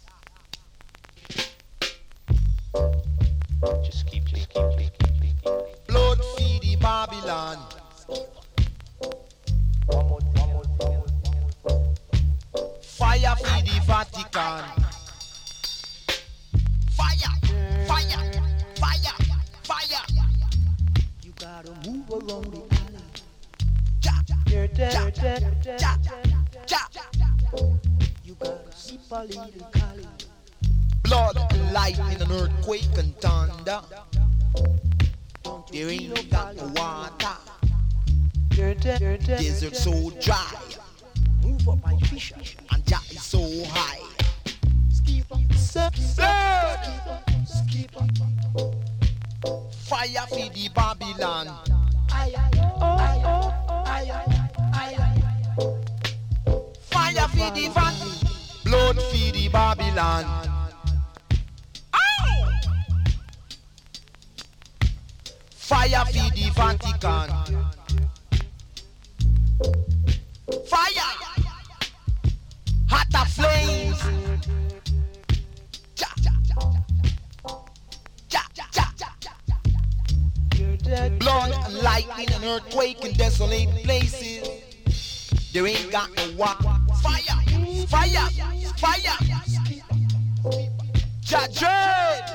Just keep, just keep, keep, keep, keep, keep. Blood feed the Babylon. Fire feed the Vatican. Fire, fire, fire, fire. You gotta move around the alley. Ja, ja, ja, ja, ja, ja. You gotta sip a little Cali. Blood, lightning, and earthquake and thunder. There ain't got no water. Desert so dry. Move up my fish. And Jah is so high. Skip up, skip, blood. Skip up. Fire for the Babylon. Aye, aye, oh, aye, oh, aye, aye, aye. Fire for the Vatican. Blood for the Babylon. Fire for the Vatican. Fire! Hotter flames! Ja, ja, ja, ja, ja, ja. Blood and lightning and earthquake in desolate places. There ain't got no water. Fire! Fire! Fire! Ja dread!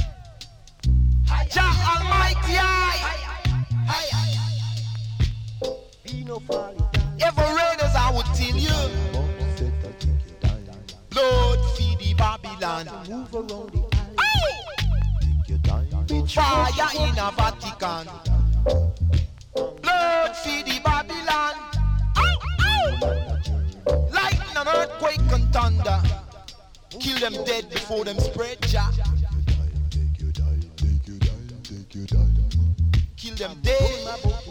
Ja Almighty Eye! Ever raiders, I would tell you. Blood feed the Babylon. Move around the alley. Fire in a Vatican. Blood feed the Babylon. Lightning and earthquake and thunder. Kill them dead before them spread, Jah. Kill them dead.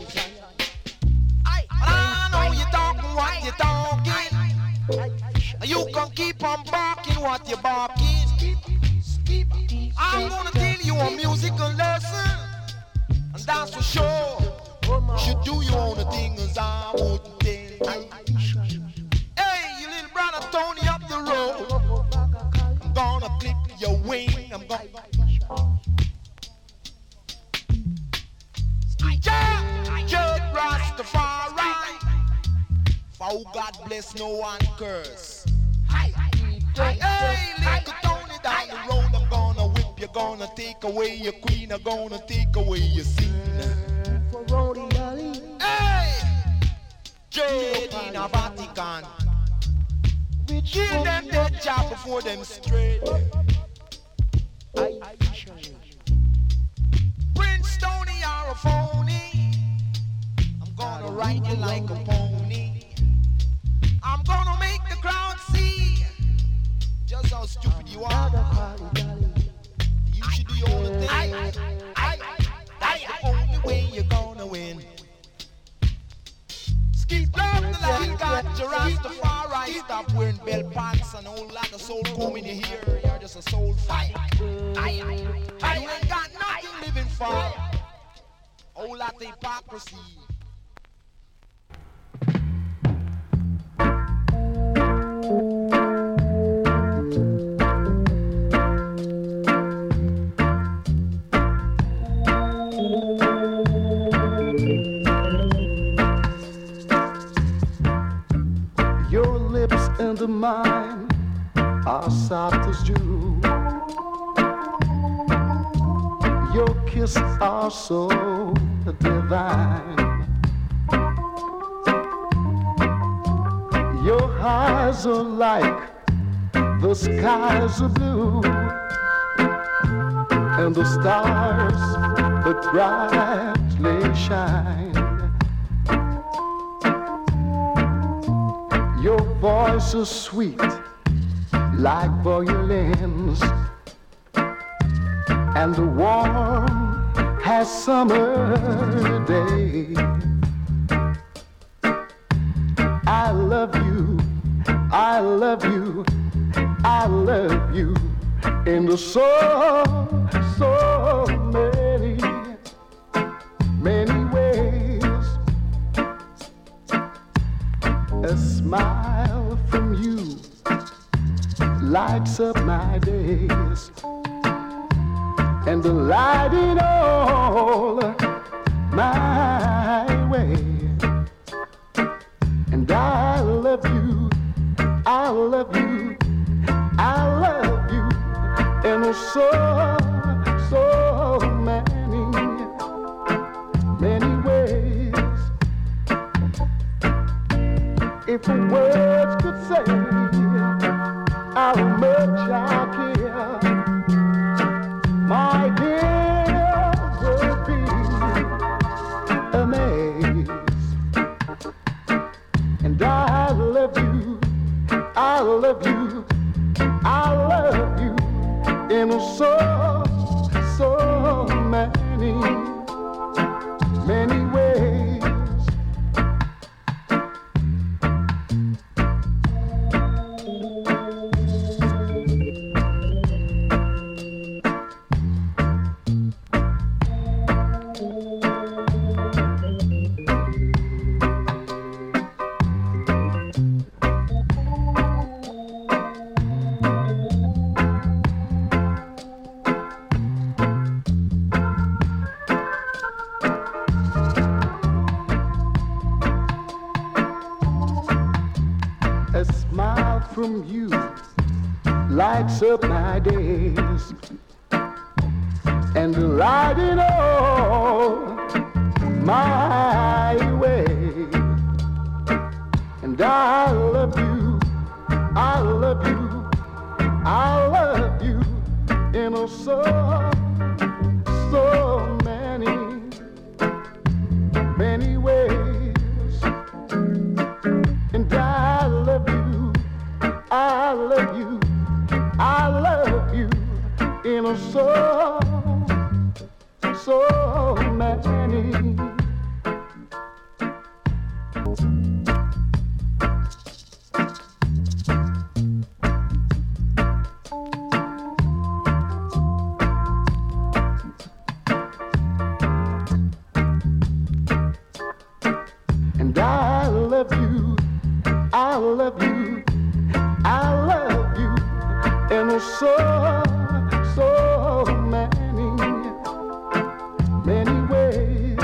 I know you talking what you talking. You can keep on barking what you barking. I'm gonna tell you a musical lesson, and that's for sure. You should do your own thing as I would tell you. Hey, you little brother Tony up the road. I'm gonna clip your wing. I'm gonna. Judge Rastafari. For God bless no one curse. Hey, little Tony down the road, I'm gonna whip you, gonna take away your queen, I'm gonna take away your scene. Hey, Jade in a Vatican. Kill them dead job before them straight. Prince Tony are a phony. I'm gonna ride you like a pony. I'm gonna make the crowd see just how stupid you are. You should do your own thing. That's the only way you're gonna win. Skip love the line, got your Rastafari. Stop wearing bell pants and a whole lot of soul comb in your hair. You're just a soul fight. You ain't got nothing living for. A whole lot of hypocrisy. Your lips and mine are soft as dew. Your kiss are so divine. Your eyes are like the skies are blue, and the stars that brightly shine. Your voice is sweet like violins, and the warm has summer day. I love you, I love you, I love you in so, so many, many ways. A smile from you lights up my days and the lighting all my way. And I love you, I love you, I love you in so, so many, many ways. If the words could say how much I care, my dear, would be amazed. And I love you, I love you, I love you in so, so many, many ways. A smile from you lights up my days and lighting all my way. And I love you, I love you, I love you in oh so, so many, many ways. And I love you, I love you, I love you in a so, so many. And I love you, I love you, I love you in so, so many, many ways.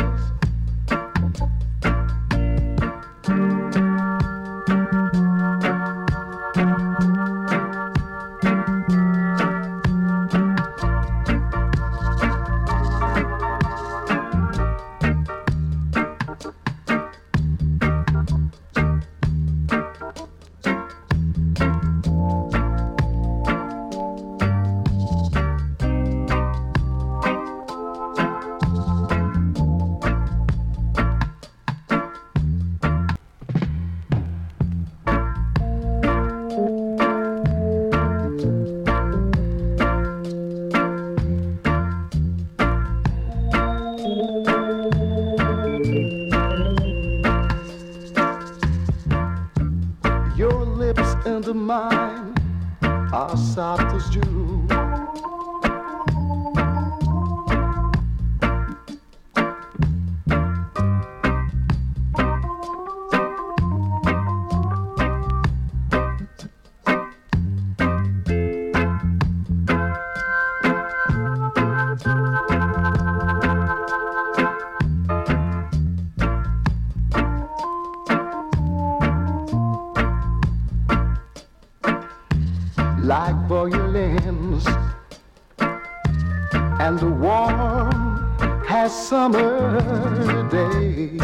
Your lips and mine are soft as dew. Like violins and the warm has summer day.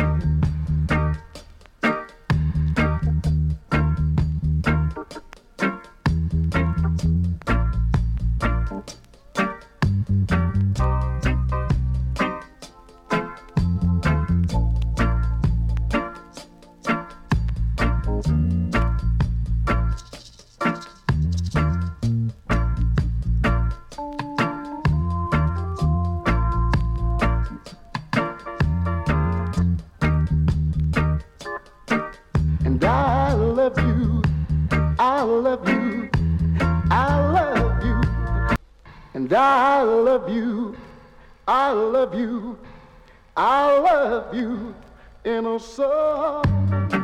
And I love you, I love you, I love you. And I love you, I love you, I love you in a song.